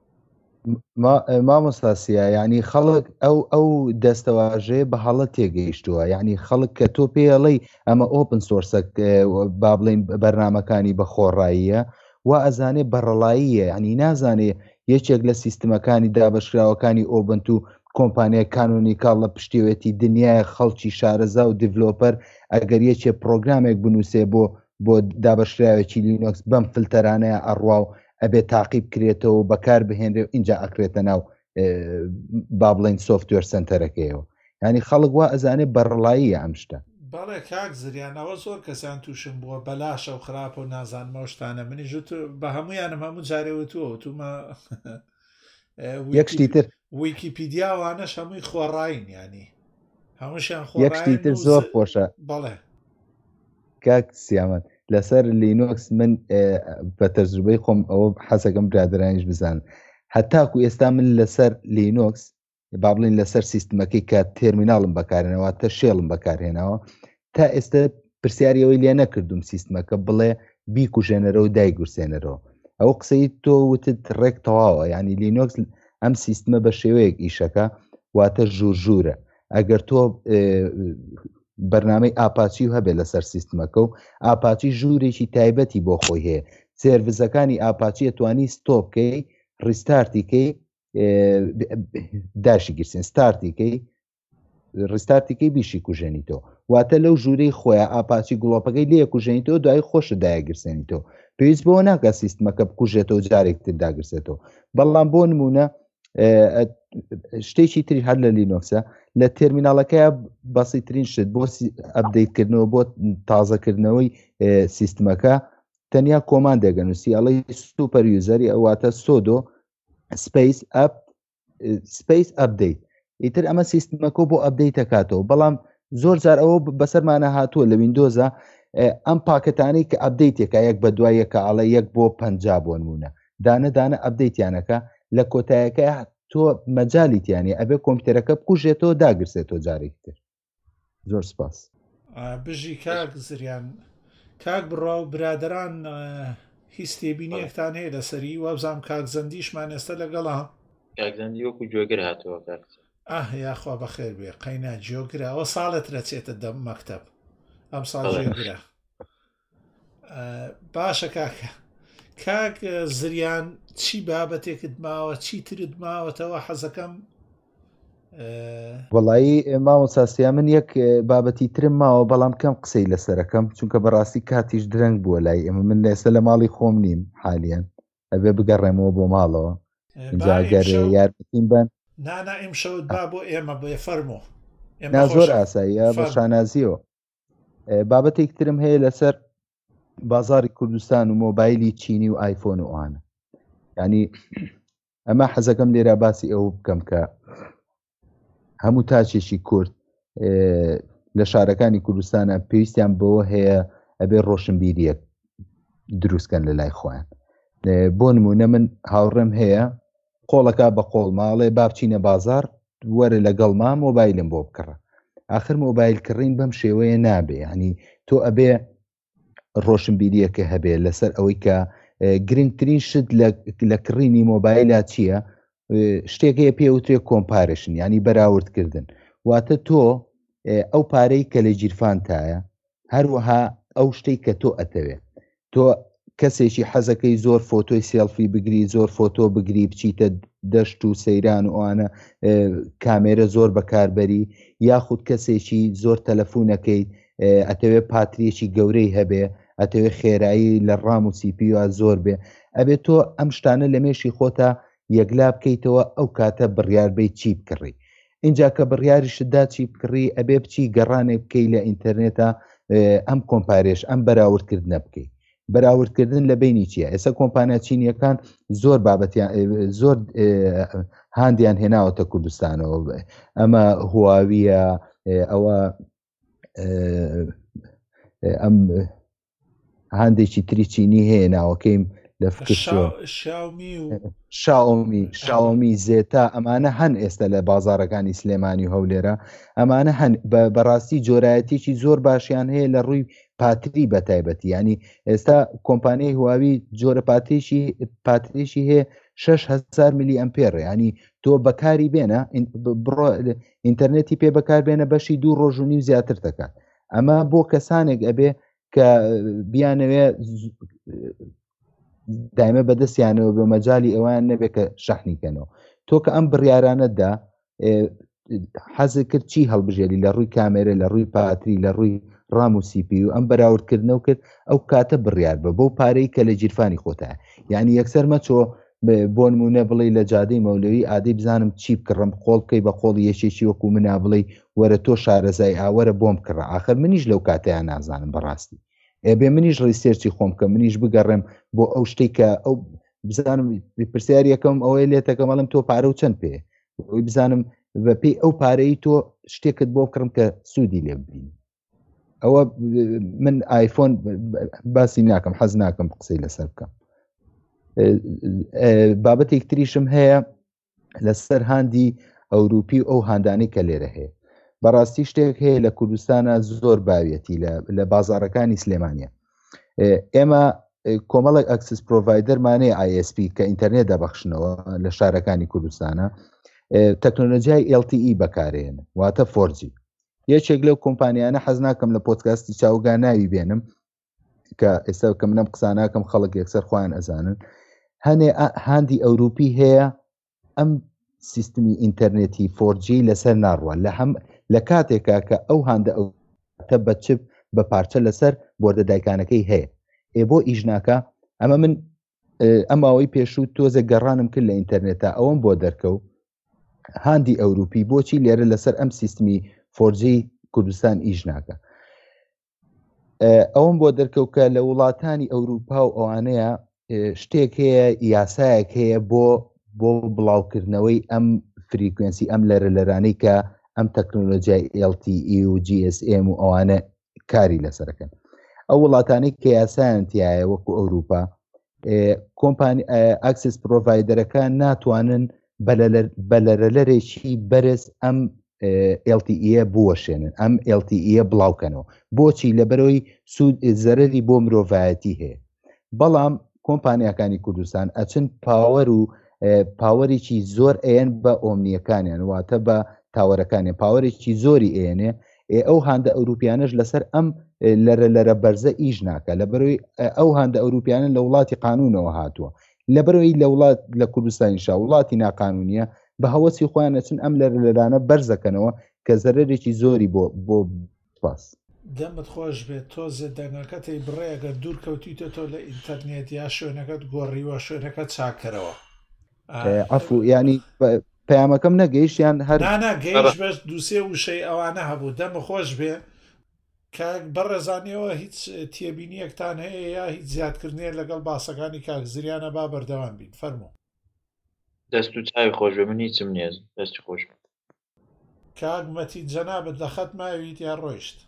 مامۆستاسیە ینی خەڵک ئەو دەستەواژەیە بە هەڵە تێگەیشتووە ینی خەڵک کە تۆ پێڵی ئەمە ئۆپن سۆرسە با بڵین بەرنمەکانی بە خۆڕاییە و ئەزانێ بەڕەڵاییە ینی نازانێ یەکێک لە سیستمەکانی دابەشراوەکانی ئۆبنت و کۆمپانیای کانۆنیکاڵ لە پشتیوێتی دنیای خەڵکی شارەزا و دیڤلۆپەر ئەگەر یەکێ پرۆگرامێک بنووسێ بۆ دابەشراوێکی لینۆکس بەم فلتەرانەیە ئەڕوا و ئەبێ تاقیب کرێتەوە بەکار بهێنرێ و اینجا ئەکرێتە ناو با بڵین سۆفتوێر سنتەرەکەیەوە ینی خەڵک وا ئەزانێ بەڕڵاییە ئەم شتە بەڵێ کاک زریانەوە زۆر کەسان تووشم بووە بەلاشە و خراپە و نازانمە شتانە منیژ بە هەمویانم هەموو جارێوەتووە تومە یەکشتی تر ویکیپیدیاوانەش هەمووی خۆڕاین ینی هەمووشیان یەکشتی تر زۆر خۆشە بەڵێ کاک سیامەت لەسەر لینۆکس من بە تەجروبەی خۆم ئەوە حەزەکەم برادرانیش بزانن هەتاکو ئێستا من لەسەر لینۆکس با بڵین لەسەر سیستمەکەی کە تێرمیناڵم بەکارێنەوە تە شێڵم بەکارهێنەوە تا ئێستا پرسیاریەوەی لێ نەکردوم سیستمەکە بڵێ بیکوژێنەرە و دایگورسێنەرەوە ئەو قسەی تۆ وتت ڕێک تەواوە ینی لینۆکس ئەم سیستمە بە شێوەیەک ئیشەکە واتە ژوورژوورە ئەگەر تۆ بەرنامەی ئاپاچی و هەبێت لەسەر سیستمەکە و ئاپاچی ژوورێکی تایبەتی بۆ خۆی هەیە سێرڤزەکانی ئاپاچی توانی ستۆپکەی ڕیستارتیکەی داشی گرسێن ستارتیکەی ڕستارتیکەی بیشی کوژێنیتەوە واتە لەو ژوورەی خۆیان ئاپاچی گوڵۆپەکەی لێ کوژێنیتەوە دوای خۆشە دایەگرسێنیتەوە پێویست بۆ ناکە سیستمەکە بکوژێتەوە جارێکتر داگرسێتەوە بەڵام بۆ نمونە شتێکی تری هەر لە لینۆکسە لە تێرمیناڵەکەی بەسیترین شت بۆ ئەپدەیتکردنەوە بۆ تازەکردنەوەی سیستمەکە تەنیا کۆماندێگەنووسی ئەڵی سوپەر یوزەری ئەواتە سۆدۆ سپیس ئەپدەیت ئیتر ئەمە سیستمەکە بۆ ئەپدەیت دەکاتەوە بەڵام زۆر جار ئەوە بەسەرمانە هاتووە لە ویندۆزە ئەم پاکەتانەی کە ئەپدەیتێکە یەک بە دوای یەکە ئەڵە یەک بۆ 50 بۆ نمونە دانە ئەپدەیتیانەکە لە کۆتایەکە تۆ مەجالیتیانی ئەبێ کۆمپیوتەرەکە بکوژێتەوە داگرسێتەوە جارێکتر زۆر سپاس بژی کاک زریان کاک بڕا و برادران هیچ تێبینیەکتان هەیە لەسەری وابزانام کاک زەندیشمان ئێستا لەگەڵا کاک زەندی وەکو جۆگر هاتەوە کاک یاخوا بەخێر بێ قەینا جۆگرا ئەوە ساڵت رەچێتە دەم مەکتەب ئەم ساڵ جۆگرا باشە کاک زریان چی بابەتێکت ماوە چی ترت ماوەتەوە حەزەکەم وەڵایی مامۆساسیا من یەک بابەتی ترم ماوە بەڵام کەم قسەی لەسەرەکەم چونکە بەڕاستی کاتیش درەنگ بووە لای ئێمە من ئێستا لە ماڵی خۆم نیم حالیان ئەبێ بگەڕێمەوە بۆ ماڵەوە جاگەر یارمەتیم بن نانا ئیم شەوت با بۆ ئێمە بێ فەرمۆ زۆر ئاساییە بە شانازیەوە بابەتێک ترم هەیە لەسەر بازاری کوردستان و مۆبایلی چینی و ئایفۆن و ئەوانە ینی ئەمە حەزەکەم لێرە باسی ئەوە بکەم کە هەموو تاچێکی کورد لە شارەکانی کوردستانە پێویستیان بەوە هەیە ئەبێ ڕۆشنبیریەک دروستکەن لە لای خۆیان بۆ نمونە من هاوڕێم هەیە قۆڵەکە بە قۆڵ ماڵێ با بچینە بازار وەرە لەگەڵما مۆبایلم بۆ بکڕە آخر مۆبایل کڕین بەم شێوەیە نابێ ینی تۆ ئەبێ ڕۆشنبیریەکە هەبێ لەسەر ئەوەی کە گرنگترین شت لە کڕینی مۆبایلە چییە شتێکەیە پێوترێ کۆمپارشن ینی بەراوردکردن واتە تۆ ئەو پارەی کە لە جیرفانتایە هەروەها ئەو شتەی کە تۆ ئەتەوێ تۆ کەسێکی حەزەکەی زۆر فۆتۆی سێلفی بگری زۆر فۆتۆ بگری بچیتە دەشت و سەیران و ئەوانە کامێرە زۆر بەکاربەری یاخود کەسێکی زۆر تەلەفۆنەکەی ئەتەوێ پاتریەکی گەورەی هەبێ ئەتەوێ خێرایی لە ڕام و سیپیوە زۆر بێ ئەبێت تۆ ئەم شتانە لە مێشی خۆتە یەکلا بکەیتەوە ئەو کاتە بڕیاربەی چی بکڕی اینجا کە بڕیاریشتدا چی بکڕی ئەبێ بچی گەڕانێ بکەی لە ئینتەرنێتە ئەم کۆمپارێش ئەم بەراوردکردنە بکەیت بەراوردکردن لە بینی چییە؟ ئێستا کۆمپانیا چینیەکان زۆر بابەتیان زۆر هاندیان هێناوەتە کوردستانەوە، ئەمە هواویە، ئەوە ئەم هەندێکی تری چینی هەیە ناوەکەیم لە شاومی زێتا، ئەمانە هەن ئێستا لە بازارەکانی سلێمانی و هەولێرە، ئەمانە هەن بەڕاستی جۆرایەتێکی زۆر باشیان هەیە لە ڕووی پاتری بەتایبەتی. ینی ئێستا کۆمپانیای هواوی جۆرە پاتریشی هەیە 6,000 میلی ئەمپێر، ینی تۆ بەکاری بێنە بڕۆ ئینتەرنێتی پێ بەکار بێنە بەشی 2 ڕۆژ و نیم زیاتر دەکات. ئەمە بۆ کەسانێک ئەبێ کە بیانەوێ دایمە بەدەستیانەوە بە مەجای ئەوان نەبێت کە شەحنیکەنەوە. تۆ کە ئەم بڕیارانەتدا حەزت کرد چی هەڵبژێری لە ڕووی کامێرە، لە ڕووی پاتری، لە ڕووی ڕام و سیپی و ئەم بەراوردکردنەوە کرد ئەو کاتە بڕیار بە بەو پارەی کە لە جیرفانی خۆتە. یعنی یەکسەر مەچۆ بۆ نمونە بڵێ لە جادەی مەولەوی ئادەی بزانم چی بکڕم، خۆڵ بکەی بە خۆڵی یەکێکی وەکو منا بڵێ وەرە تۆ شارەزای ئاوەرە بۆم کڕە، ئاخر منیش لەو کاتەیان نازانم بەڕاستی، ئێبێ منیش ڕیسێرچی خۆم کە منیش بگەڕێم بۆ ئەو شتێک کە ئەو بزانم پرسیاری یەکەم ئەوەی لێتەکە مەڵم تۆ پارە و چەند پێ، ئەوی بزانم بە پێی ئەو پارەی تۆ شتێکت بۆ بکڕم کە سوودی لێ ببین. ئەوە من ئایفۆن باسی ناکەم، حەز ناکەم قسەی لەسەر بکەم. بابەتێک تریشم هەیە لەسەر هاندی ئەوروپی ئەو هاندانەی کە لێرە هەیە. بەڕاستی شتێک هەیە لە کوردستانە زۆر باوێتی لە بازارەکانی سلێمانیە. ئێمە کۆمەڵێک ئەکسس پرۆڤایدەرمانەیە ISP کە ئینتەرنێت دەبەخشنەوە لە شارەکانی کوردستانە، تەکنۆلۆژیای LTE بەکارێن، واتە 4G. یەکێک لەو کۆمپانیانە حەز ناکەم لە پۆدکاستی چاوگا ناوی بێنم کە ئێستا کە منم قسە ناکەم خەڵک یەکسەر خۆیان ئەزانن، هەنێ هاندی ئەوروپی هەیە ئەم سیستمی ئینتەرنێتی 4G لەسەر ناڕوە لە کاتێکا کە ئەو هاندە ئەوتە بە چپ بە پارچە لەسەر بۆردە دایکانەکەی هەیە. بۆ ئیژناکە ئەمە من ئەماوەی پێشوو تۆزە گەڕانم کرد لە ئینتەرنێتە ئەوەم بۆ دەرکەوت هاندی ئەوروپی بۆچی لێرە لەسەر ئەم سیستمی 4G کوردستان ئیژناکە. ئەوم بۆ دەرکەوت کە لە وڵاتانی ئەوروپا و ئەوانەیە شتێک هەیە، یاسایەک هەیە بۆ بڵاوکردنەوەی ئەم فریکوێنسی ئەم لەرانەی کە ئەم تەکنۆلۆژیای LTE و GSM و ئەوانە کاری لەسەرەکەن. ئەو وڵاتانی کە یاسایەنتیایە وەکو ئەوروپا، کۆمپانی ئاکسس پرۆڤایدەرەکان ناتوانن بەلەرەلەرێکی بەرز ئەم LTE بوەشێنن، ئەم LTE بڵاوکەنەوە. بۆچی؟ لەبەرەوەی سوود زەرەری بۆ مرۆڤایەتی هەیە. بەڵام کۆمپانیەکانی کوردستان ئەچن پاوەر و پاوەرێکی زۆر ئێن بە ئۆمنیەکانیان، واتە بە تاوەرەکانیان پاوەرێکی زۆری ئێنێ. ئەو هاندە ئەوروپیانش لەسەر ئەم لەرە بەرزە ئیژ ناکە، لەبەرەوەی ئەو هاندە ئەوروپیانە لە وڵاتی قانونەوە هاتووە، لەبەرەوەی لە وڵات لە کوردستانیشا وڵاتی ناقانونیە بە هەوەسی خۆیان ئەچن ئەم لەرانە بەرزەکەنەوە کە زەرەرێکی زۆری بۆ پاس. دەمت خۆش بێت تۆزێ دەنگەکەتی بڕێگە دوور کەوتیتە تۆ لە ئینتەرنێت یا شوێنەکەت گۆڕیوە شوێنەکەت چاکەرەوە. عەفو، ینی پەیامەکەم نەگەیشتیان هەر نانەگەیش بەش دووسێ وشەی ئەوانە هەبوو. دەمە خۆش بێ کاک بەڕێزانیەوە هیچ تێبینیەکتان هەیە یا هیچ زیادکردنێ لەگەڵ باسەکانی کاک زریانە با بەردەوام بین. فەرموو. دەست و چاوی خۆش بێ، من هیچم نییە، دەستی خۆش بێ. کاک مەتید جەنابەت لە خەت ماویت یا ڕۆیشت؟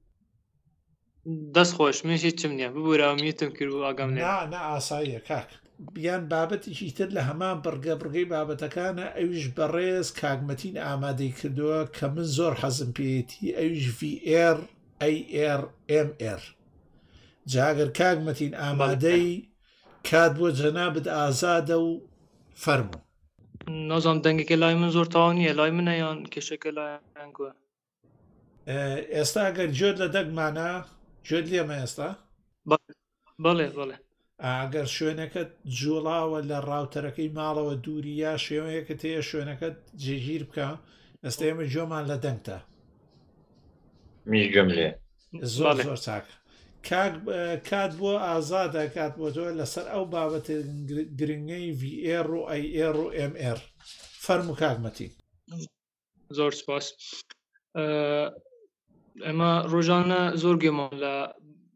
دەست خۆش، منش هیچم نییە، ببووراومیتم کرد و ئاگام لێ. نا ئاساییە کاک. بیان بابەتێکی تر لە هەمان بڕگەی بابەتەکانە، ئەویش بەڕێز کاگمەتین ئامادەی کردووە کە من زۆر حەزم پێیەتی، ئەویش VR AR MR. جاگەر کاگمەتین ئامادەی کات بۆ جەنابەت ئازادە و فەرموو. نازام دەنگێکە لای من زۆر تاوا نییە، لای منە یان کێشەکە لایەن گووە؟ ئێستا ئەگەر گوێت لە دەگمانە گوێت لێمە ئێستا؟ بەڵێ بەڵێ. ئەگەر شوێنەکەت جوڵاوە لە ڕاوتەرەکەی ماڵەوە دووری یا شێوەیەکە تەیە شوێنەکەت جێگیر بکە. ئێستا ئێمە گوێمان لە دەنگتە. میش گوێم لێ. زۆر زۆر چاکە. کات بۆ ئازادە، کات بۆ تۆ لەسەر ئەو بابەتە گرنگەی VR و AR و MR. فەرموو کاگمەتی. زۆر سپاس. ئێمە ڕۆژانە زۆر گوێمان لە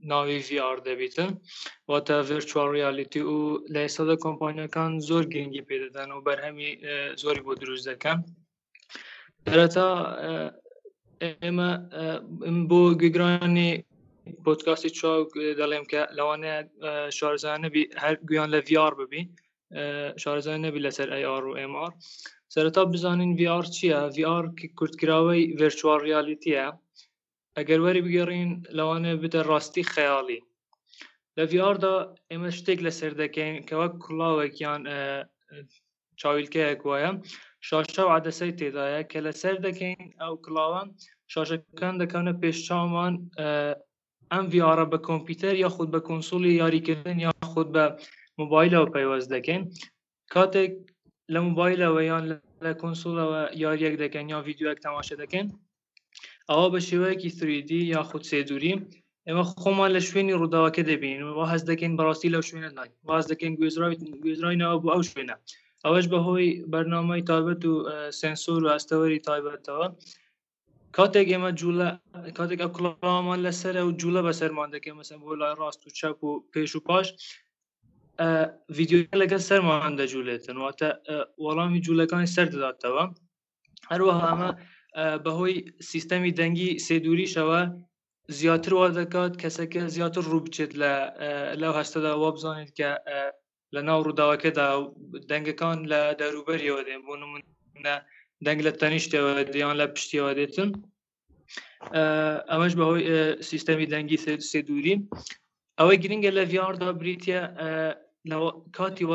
ناوی VR دەبیتن واتە virtual reality و لە ئێستادا کۆمپانیەکان زۆر گرنگی پێ دەدەن و بەرهەمی زۆری بۆ دروست دەکەن. دەرەتا ئێمە بۆ گوێگرانی پۆدکاستی چاو دەڵێم کە لەوانەیە شارەزایان نەبی هەر گویان لە VR ببی، شارەزایان نەبی لەسەر AR و MR. سەرەتا بزانین VR چییە؟ VR کورتکراوەی virtual realityە. ئەگەر وەری بگەڕین لەوانەیە بتە ڕاستی خەیاڵی. لە VR دا ئێمە شتێک لەسەر دەکەین کە وەک کوڵاوێکیان چاویلکەیەک وایە، شاشە و عەدەسەی تێدایە کە لەسەر دەکەین ئەو کڵاوە، شاشەکان دەکەونە پێش چاومان، ئەم VR بە کۆمپیوتەر یاخود بە کۆنسۆلی یاریکردن یاخود بە مۆبایلەوە پەیوەست دەکەین. کاتێک لە مۆبایلەوە یان لە کۆنسۆلەوە یاریەک دەکەین یا ڤیدیۆیەک تەماشا دەکەین، ئەوە بە شێوەیەکی 3D یاخود سێدووری ئێمە خۆمان لە شوێنی ڕووداوەکە دەبین و هەز دەکەین بەڕاستی لەو شوێنە ناین، واز دەکەین گوێزراینەوە بۆ ئەو شوێنە. ئەوەش بەهۆی بەرنامەی تایبەت و سنسۆر و ئەستەوەری تایبەتەوە. کاتێک ئێمە جوولە کاتێک ئەو کڵاومان لەسەرە و جوولە بەسەرمان دەکەین، مەسەن بۆ لای ڕاست و چەپ و پێش و پاش، ڤیدیۆ لەگەڵ سەرمان دەجوولێتن، واتە وەڵامی جوولەکانی سەر دەداتەوە. هەروەها ئەمە بەهۆی سیستەمی دەنگی سێدووریشەوە زیاتر وا دەکات کەسەکە زیاتر ڕوو بچێت لەو هەستەدا، وا بزانێت کە لە ناو ڕووداوەکەدا دەنگەکان لە دەوروبەریەوە دێن، بۆ نمونە دەنگ لە تەنیشتەوە دێیان لە پشتیەوە دێتن. ئەمەش بەهۆی سیستەمی دەنگی سێدووری. ئەوەی گرنگە لە VR دا بریتە کاتی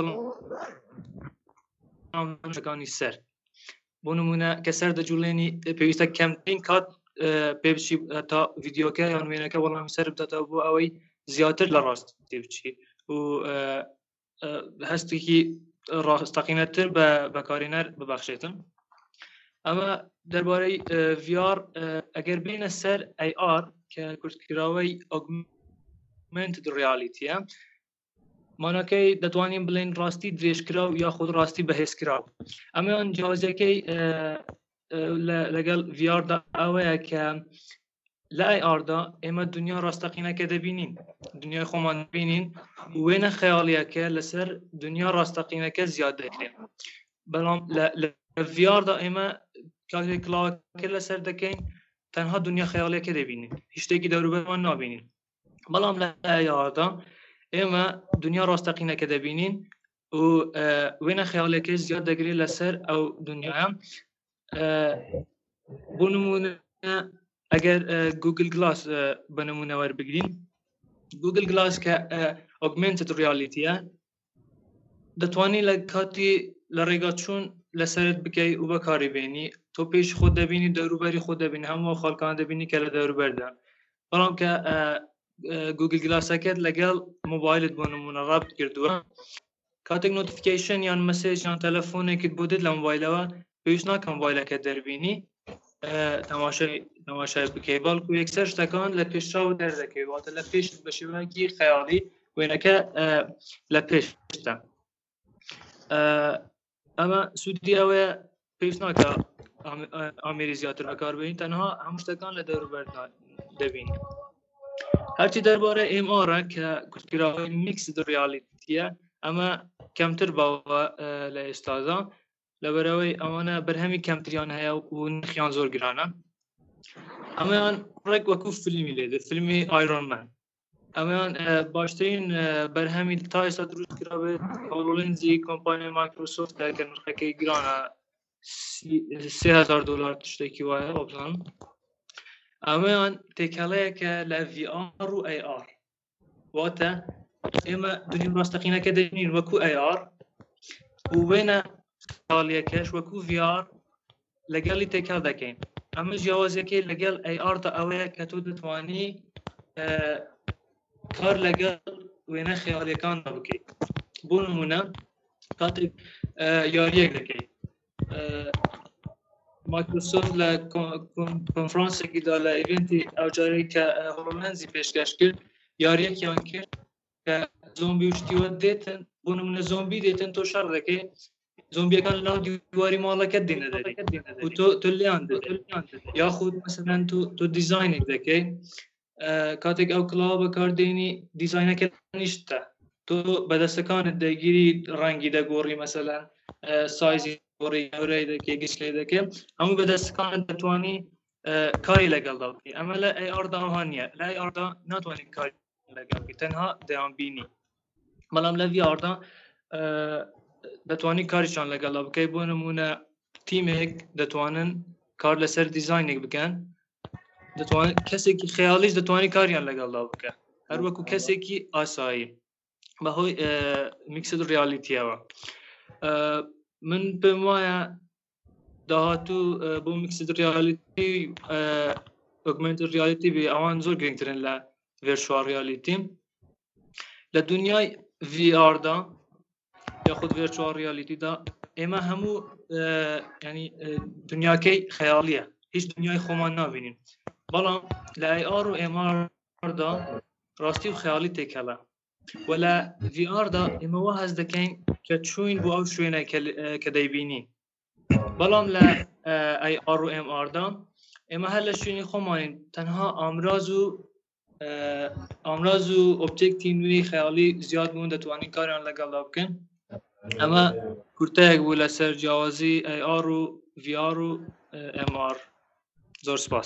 وەڵامەکانی سەر، بۆ نمونە کە سەر دەجوڵێنی پێویستە کەمترین کات پێ بچی تا ڤیدیۆکە یان وێنەکە وەڵامی سەر بداتەوە بۆ ئەوەی زیاتر لە ڕاستی بچی و هەستێکی ڕاستەقینەتر بە بەکارهێنەر ببەخشێتن. ئەمە دەربارەی VR. ئەگەر بینە سەر AR کە کورتکراوەی augmented reality، مانەکەی دەتوانین بڵێن ڕاستی درێژکراو یاخود ڕاستی بەهێزکراو. ئەمەیان جیاوازەکەی لەگەڵ VR دا ئەوەیە کە لە AR دا ئێمە دنیا ڕاستەقینەکە دەبینین، دنیای خۆمان دەبینین، وێنە خەیاڵیەکە لەسەر دنیا ڕاستەقینەکە زیاد دەکرێن. بەڵام لە VR دا ئێمە کاتێک کڵاوەکە لەسەر دەکەین تەنها دنیا خەیاڵیەکە دەبینین، هیچ شتێکی دەوروبەرمان نابینین. بەڵام لە AR دا ئێمە دنیا ڕاستەقینەکە دەبینین و وێنە خەیاڵیەکە زیاد دەگرێت لەسەر ئەو دنیاە. بۆ نمونە ئەگەر گوگل گلاس بە نمونە وەربگرین، گوگل گلاس کە augmented reality-ە، دەتوانین لە کاتی لە ڕێگا چوون لەسەرت بکەی و بەکاریبێنی، تۆ پێش خۆت دەبینی، دەوروبەری خۆت دەبینی، هەموو خەڵکان دەبینی کە لە دەوروبەردا. بەڵام کە گوگل گلاسەکەت لەگەڵ مۆبایلت بۆ نمونە ڕابط کردووە، کاتێک نۆتیفیکیشن یان مەسێج یان تەلەفۆنێکت بۆ دێت لە مۆبایلەوە، پێویست ناکە مۆبایلەکە دەربینی تەماشای بکەی، بەڵکو یەکسەر شتەکان لە پێشچاو دەردەکەی، واتە لە پێش بە شێوەیەکی خەیاڵی وێنەکە لە پێشتە. ئەمە سوودی ئەوەیە پێویست ناکە ئامێری زیاتر بەکاربێنین، تەنها هەموو شتەکان لە دەوروبەر دەبینی. هەرچی دەربارە MR کە کورتکراوەی میکسد ریالیتیە، ئەمە کەمتر باوە لە ئێستادا، لەبەرەوەی ئەوانە بەرهەمی کەمتریان هەیە و نرخیان زۆر گرانە. ئەمەیان ڕێک وەکو فیلمی لێدێت، فیلمی ئایرۆنمان. ئەمەیان باشترین بەرهەمی تا ئێستا دروست کرابێت هۆڵۆلێنزی کۆمپانیای مایکرۆسۆفتە کە نرخەکەی گرانە، $3000 تشتێکی وایە بزانم. ئەمەیان تێکەڵەیەکە لە VR و AR، واتە ئێمە دنیا ڕاستەقینەکە دەبینین وەکو AR و وێنە خەیاڵیەکەش وەکو VR لەگەڵی تێکەڵ دەکەین. ئەمە جیاوازەکەی لەگەڵ AR دا ئەوەیە کە تۆ دەتوانی کار لەگەڵ وێنە خەیاڵیەکاندا بکەیت. بۆ نمونە کاتێک یاریەک دەکەیت، مایکرۆسۆفت لە کۆنفرانسێکیدا لە ئیڤنتی ئەوجارەی کە هۆڵۆلێنزی پێشکەش کرد، یاریەکیان کرد کە زۆمبی و شتیوە دێتن، بۆ نمونە زۆمبی دێتن، تۆ شەڕ دەکەی، زۆمبیەکان لەناو دیواری ماڵەکەت دێنە دەرێ و تۆ لیان دەدەیت، یاخود مەسەلەن تۆ دیزاینێک دەکەی، کاتێک ئەو کڵاوە بەکاردێنی دیزاینەکەنیشتە تۆ بەدەستەکانت دەگیری ڕەنگی دەگۆڕی مەسەلەن سایزی گۆڕی گەورەی دەکەی گشت لێ دەکەی هەموو بەدەستەکانت دەتوانی کاری لەگەڵدا بکەی ئەمە لە ئەیئاردا ئەوها نییە لە ئەیئاردا ناتوانیت کاری لەگەڵ بکەی تەنها دەیانبینی بەڵام لە ڤیئاردا دەتوانی کاریشان لەگەڵدا بکەی بۆ نمونە تیمێک دەتوانن کار لەسەر دیزاینێک بکەن دەتوانێت کەسێکی خەیاڵیش دەتوانی کاریان لەگەڵدا بکە هەر وەکو کەسێکی ئاسایی بەهۆی میکسد ریالیتیەوە من پێم وایە داهاتوو بۆ میکسد ریالیتی ئۆگمنتد ریالیتی بێ ئەوان زۆر گرنگترن لە ڤێرچوال ریالیتی لە دنیای ڤیئاردا یاخود ڤێرچوال ریالیتیدا ئێمە هەموو ینی دنیاکەی خەیاڵیە هیچ دنیای خۆمان نابینین بەڵام لە ئەیئار و ئێماردا ڕاستی و خەیاڵی تێکەڵە و لە ڤیئاردا ئێمە وا هەست دەکەین کە چوین بۆ ئەو شوێنە کە دەیبینین بەڵام لە ئەیئار و ئێماردا ئێمە هەر لە شوێنی خۆمانین تەنها ئامراز و ئۆبجێکتی نوێی خەیاڵی زیاد بوون دەتوانین کاریان لەگەڵدا بکەن ئەمە کورتەیەک بوو لەسەر جیاوازی ئەیئار و ڤیئار و ئێمار زۆر سپاس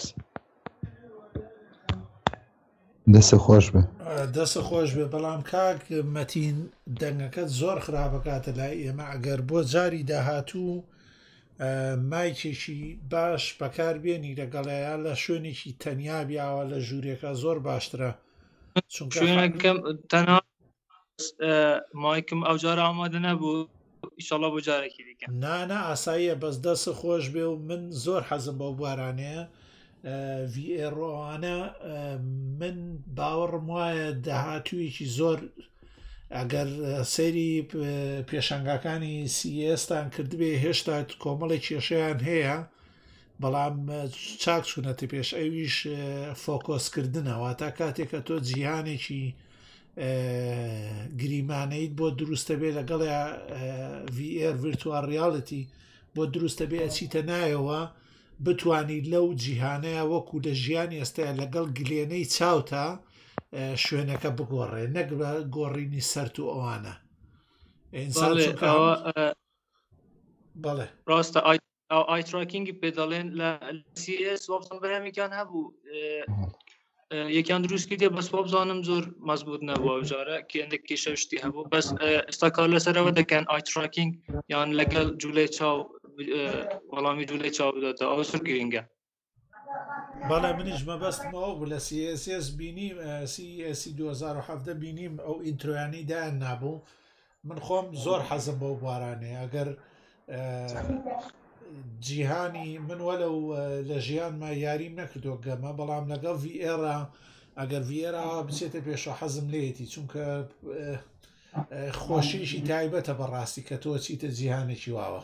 دەستە خۆش بێ دەستە خۆش بێ بەڵام کاک مەتین دەنگەکەت زۆر خراپەکاتە لای ئێمە ئەگەر بۆ جاری داهاتوو مایکێکی باش بەکار بێنی لەگەڵەیە لە شوێنێکی تەنیا بیاوە لە ژوورێکە زۆر باشترە شوێنەکەم تەنها مایکم ئەو جارە ئامادە نەبوو ئیشەڵا بۆ جارێکی دیکە نانە ئاساییە بەس دەستە خۆش بێ و من زۆر حەزم بەو بوارانەیە ڤیئێڕۆوانە من باوەڕم وایە داهاتوویەکی زۆر ئەگەر سەیری پێشەنگەکانی سیئێستان کردبێ هێشتا کۆمەڵی کێشەیان هەیە بەڵام چاک چوونەتی پێش ئەویش فۆکۆسکردنەوە تا کاتێکە تۆ جیهانێکی گریمانەیت بۆ دروستە بێ لەگەڵە VR ڤیرتوال ریاڵەتی بۆ دروستە بێ ئەچیتە نایەوە بتوانیت لەو جیهانەیە وەکو لە ژیانی ئێستاە لەگەڵ گلێنەی چاوتە شوێنەکە بگۆڕێ نەک بە گۆڕینی سەرت و ئەوانە بەڵێ ڕاستە ئایتراکینگی پێدەڵێن لە CS وەبزان بەرهەمێکیان هەبوو یەکیان دروست کردێ بەس وەبزانم زۆر مەزبوط نەبووە ئەوجارە کە هەندێک کێشە شتی هەبوو بەس ئێستا کار لەسەرەوە دەکەن ئایتراکینگ یان لەگەڵ جوولەی چاو وەڵامی جوولەی چاو بداتە ئەوە زۆر گرینگە بەڵێ منیش مەبەستمەوە بوو لە CSS بینیم CSC 2017 بینیم ئەو ئینترۆیانی دایان نابوو من خۆم زۆر حەزم بەو بوارانەیە ئەگەر جیهانی من وەلەو لە ژیانمە یاریم نەکردو گەمە بەڵام لەگەڵ VR ئەگەر VR بچێتە پێشە حەزم لێتی چونکە خۆشیشی تایبەتە بەڕاستی کە تۆ چیتە جیهانێکی واوە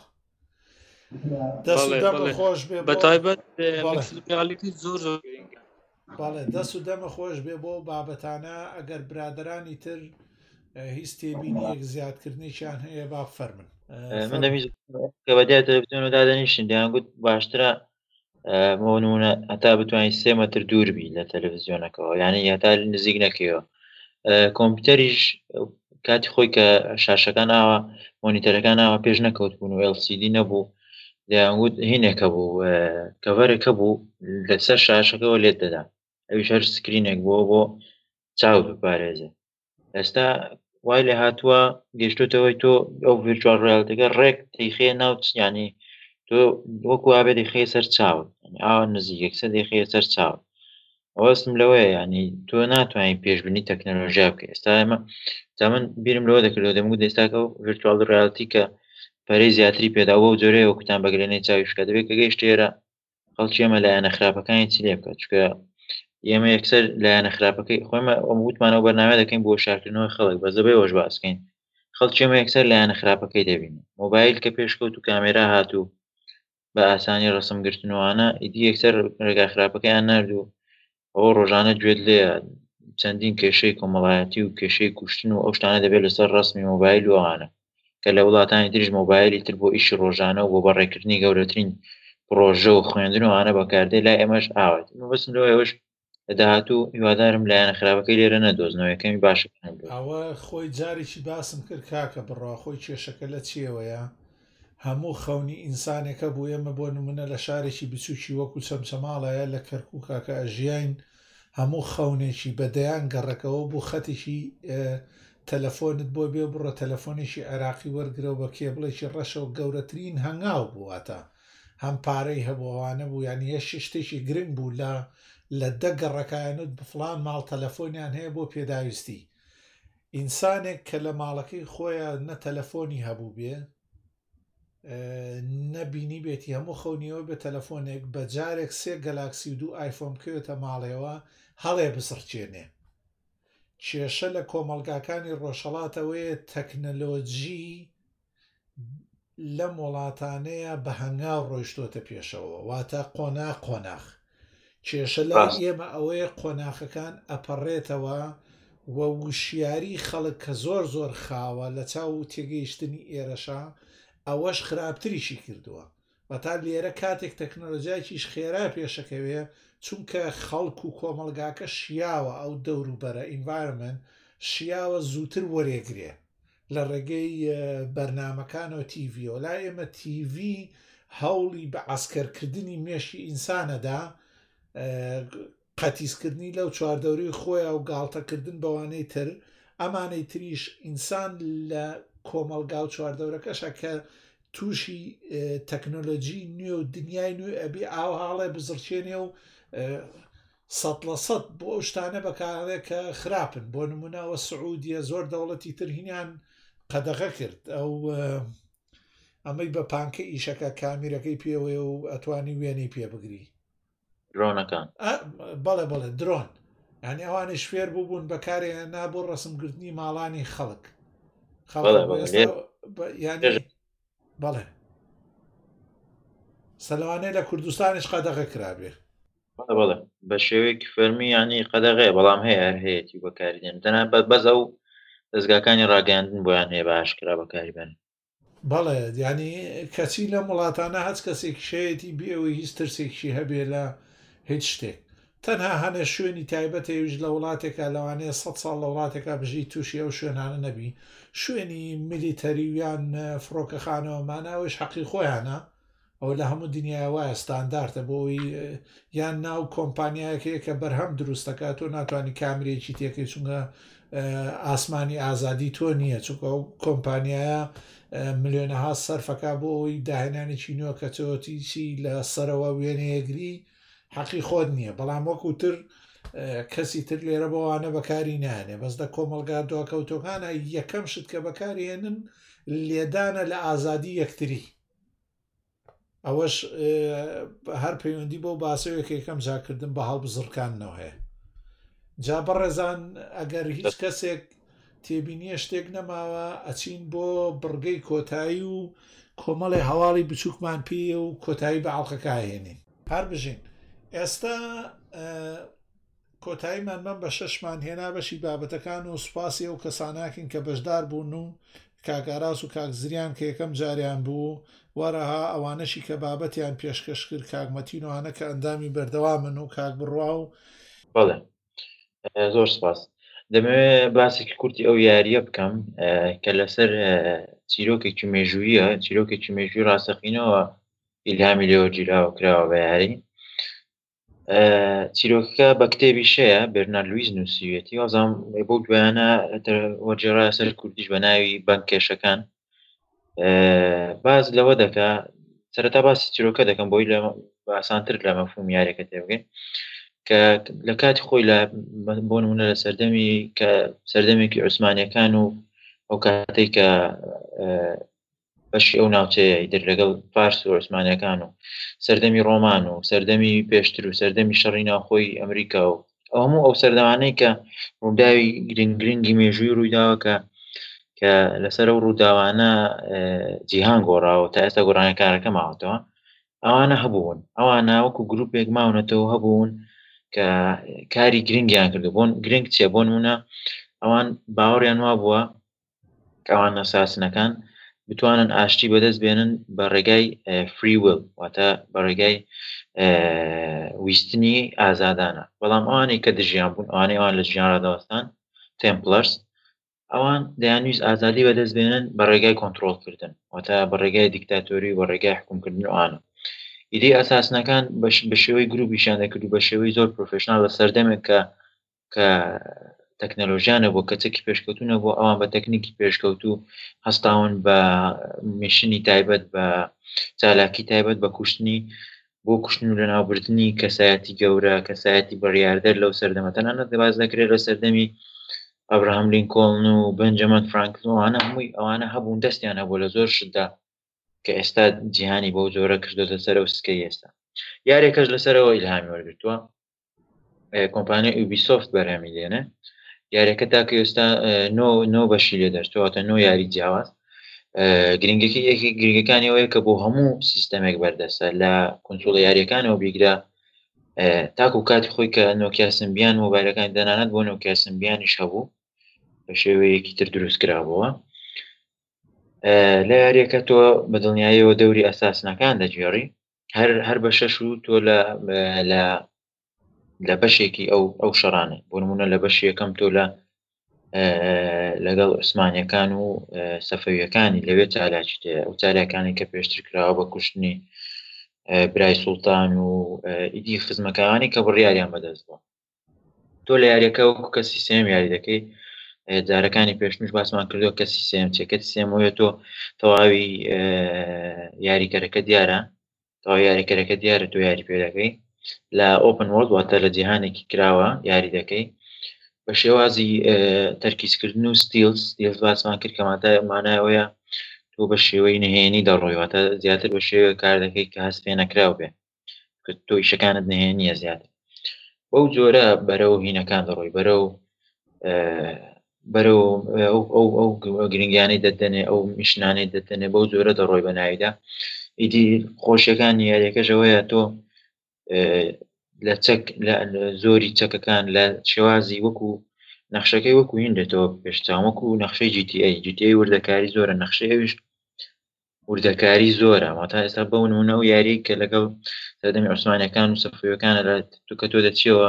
خۆش بێ بەتایبەت ڕیالیتی زۆر گرینگە بەڵێ دەست و دەمە خۆش بێ بۆ بابەتانە ئەگەر برادرانی تر هیچ تێبینیەک زیادکردنیشان هەیە با بفەرمن من دەمیست کە بەدیای تەلەڤیزیۆن و دادەنیشن دەیانگوت باشترە مۆنونە هەتا بتوانین 3 مەتر دوور بی لە تەلەڤیزیۆنەکەەوە یعنی هەتا نزیک نەکەیەوە کۆمپیوتەریش کاتی خۆی کە شاشەکان ئاوە مۆنیتەرەکان ئاوە پێش نەکەوت بوون و LCD نەبوو دەیانگوت هینێکە بوو کەڤەرێکە بوو لەسەر شاشەکەەوە لێت دەدا ئەویش هەر سکرینێک بۆ چاو بپارێزێ ئێستا وای لێ هاتووە گەشتوتەوەی تۆ ئەو ڤیرچوال ڕیاڵیتیەکە ڕێک دەیخێ ناوچ ینی تۆ وەکو وابێ دەیخێ سەر چاوت ئاوا نزیکەکسە دەیخێ سەر چاوت ئەوەستم لەوەیە ینی تۆ ناتوانین پێشبینی تەکنۆلۆژیا بکە ئێستا ئێمە من بیرم لەوە دەکردەوە دەمگوت ئێستاکە و ڤیرچوال ڕیاڵیتی کە پەرەی زیاتری پێدا بۆ جۆرەیە وەکوتان بەگرێنەی چاویشکە دەبێت کە گەیشت ئێرە خەڵکی ئێمە لایەنە خراپەکانی چی لێ بکات چونکە ئێمە یەکسەر لایەنە خراپەکەی خۆمە وتمانەوە بەرنامە دەکەین بۆ شارکردنەوەی خەڵک بەس دەبێ ئەوەش باسکەین خەڵکی ئێمە یەکسەر لایەنە خراپەکەی دەبینن مۆبایل کە پێشکەوت و کامێرا هاتوو بە ئاسانی ڕسمگرتنەوەانە ئیدی یەکسەر ڕێگا خراپەکەیان نردوو ئەوە ڕۆژانە گوێت لێ چەندین کێشەی کۆمەڵایەتی و کێشەی کوشتن و ئەو شتانە دەبێت لەسەر ڕسمی مۆبایل و ئەوانە کە لە وڵاتانی تریش مۆبایلی تر بۆ ئیشی ڕۆژانە و بۆ بەڕێکردنی گەورەترین پرۆژە و خوێندن و ئانە بەکاردێ لای ئێمەش ئاوات بەسم لەوەی ئەوش داهاتوو هیوادارم لایەنە خراپەکەی لێرە نەدۆزنەوە یەکەمی باشەکان بێت. ئەوە خۆی جارێکی باسم کرد کاکە بڕوا خۆی کێشەکە لە چیەوەیە هەموو خەونی ئینسانێکە بۆ ئێمە بۆ نمونە لە شارێکی بچووکی وەکو چەمچەماڵایە لە کەرکوو کاکە ئەژیاین هەموو خەونێکی بەدەیان گەڕەکەەوە بۆ خەتێکی تەلەفۆنت بۆ بێ بڕە تەلەفۆنێکی عێراقی وەرگرەوە بە کێبڵێکی ڕەشەوە گەورەترین هەنگاو بوواتە هەم پارەی هەبووانە بوو یانی هێش شتێکی گرنگ بوو لە دەگەڕەکانت بفلان ماڵ تەلەفۆنیان هەیە بۆ پێداویستی ئینسانێک کە لە ماڵەکەی خۆیان نە تەلەفۆنی هەبوو بێ نەبینی بێتی هەموو خەونیەوە بە تەلەفۆنێک بە جارێک 3 گەلاکسی و 2 ئایفۆن بکەوێتە ماڵێەوە هەڵێ بسڕچێنێ کێشە لە کۆمەلگاکانی ڕۆژهەڵاتەوەیە تەکنەلۆجی لەم وڵاتانەیە بە هەنگاو ڕۆیشتۆتە پێشەوە واتە قۆناغ کێشە لە ئێمە ئەوەیە قۆناغەکان ئەپەڕێتەوە و وشیاری خەڵک کە زۆر خاوە لە چاو تێگەیشتنی ئێرەشە ئەوەش خراپتریشی کردووە و تا لێرە کاتێک تەکنۆلۆژیایکیش خێرا پێشەکەوێ چونکە خەڵک و کۆمەلگاکە شیاوە ئەو دەوروبەرە ئینڤایرمنت شیاوە زووتر وەرێگرێ لە ڕێگەی بەرنمەکانەوە تیڤۆ لا ئێمە تیڤ هەوڵی بە عسکەرکردنی مێشی ئینسانەدا قەتیسکردنی لەو چواردەوری خۆیان و گاڵتەکردن بەوانەی تر ئەمانەی تریش ئینسان لە کۆمەلگا و چواردەورەکەشە کە تووشی تەکنۆلۆژی نوێ و دنیای نوێ ئەبێ ئاو هاڵێ بزرچێنێ و 100% بۆ ئەو شتانە بەکارێت کە خراپن بۆ نمونەوە سعودیە زۆر دەوڵەتی ترهینیان قەدەغە کرد ئەو ئەمەی بە پانکە ئیشەکە کامیرەکەی پێوێ و ئەتوانی وێنەی پێ بگری درۆنەکان بەڵێ درۆن ینی ئەوانی شوێر بووبوون بەکارێ نابوو ڕسمگرتنی ماڵانی خەڵک بەڵێ سەلوانەیە لە کوردستانیش قەدەغە کرابێ بەڵێ بە شێوەیەکی فەرمی ینی قەدەغەیە بەڵام هەیە هەر هەیەی بەکاردێن تەنها بەز ئەو دەستگاکانی ڕاگەاندن بۆیان هەیە باشکرا بەکاری بن بەڵێ ینی کەچی لە وڵاتانە هەچ کەسێکی شەیەتی بێەوەی هیچ ترسێکشی هەبێ لە هیچ شتێک تەنها هەنە شوێنی تایبەتەویش لە وڵاتێکە لەوانەیە 100 ساڵ لە وڵاتێکا بژی تووشی ئەو شوێنانە نەبی شوێنی میلیتەریویان فڕۆکەخانەوەمانەوەش حەقی خۆیانە ئەو لە هەموو دنیای وایە ستانداردە بۆی یان ناو کۆمپانیایەکەیە کە بەرهەم دروستەکات تۆ ناتوانانی کامرێکی تێکەی چونکە ئاسمانی ئازادی تۆ نییە چونکە ئەو کۆمپانیایە ملیۆنەها سەرفەکە بۆ ئەوی داهێنانێکی نوێ کە تۆتیچی لە سەرەوە وێنەیەگری حەقی خۆت نییە بەڵام وەکوتر کەسی تر لێرە بۆوانە بەکاری نانێ بەس دە کۆمەلگا دواکەوتۆکانە یەکەم شت کە بەکارهێنن لێدانە لە ئازادی یەکتری ئەوەش هەر پەیوەندی بۆ باسەوەیەکە یەکەم جاکردن بە هەڵبزڕکانەوە هەیە جا بەڕێزان ئەگەر هیچ کەسێک تێبینیە شتێک نەماوە ئەچین بۆ بڕگەی کۆتایی و کۆمەڵی هەواڵی بچووکمان پێ و کۆتایی بە ئاڵلقەکە هێنین هەر بژین ئێستا کۆتاییمان من بە 6مان هێنا بەشی بابەتەکان و سوپاسی ئەو کەساناکن کە بەشدار بوون و کاگاراس و کاکزریان کە یەکەم جاریان بوو وەرەها ئەوانەشی کە بابەتیان پێشکەش کرد کاگمەتینوانە کە ئەندامی بەردەوامن و کاک بڕوا و بەڵێ زۆر سپاس دەمەوێت باسێکی کورتی ئەو یاریە بکەم کە لەسەر چیرۆکێکی مێژوویە چیرۆکێکی مێژووی ڕاستەقینەوە ئیلهامی لێوە گیراوە کراوە بە یاری چیرۆکەکە بە کتێبی شەیە بێرنار لویز نووسیوێتی وازام بۆ دوایانە وەرجێڕا سەر کوردیش بە ناوی بانکێشەکان باز لەوە دەکا سەرەتا باسی چیرۆکە دەکەم بۆی لە ئاسانتر لە مەفهوم یاریەکە تێبگەین کە لە کاتی خۆی لە بۆ نمونە لە سەردەمێکی عوسمانیەکان و ئەو کاتەی کە بەشی ئەو ناوچەیە ئیتر لەگەڵ فارس و عوسمانیەکان و سەردەمی ڕۆمان و سەردەمی پێشتر و سەردەمی شەڕی ناوخۆی ئەمریکا و ئەو هەموو ئەو سەردەمانەی کە ڕووداوی گرنگی مێژووی ڕوویداوە کە لەسەر ئەو ڕووداوانە جیهان گۆڕاوە تا ئێستا گۆڕانەکارەکە ماوەتەوە ئەوانە هەبوون ئەوانە وەکو گروپێک ماونەتەوە هەبوون کە کاری گرنگیان کردو بۆن گرنگ چێ بۆ نمونە ئەوان باوەڕیان وا بووە کە ئەوان نەساسنەکان بتوانن ئاشتی بەدەست بێنن بە ڕێگای فری ویل واتە بە ڕێگای ویستنی ئازادانە بەڵام ئەوانەی کە دژیان بوون ئەوانەی ئەوان لە ژیان ڕاداوەستان تێمپلەرس ئەوان دەیانویست ئازادی بەدەست بێنن بە ڕێگای کۆنتترۆلکردن واتە بە ڕێگای دیکتاتۆری بە ڕێگای حکومکردن ئەوانە ئیدەی ئەساسنەکان بە شێوەی گروپیشان دەکرد و بە شێوەی زۆر پرۆفشنال لە سەردەمێک کە تەکنەلۆژیانە بۆ کەچێکی پێشکەوتونە بۆ ئەوان بە تەکنیکی پێشکەوتو هەستاون بە میشنی تایبەت بە چالاکی تایبەت بە کوشتنی بۆ کوشتن و لەناوبردننی کەسایەتی گەورە کەسایەتی بەڕیاردەر لەو سەردەمەتەنانە دەباز دەکرێت لە سەردەمی ئەبراهام لینکۆڵن و بنجەمن فرانکلۆوانە هەمووی ئەوانە هەبوون دەستیان هەبوو لە زۆر شتدا کە ئێستا جیهانی بەو جۆرە کردوتە سەرە و سکەی ئێستا یارێکەش لەسەرەوە ئیلهامی وەرگرتووە کۆمپانیای یوبیسۆفت بەرهەمی دێنێ یاریەکە تاکە ئێستا نۆ بەشی لێ دەرچواتە نۆ یاری جیاواز گرنگەکە یەکی گرنگەکانی ئەوەیە کە بۆ هەموو سیستەمێک بەردەستە لە کۆنترۆڵە یاریەکانەوە بیگرا تاکو کاتی خۆی کە نۆکیا سمبیان مۆبایلەکان دەنانەت بۆ نۆکیا سمبیانیش هەبوو بە شێوەیەکی تر دروست کرابەوە لە یاریەکە تۆ بە دڵنیاییەوە دەوری ئەساسنەکان دەگێڕی هەر بە شەش و تۆ لە بەشێکی ئەو شەڕانە بۆ نمونە لە بەشی یەکەم تۆ لەگەڵ عوسمانیەکان و سەفەویەکانی لەوێ چالاکی تەیە ئەو چالاکانی کە پێشتر کراوە بە کوشتنی برای سوڵتان و ئیدی خزمەکانی کە بڕیاریان بەدەست بووە تۆ لە یاریەکە وەکو کەسی سێم یاری دەکەی جارەکانی پێشنوش باسمان کردووە کەسی سێم چێکەتی سێمەوەیە تۆ تەواوی یاریکەرەکە دیارە تەواوی یاریکەرەکە دیارە تۆ یاری پێ دەکەی لە ئۆپن وۆرلد واتە لە جیهانێکی کراوە یاری دەکەی بە شێوازی تەرکیزکردن و ستیلز باسمان کرد کە مانایەوەیە تۆ بە شێوەی نهێنی دەڕۆیواتە زیاتر بە شێوە کار دەکەی کە هەست پێ نەکراو بێ کە تۆ ئیشەکانت نهێنیە زیاتر بەو جۆرە بەرەو هینەکان دەڕۆی بەرەو ئەو گرنگیانەی دەدەنێ ئەو میشنانەی دەدەنێ بەو جۆرە دەڕۆی بە ناویدا ئیدی خۆشیەکانی یاریەکەشەوەیە تۆ لە زۆری چەکەکان لە شێوازی وەکو نەخشەکەی وەکو هین دێتەوە پێشچاو وەکو نەخشەی GTA وردەکاری زۆرە نەخشەیەویش وردەکاری زۆرە واتە ئێستا بەو نمونە و یاری کە لەگەڵ سەردەمی عوسمانیەکان و سەفەویەکانە کە تۆ دەچیەوە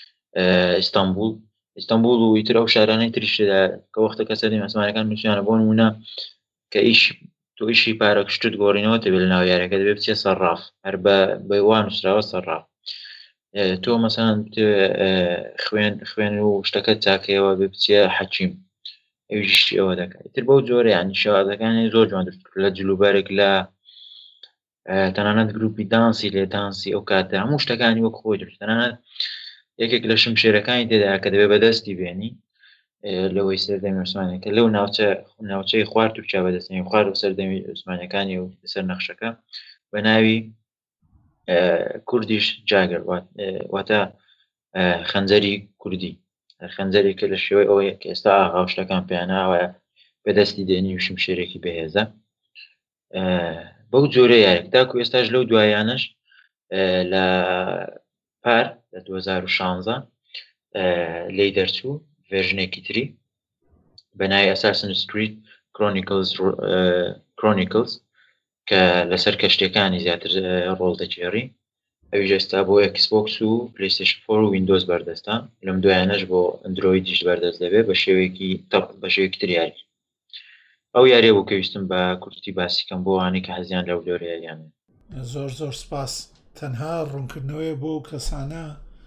ئیستانبول و ئیتر ئەو شارانەی تریشدا کە وەختەکە سەردەمی عوسمانیەکان نووسیانە بۆ نمونە کە تۆ ئیشی پارەکشتت گۆڕینەوە دەبێت لە ناو یاریەکە دەبێت بچێ سەرڕاف هەر بە وان نووسراوە سەرڕاف تۆ مەسەڵەن خوێن و شتەکەت چاکەیەوە بێ بچێ حەکیم ئەویش ئەوە دەکات تر بەو جۆرە ینی شێوازەکانی زۆر جوان لە جلوبەرێک لە تەنانەت گروپی دانسی لێ دانسی ئەو کاتە هەموو شتەکانی وەک خۆی درست تەنانەت یەکێک لە شمشێرەکانی تێدا کە دەبێت بەدەستی بێنی لەوەی سەردەمی عوسمانیەکە لەو ناوچەی خوارد و چا بەدەستنی خوارد و سەردەمی عوسمانیەکانی و سەر نەخشەکە بە ناوی کوردیش جاگەر واتە خەنجەری کوردی خەنجەرێکە لە شێوەی ئەوەیە کە ئێستا ئاغاوشتەکان پێیاناوە بەدەستی دێنی و شمشێرێکی بەهێزە بەو جۆرە یارێک تاکو ئێستاش لەو دوایانش لە پار لە 2016 لی دەرچوو ڤێژنێکی تری بە ناوی Assassin's Creed Chronicles کە لەسەر کەشتەکانی زیاتر ڕۆڵ دەگێڕی ئەویش ئێستا بۆ Xbox و PlayStation 4 و Windows بەردەستە لەم دوایانەش بۆ ئەندرۆیدیش بەردەست دەبێت بە شێوەیەکی تر یاری ئەو یاریە بۆ کەویستم بە کورتی باسیکەم بۆ وانەی کە حەزیان لەو جۆرە یاریانە زۆر سپاس تەنها ڕوونکردنەوەی بۆ کەسانە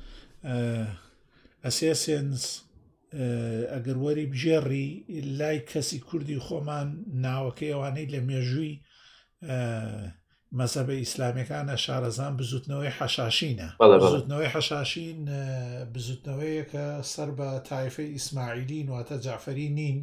ئەسێسێنس ئەگەر وەری بژێڕی لای کەسی کوردی خۆمان ناوەکەی ئەوانەی لە مێژووی مەزهبە ئیسلامیەکانە شارەزان بزوتنەوەی حەشاشینە بزوتنەوەی حەشاشین بزوتنەوەیە کە سەر بە تایفەی ئیسماعیلین واتە جعفەری نین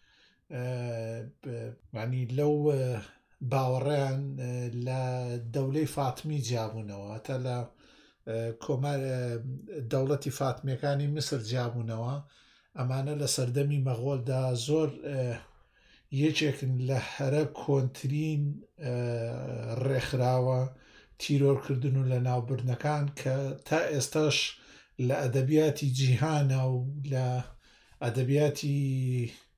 ینی لەو باوەڕیان لە دەولەی فاتمی جیابوونەوە تا لە کۆمار دەوڵەتی فاتمیەکانی میسر جیابوونەوە ئەمانە لە سەردەمی مەغۆڵدا زۆر یەکێکن لە هەرە کۆنترین ڕێکخراوە تیرۆرکردن و لە ناوبردنەکان کە تا ئێستاش لە ئەدەبیاتی جیهانە و لە ئەدەبیاتی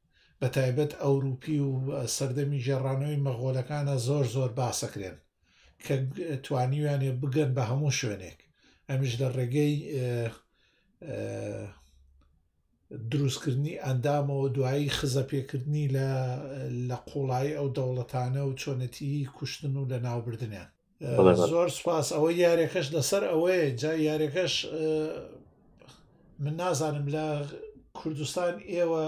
بەتایبەت ئەوروپی و سەردەمی ژێڕانەوەی مەغۆلەکانە زۆر باسەکرێن کە توانیویانێ بگەن بە هەموو شوێنێک ئەمیش لە ڕێگەی دروستکردنی ئەندامەوە دوایی خزە پێکردنی لە قوڵایی ئەو دەوڵەتانە و چۆنەتی کوشتن و لە ناوبردنیان. زۆر سپاس. ئەوە یاریەکەش لەسەر ئەوەیە جا یاریەکەش من نازانم لە کوردستان ئێوە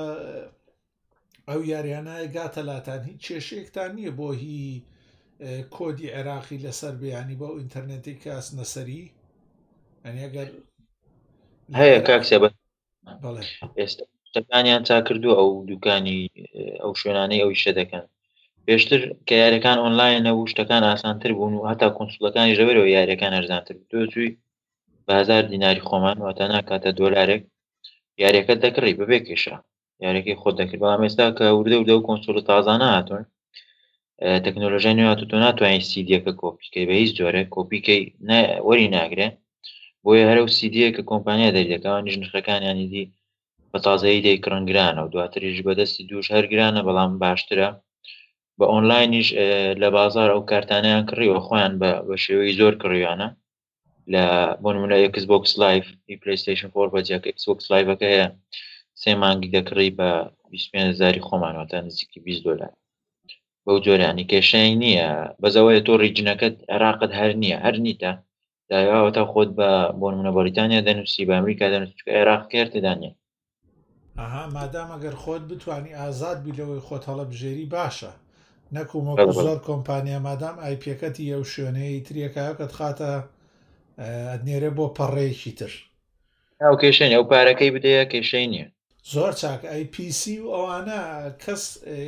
ئەو یاریانە گاتە لاتان هیچ کێشەیەکتان نییە بۆ هی کۆدی عێراقی لەسەر بێیانی بۆ ئینتەرنێتی کاس نەسەری ئەگەر هەیە کاکسە بە ئێستا شتەکانیان چا کردووە ئەو دوکانی ئەو شوێنانەی ئەوی شە دەکەن پێشتر کە یاریەکان ئۆنلاین نەبوو شتەکان ئاسانتر بوون و هەتا کۆنسوڵەکانی ژەبەرەوە یاریەکان ئەرزانتر تۆ چووی بە 1000 دیناری خۆمان واتە ناکاتە دۆلارێک یاریەکەت دەکڕی بەبێ کێشە یاریەکەی خۆت دەکرد بەڵام ئێستا کە وردە و کۆنسۆڵە تازانە هاتوون تەکنۆلۆژیای نوێ هاتووە تۆ ناتوانین سیدیەکە کۆپیکەی بە هیچ جۆرێک کۆپیکەی وەری ناگرێ بۆیە هەرە و سیدیە کە کۆمپانیا دەریدەکەوانیش نرخەکانیانی دی بە تازایی دەیکڕنگرانە و دواتریش بەدەستی دووش هەرگرانە بەڵام باشترە بە ئۆنلاینیش لە بازار ئەو کارتانیان کڕیوە خۆیان بە شێوەی زۆر کڕیوانە لە بۆ نمونە Xbox Live PlayStation 4 بەجیاکە Xbox Liveەکە هەیە 3 مانگی دەکڕی بە 25,000 خۆمانەوەتە نزیکی 20 دۆلار بەو جۆرانی کێشەی نییە بەزەوەی تۆ ڕیجنەکەت عێراقت هەر نییە هەر نیتە داواوەتە خۆت بۆ نمونە بەریتانیا دەنووسی بە ئەمریکا دەنووسی عێراق کێرتدانێ مادام ئەگەر خۆت بتانی ئازاد بیلەوەی خۆت هەڵەبژێری باشە نەکومە زۆر کۆمپانیا مادام آیپەکەتی ئەو شوێنەیە تریەکایەکەت خاتە ئەدنێرە بۆ پەڕەیەکی تر ئەو کێشەی ئەو پارەکەی بدەیە کێشەی نییە زۆر چاک IPC و ئەوانە کەس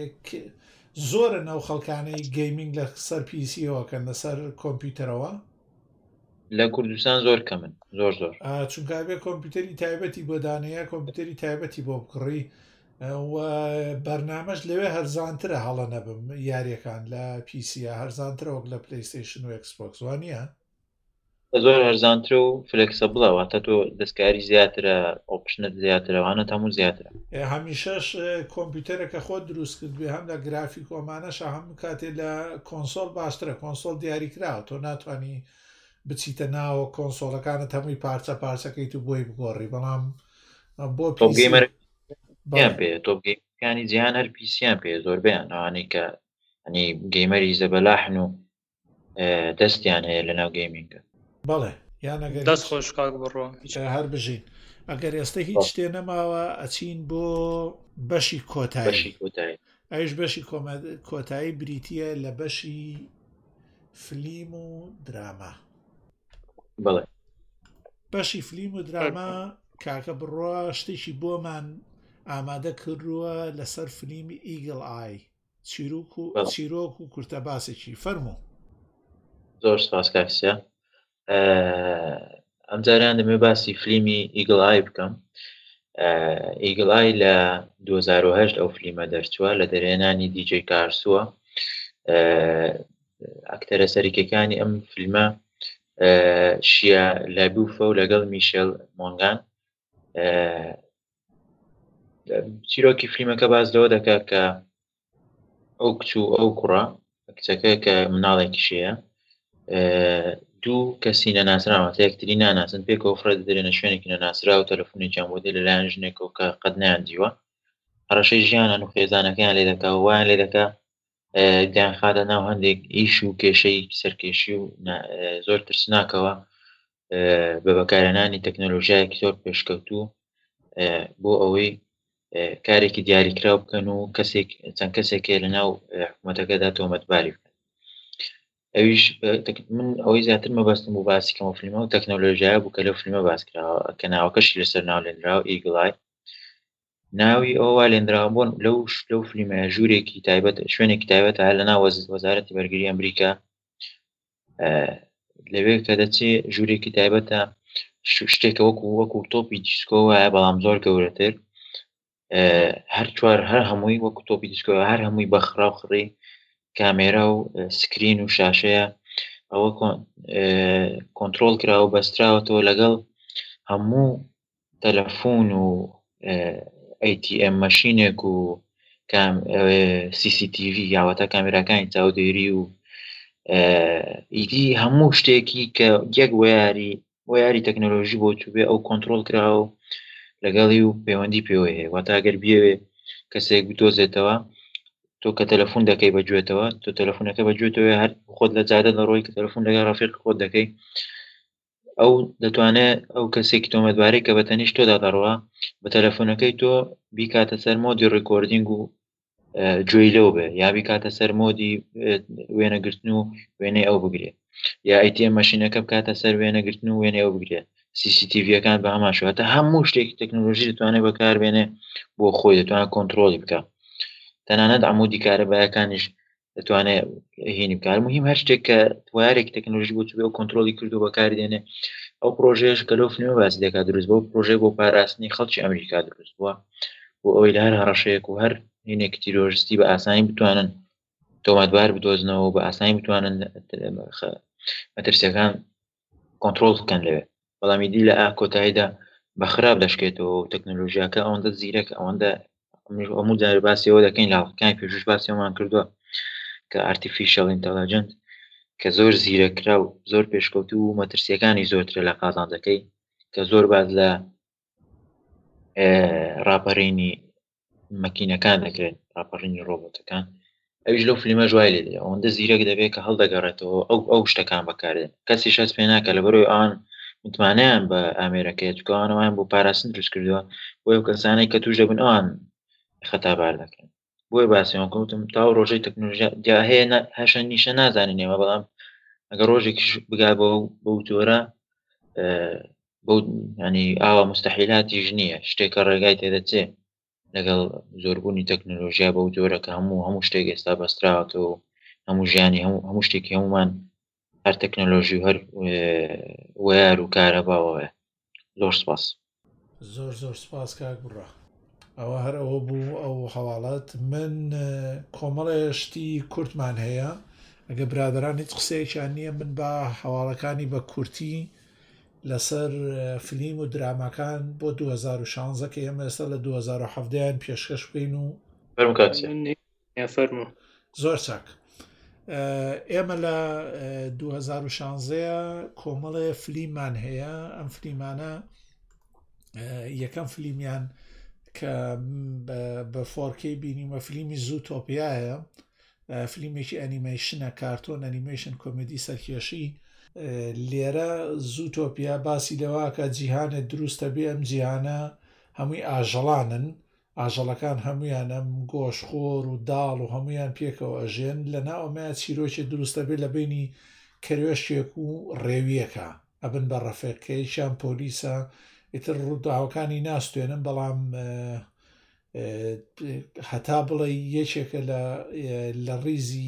زۆرە نەو خەڵکانەی گەیمینگ لە سەر پیسیەوەکەن لەسەر کۆمپیوتەرەوە لە کوردستان زۆر کەمن زۆر چونکە بێ کۆمپیوتەری تایبەتی بۆ دانەیە کۆمپیوتەری تایبەتی بۆ بکڕی و بەرنامەش لەوێ هەرزانترە هەڵە نەبم یاریەکان لە پیسیە هەرزانترە وەک لە پلەیستیشن و Xbox وانە زۆر هەرزانترە و فلکسبڵە واتە تۆ دەستکاری زیاترە ئۆپشنت زیاترەوانە هەموو زیاترە هەمیشەش کۆمپیوتەرێکە خۆت دروست کرد بێ هەم لە گرافیک ئۆمانەش هەموو کاتێ لە کۆنسۆل باشترە کۆنسۆل دیاریکراوە تۆ ناتوانانی بچیتە ناوە کۆنسۆلەکانت هەمووی پارچەکەیت و بۆی بگۆڕی بەڵام بۆ تۆپگەیمەکانی جیهان هەر پیسیان پێ زۆر بیان ئەوانەی کە ئەنی گەیمەری زەبەلاحن و دەستیان هەیە لە ناو گەیمینگە بەڵێ یانەگەر دەست خۆش کاک بڕۆ هەر بژین ئەگەر ئێستا هیچ شتێ نەماوە ئەچین بۆ بەشی کۆتایی ئەوش بەشی کۆتایی بریتیە لە بەشی فلیم و دراما بەڵێ بەشی فلیم و دراما کاکە بڕۆ شتێکی بۆمان ئامادە کردووە لەسەر فلیمی ئیگڵ ئای چیرۆک و کورتە باسێکی فەرموو زۆر سپاس کاکسیا ئەم جاریان دەمێ باسی فلیمی ئیگڵ ئای بکەم ئیگڵ ئای لە 2008 ئەو فلیمە دەرچووە لە دەرێنانی دیجێ کارسووە ئەکتەرە سەرکیەکانی ئەم فیلمە شیە لابوفە و لەگەڵ میشێل مۆنگان چیرۆکی فیلمەکە باز لەوە دەکات کە ئەو کچوو ئەو کوڕە کچەکە کە مناڵێکی شەیە دوو کەسی نەناسراوە یەکتری ناناسن پێکەوە فرە دەدرێنە شوێنێکی نەناسرا و تەلەفۆنێکیان بۆ دێ لەلایەن ژنێکەوە کە قەت نەیاندیوە هەڕەشەی ژیانان و خێزانەکەیان لێ دەکا وایان لێ دەکا دیان خاتە ناو هەندێک ئیش و کێشەی سەرکێشی و زۆر ترسناکەوە بە بەکارهێنانی تەکنۆلۆژیایەکی زۆر پێشکەوتوو بۆ ئەوەی کارێکی دیاریکراو بکەن و چەند کەسێکێ لە ناو حکوومەتەکەدا تۆمەتباری بکەن ئەویش من ئەوەی زیاتر مەبەستم بۆ باسی کەمە فیلمە و تەکنۆلۆژیایە بوو کە لەو فیلمە باس کراوە کە ناوەکەشی لەسەر ناولێنراوە ئیگڵ ئای ناوی ئەوە لێنراوە بۆن لەو فیلمە ژوورێکی تایبەت شوێنێکی تایبەت هەر لە ناو وەزارەتی بەرگری ئەمریکا لەوێ کە دەچێت ژوورێکی تایبەتە شتێکە وەکو تۆپی دیسکۆ وایە بەڵام زۆر گەورەتر هەر چوار هەر هەمووی وەکو تۆپی دیسکۆ هەر هەمووی بەخرا و خڕی کامێرا و سکرین و شاشەیە ئەوە کۆنتترۆل کراوە بەستراوەتەوە لەگەڵ هەموو تەلەفۆن و ATM مەشینێک و CCTV یاوەتە کامێراکانی چاودێری و ئیدی هەموو شتێکی کە یەک وەیاری تەکنۆلۆژی بۆ تو بێ ئەو کۆنتترۆل کراوە و لەگەڵی و پەیوەندی پێوە هەیە واتە ئەگەر بێوێ کەسێک بدۆزێتەوە تۆ کە تەلەفۆن دەکەی بەگوێتەوە تۆ تەلەفۆنەکە بەگوێتەوە هەر خۆت لە جادە لەڕۆی کە تەلەفۆن لەگەڵ ڕافێق خۆت دەکەی ئەو دەتوانێت ئەو کەسێکی تۆمەتبارەی کە بەتەنیش تۆدا دەڕوا بە تەلەفۆنەکەی تۆ بیکاتە سەر مۆدی ڕێکۆردینگ و گوێی لەو بێ یا بیکاتە سەر مۆدی وێنەگرتن و وێنەی ئەو بگرێت یا ئەیتM مەشینەکە بکاتە سەر وێنەگرتن و وێنەی ئەو بگرێت CCTVەکان بە هەمان شواتە هەموو شتێکی تەکنۆلۆژی دەتوانێت بەکاربێنێ بۆ خۆی دەتوانێت کۆنتترۆلی بکە تەنانەت عمودی کارەبایەکانیش دەتوانێت هێنی بکار مهم هەر شتێک کە وایارێکی تەکنۆلۆژی بۆ تو بێ و کۆنتترۆلی کردو بەکاری دێنێ ئەو پرۆژێش کە لەو فنیۆ باسی دەکات دروست بۆ پرۆژێ بۆ پاراستنی خەڵکی ئەمریکا دروست بووە بۆ ئەوەی لە هەر هەڕەشەیەک و هەر هینێکی تیرۆریستی بە ئاسانی بتوانن تۆمەتبار بدۆزنەوە بە ئاسانی بتوانن مەترسیەکان کۆنتترۆل بکەن لەوێ بەڵامی دی لە کۆتاییدا بە خراپ دەشکێتەوە و تەکنۆلۆژیاکە ئەوەندە زیرەک ئەوەندە هەموو جار باسیەوە دەکەین لاڵەکانی پێشوش باسیەوەمان کردووە کە ئارتیفیشەڵ ئینتەلیجەنت کە زۆر زیرەکرا و زۆر پێشکەوتو و مەترسیەکانی زۆرترە لە قازانجەکەی کە زۆر باز لە ڕاپەڕینی مەکینەکان دەکرێت ڕاپەڕینی ڕۆبۆتەکان ئەویش لەو فلیمە جوای لێ ئەوەندە زیرەک دەبێت کە هەڵدەگەڕێتەوە ئەو شتەکان بەکارێن کەسی شەست پێ ناکە لە بەرەوەی ئەوان متمانیان بە ئامێرەکەی چکەوانەوەیان بۆ پاراستن دروست کردووە بۆ ئەو کەسانەی کە توش دەبن ئەوان خەتابار دەکەن بۆی باسیەوە کەوتم تا ڕۆژەی تەکنۆلۆژیا جا هەیە هەشە نیشە نازانین ئێمە بەڵام ئەگەر ڕۆژێکیش بگا بەو جۆرە بەو ینی ئاوا مستەحیلاتیش نییە شتێکە ڕێگای تێدەچێ لەگەڵ زۆربوونی تەکنۆلۆژیا بەو جۆرە کە هەموو شتێک ئێستا بەستراوەتەوە هەموو ژیانی هەموو شتێکی هەمومان هەر تەکنۆلۆژی و هەر وەیار و کارەباوەیە زۆر سپاس زۆر سپاس کاک بڕە ئەوە هەر ئەوە بوو ئەو هەواڵات من کۆمەڵێشتی کورتمان هەیە ئەگە برادران هیچ قسەیەکیان نییە من بە هەواڵەکانی بە کورتی لەسەر فلیم و درامەکان بۆ 2016 کە ئێمە ئێستا لە 2017یان پێشکەش بکەین و فەرموو زۆر چاک ئێمە لە 2016 کۆمەڵێ فلیممان هەیە ئەم فلیمانە یەکەم فلیمیان کە بە 4K بینیمە فلیمی زووتۆپیایە فلیمێکی ئەنیمەیشنە کارتۆن ئەنیمەیشن کۆمدی سەرکێشی لێرە زووتۆپیا باسی لەواکە جیهانێت دروستە بێ ئەم جیهانە هەمووی ئاژەڵانن ئاژەڵەکان هەمویان ئەم گۆشخۆر و داڵ و هەمویان پێکەوە ئەژێن لە ناوەمە چیرۆکی دروستە بێت لە بینی کەروێشێک و ڕێویەکە ئەبن بە ڕەفێکەکەیشیان پۆلیسە ئیتر ڕووداوەکانی ناستوێنن بەڵام هەتا بڵێ یەکێکە لە ڕیزی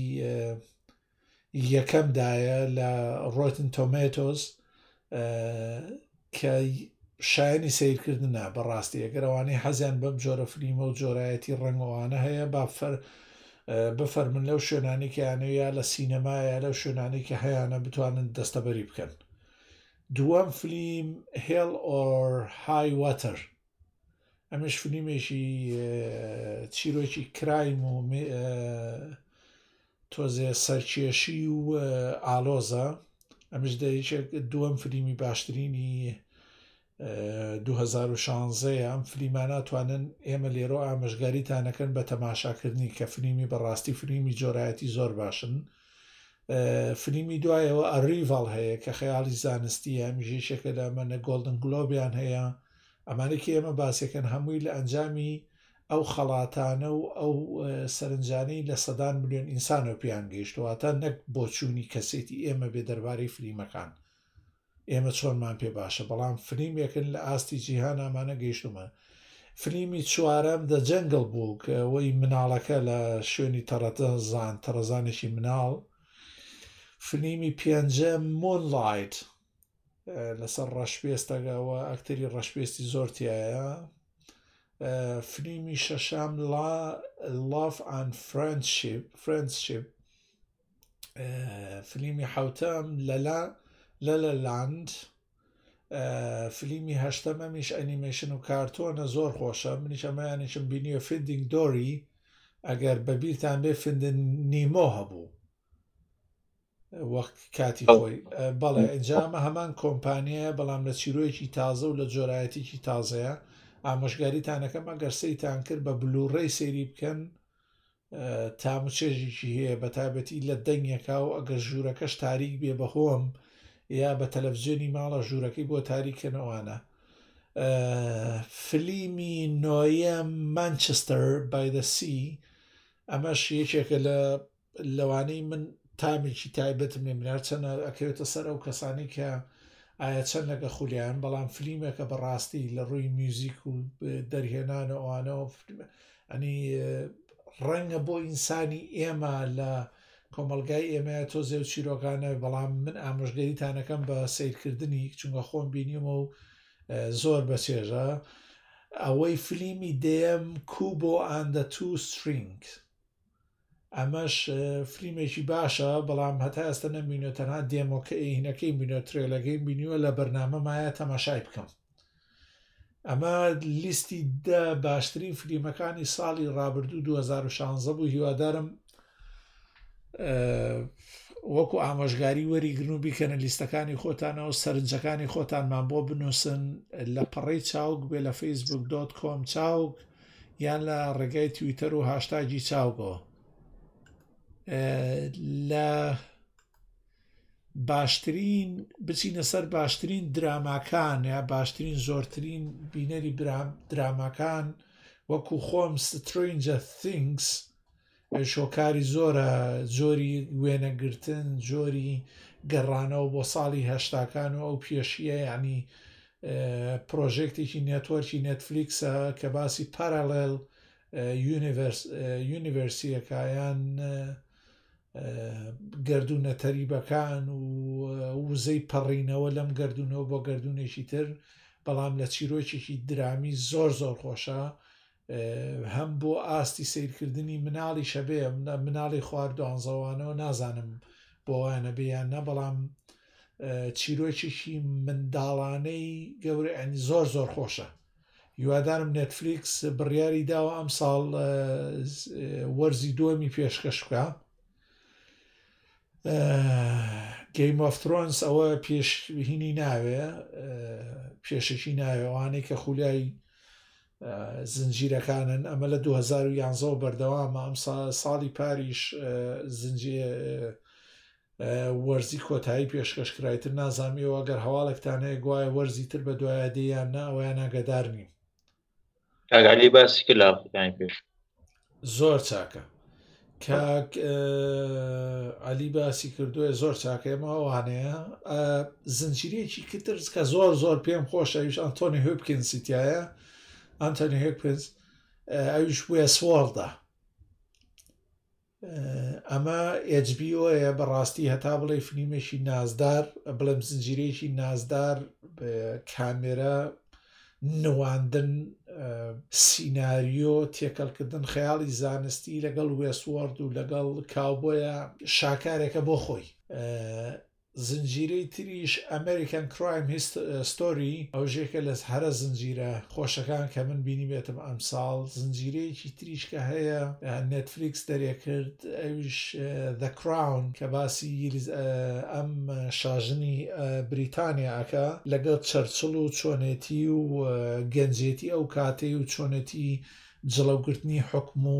یەکەمدایە لە ڕۆتن تۆمێتۆز کە شایانی سیرکردنە بەڕاستی ئەگەرەوانەی حەزیان بەم جۆرە فلیمە و جۆرایەتی ڕنگەوانە هەیە بفەرمن لەو شوێنانێکیانەیە لە سینەمایە لەو شوێنانی کە هەیەە بتوانن دەستەبەری بکەن دووەم فلیم هێڵ ئۆر های واتەر ئەمەش فلیمێکی چیرۆکی کرایم و تۆزێ سەرکێشی و ئالۆزە ئەمش دەیەکێک دووەم فلیمی باشترینی 2016 ئەم فلیمانە توانن ئێمە لێرۆ ئامەژگاریتانەکەن بە تەماشاکردنی کە فلیمی بەڕاستی فلیمی جۆرایەتی زۆر باشن فلیمی دوایەوە ئەریڤال هەیە کە خەیاڵی زانستیە میژێشێکە لە ئەمەنە گۆڵدن گلۆبیان هەیە ئەمانێکی ئێمە باسەکەن هەمووی لە ئەنجامی ئەو خەڵاتانە و ئەو سەرنجانەی لە سەدان ملیۆن ئینسانەوە پیان گەیشتواتە نەک بۆچوونی کەسێتی ئێمە بێ دەربارەی فلیمەکان ئێمە چۆنمان پێ باشە بەڵام فلیمێکن لە ئاستی جیهان ئامانە گەیشتومە فلیمی چوارەم دە جەنگڵ بوو کە ئەوەی مناڵەکە لە شوێنی تەڕەزانێکی مناڵ فلیمی پێنجەم مونلایت لەسەر ڕەشپێستەگەوە ئەکتەری ڕەشپێستی زۆر تایە فلیمی شەشام Love and Friendship فلیمی حوتەم لە لاند فلیمی هەشتەمەمیش ئەنیمەیشن و کارتۆنە زۆر خۆشە منیش ئەمەیانیشم بینیوە فیندینگ دۆری ئەگەر بەبیرتان بێ فیندن نیمۆ هەبوو وەخت کاتی خۆی بەڵێ ئەنجامە هەمان کۆمپانیایە بەڵام لە چیرۆیەکی تازە و لە جۆرایەتێکی تازەیە ئامۆژگاریتانەکەم ئەگەر سەیتان کرد بە بلوڕێی سەیری بکەن تاموچێژێکی هەیە بە تایبەتی لە دەنگێکا و ئەگەر ژوورەکەش تاریک بێ بەهۆم یا بە تەلەڤیزیۆنی ماڵە ژوورەکەی بۆ تاریکەنەوانە فلیمی نۆیە مانچستەر بای دە سی ئەمەش یەکێکە لە لەوانەی من تامێکی تایبەتم لێ منار چەنە ئەکەوێتە سەر ئەو کەسانی کە ئایا چەند لەگە خولیان بەڵام فلیمێکە بەڕاستی لە ڕووی میوزیک و دەرهێنانە ئەوانەوە ئەنی ڕەنگە بۆ ئینسانی ئێمە لە کۆمەلگای ئێمە تۆزێ و چیرۆکانە بەڵام من ئامۆژگەریتانەکەم بە سیرکردنی چونکە خۆم بینیمە و زۆر بەچێژە ئەوەی فلیمی دێم کوبۆ ئەند دە تو سترینگ ئەمەش فلیمێکی باشە بەڵام هەتا ئێستا نەبینۆ تەنها دێمۆکەهینەکەی بینۆ ترێلەکەی بینیوە لە بەرنامەمایە تەماشای بکەم ئەمە لیستی دە باشترین فلیمەکانی ساڵی ڕابردوو 2016 بوو هیوادارم وەکو ئامۆژگاری وەریگرن و بیکەنە لیستەکانی خۆتانەوە سەرنجەکانی خۆتانمان بۆ بنووسن لە پەڕەی چاوک بێ لە facebook.com چاوک یان لە ڕێگای تویتەر و هاشتاگی چاوگەوە لە باشترین بچینە سەر باشترین دراماکان یا باشترین زۆرترین بینەری دراماکان وەکو خۆم سترینجر things شۆکاری زۆرە جۆری وێنەگرتن جۆری گەڕانەوە بۆ ساڵی هەشتاکان و ئەو پێشیە یعنی پرۆژێکتێکی نێتوەرکی نێتفلیکسە کە باسی پارالێل یونیڤەرسیەکایان گردونە تەریبەکان و وزەی پەڕینەوە لەم گردونەوە بۆ گردونێکی تر بەڵام لە چیرۆکێکی درامی زۆر زۆر خۆشە هەم بۆ ئاستی سیرکردنی مناڵی شەبێ مناڵی خواردوانزەوانەوە نازانم بۆ وانە بێیان نە بەڵام چیرۆکێکی منداڵانەی گەورە ئەنی زۆر زۆر خۆشە هیوادارم نێتفلیکس بڕیاری داوە ئەم ساڵ وەرزی دووەمی پێشکەش بکە گەیم ئۆف ترۆنس ئەوە پێشهینی ناوێ پێشەکی ناوێوانەی کە خولیای زنجیرەکانن ئەمە لە 2011 بەردەوامە ئەم ساڵی پاریش وەرزی کۆتایی پێشکەشکرایتر نازانیەوە ئەگەر هەواڵێکتان هەیە گوایە وەرزی تر بە دوایە دەیان نا ئەویان ئاگادار نیم ئاگالی باسی کرد لە ئەفریقای پێش زۆر چاکە کاک علی باسی کردووە زۆر چاکەمە ئەوانەیە زنجیرێکی کتر کە زۆر زۆر پێم خۆشە ئەویش ئەنتۆنی هۆپکینسیتایە ئەنتۆنی هۆپکینس ئەویش وێسوۆڵدا ئەمە HBO بەڕاستی هەتا بڵێ فلیمێکی نازدار بڵێم زنجیرێکی نازدار کامێرە نواندن سیناریۆ تێکەڵکردن خەیاڵی زانستی لەگەڵ وێسوارد و لەگەڵ کاوبۆیە شاکارێکە بۆ خۆی زنجیرەی تریش ئەمریکان کرایم ستۆری ئەو ژێکە لە هەرە زنجیرە خۆشەکان کە من بینی بێتم ئەم ساڵ زنجیرەیەکی تریش کە هەیە نێتفلیکس دەرێکرد ئەویش The Crown کە باسی ئەم شاژنی بریتانیاکە لەگەڵ چەرچڵ و چۆنێتی و گەنجێتی ئەو کاتەی و چۆنێتی جڵەوگرتنی حکم و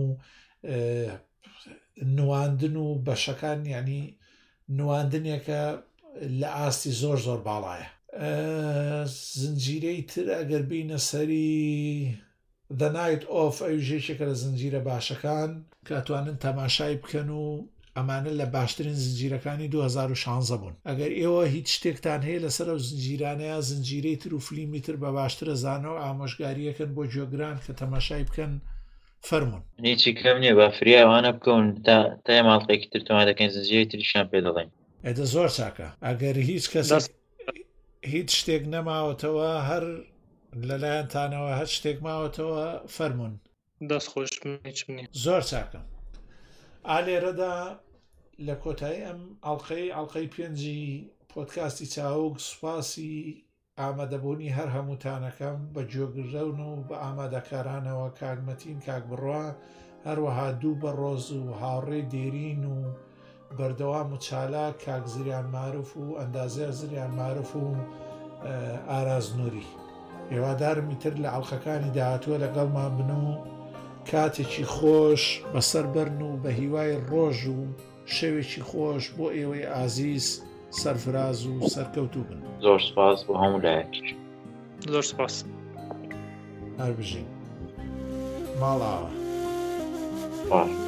نواندن و بەشەکان یعنی نواندنێکە لە ئاستی زۆر زۆر باڵایە زنجیرەی تر ئەگەر بینە سەری The Night Of ئەوژێکێکە لە زنجیرە باشەکان کاتوانن تەماشای بکەن و ئەمانە لە باشترین زنجیرەکانی 2016 بوون ئەگەر ئێوە هیچ شتێکتان هەیە لەسەر ئەو زنجیرانەیە زنجیرەی تر و فلیمی تر بە باشترە زانەوە ئامۆژگاریەکەن بۆ گوێگران کە تەماشای بکەن فەرمون هیچی کەم نییە بە فریاوانە بکەون تا ماڵقێکی تر تۆما دەکەین زنجیرەی تریشان پێ دەڵێن ئەدە زۆر چاکە ئەگەر هیچ کەس هیچ شتێک نەماوەتەوە هەر لەلایەنتانەوە هەر شتێک ماوەتەوە فەرمون دەست خۆش زۆر چاکە ئالێرەدا لە کۆتایی ئەم ئەڵلقەی پێنجی پۆدکاستی چاوک سوپاسی ئامادەبوونی هەر هەمووتانەکەم بە گوێگرەون و بە ئامادەکارانەوە کاگمەتین کاک بڕوا هەروەها دوو بە ڕۆز و هاوڕێی دێرین و بەردەوام و چالاک کاک زریان معروف و ئەندازێر زریان معروف و ئاراز نووری. هێوادارم ئیتر لە عەڵقەکانی داهاتووە لەگەڵمان بن و کاتێکی خۆش بەسەر بەرن و بە هیوای ڕۆژ و شەوێکی خۆش بۆ ئێوەی ئازیز سەرفراز و سەرکەوتوو بن. زۆر سپاس بۆ هەموو لایەکیش. زۆر سپاس. هەر بژین ماڵاوە.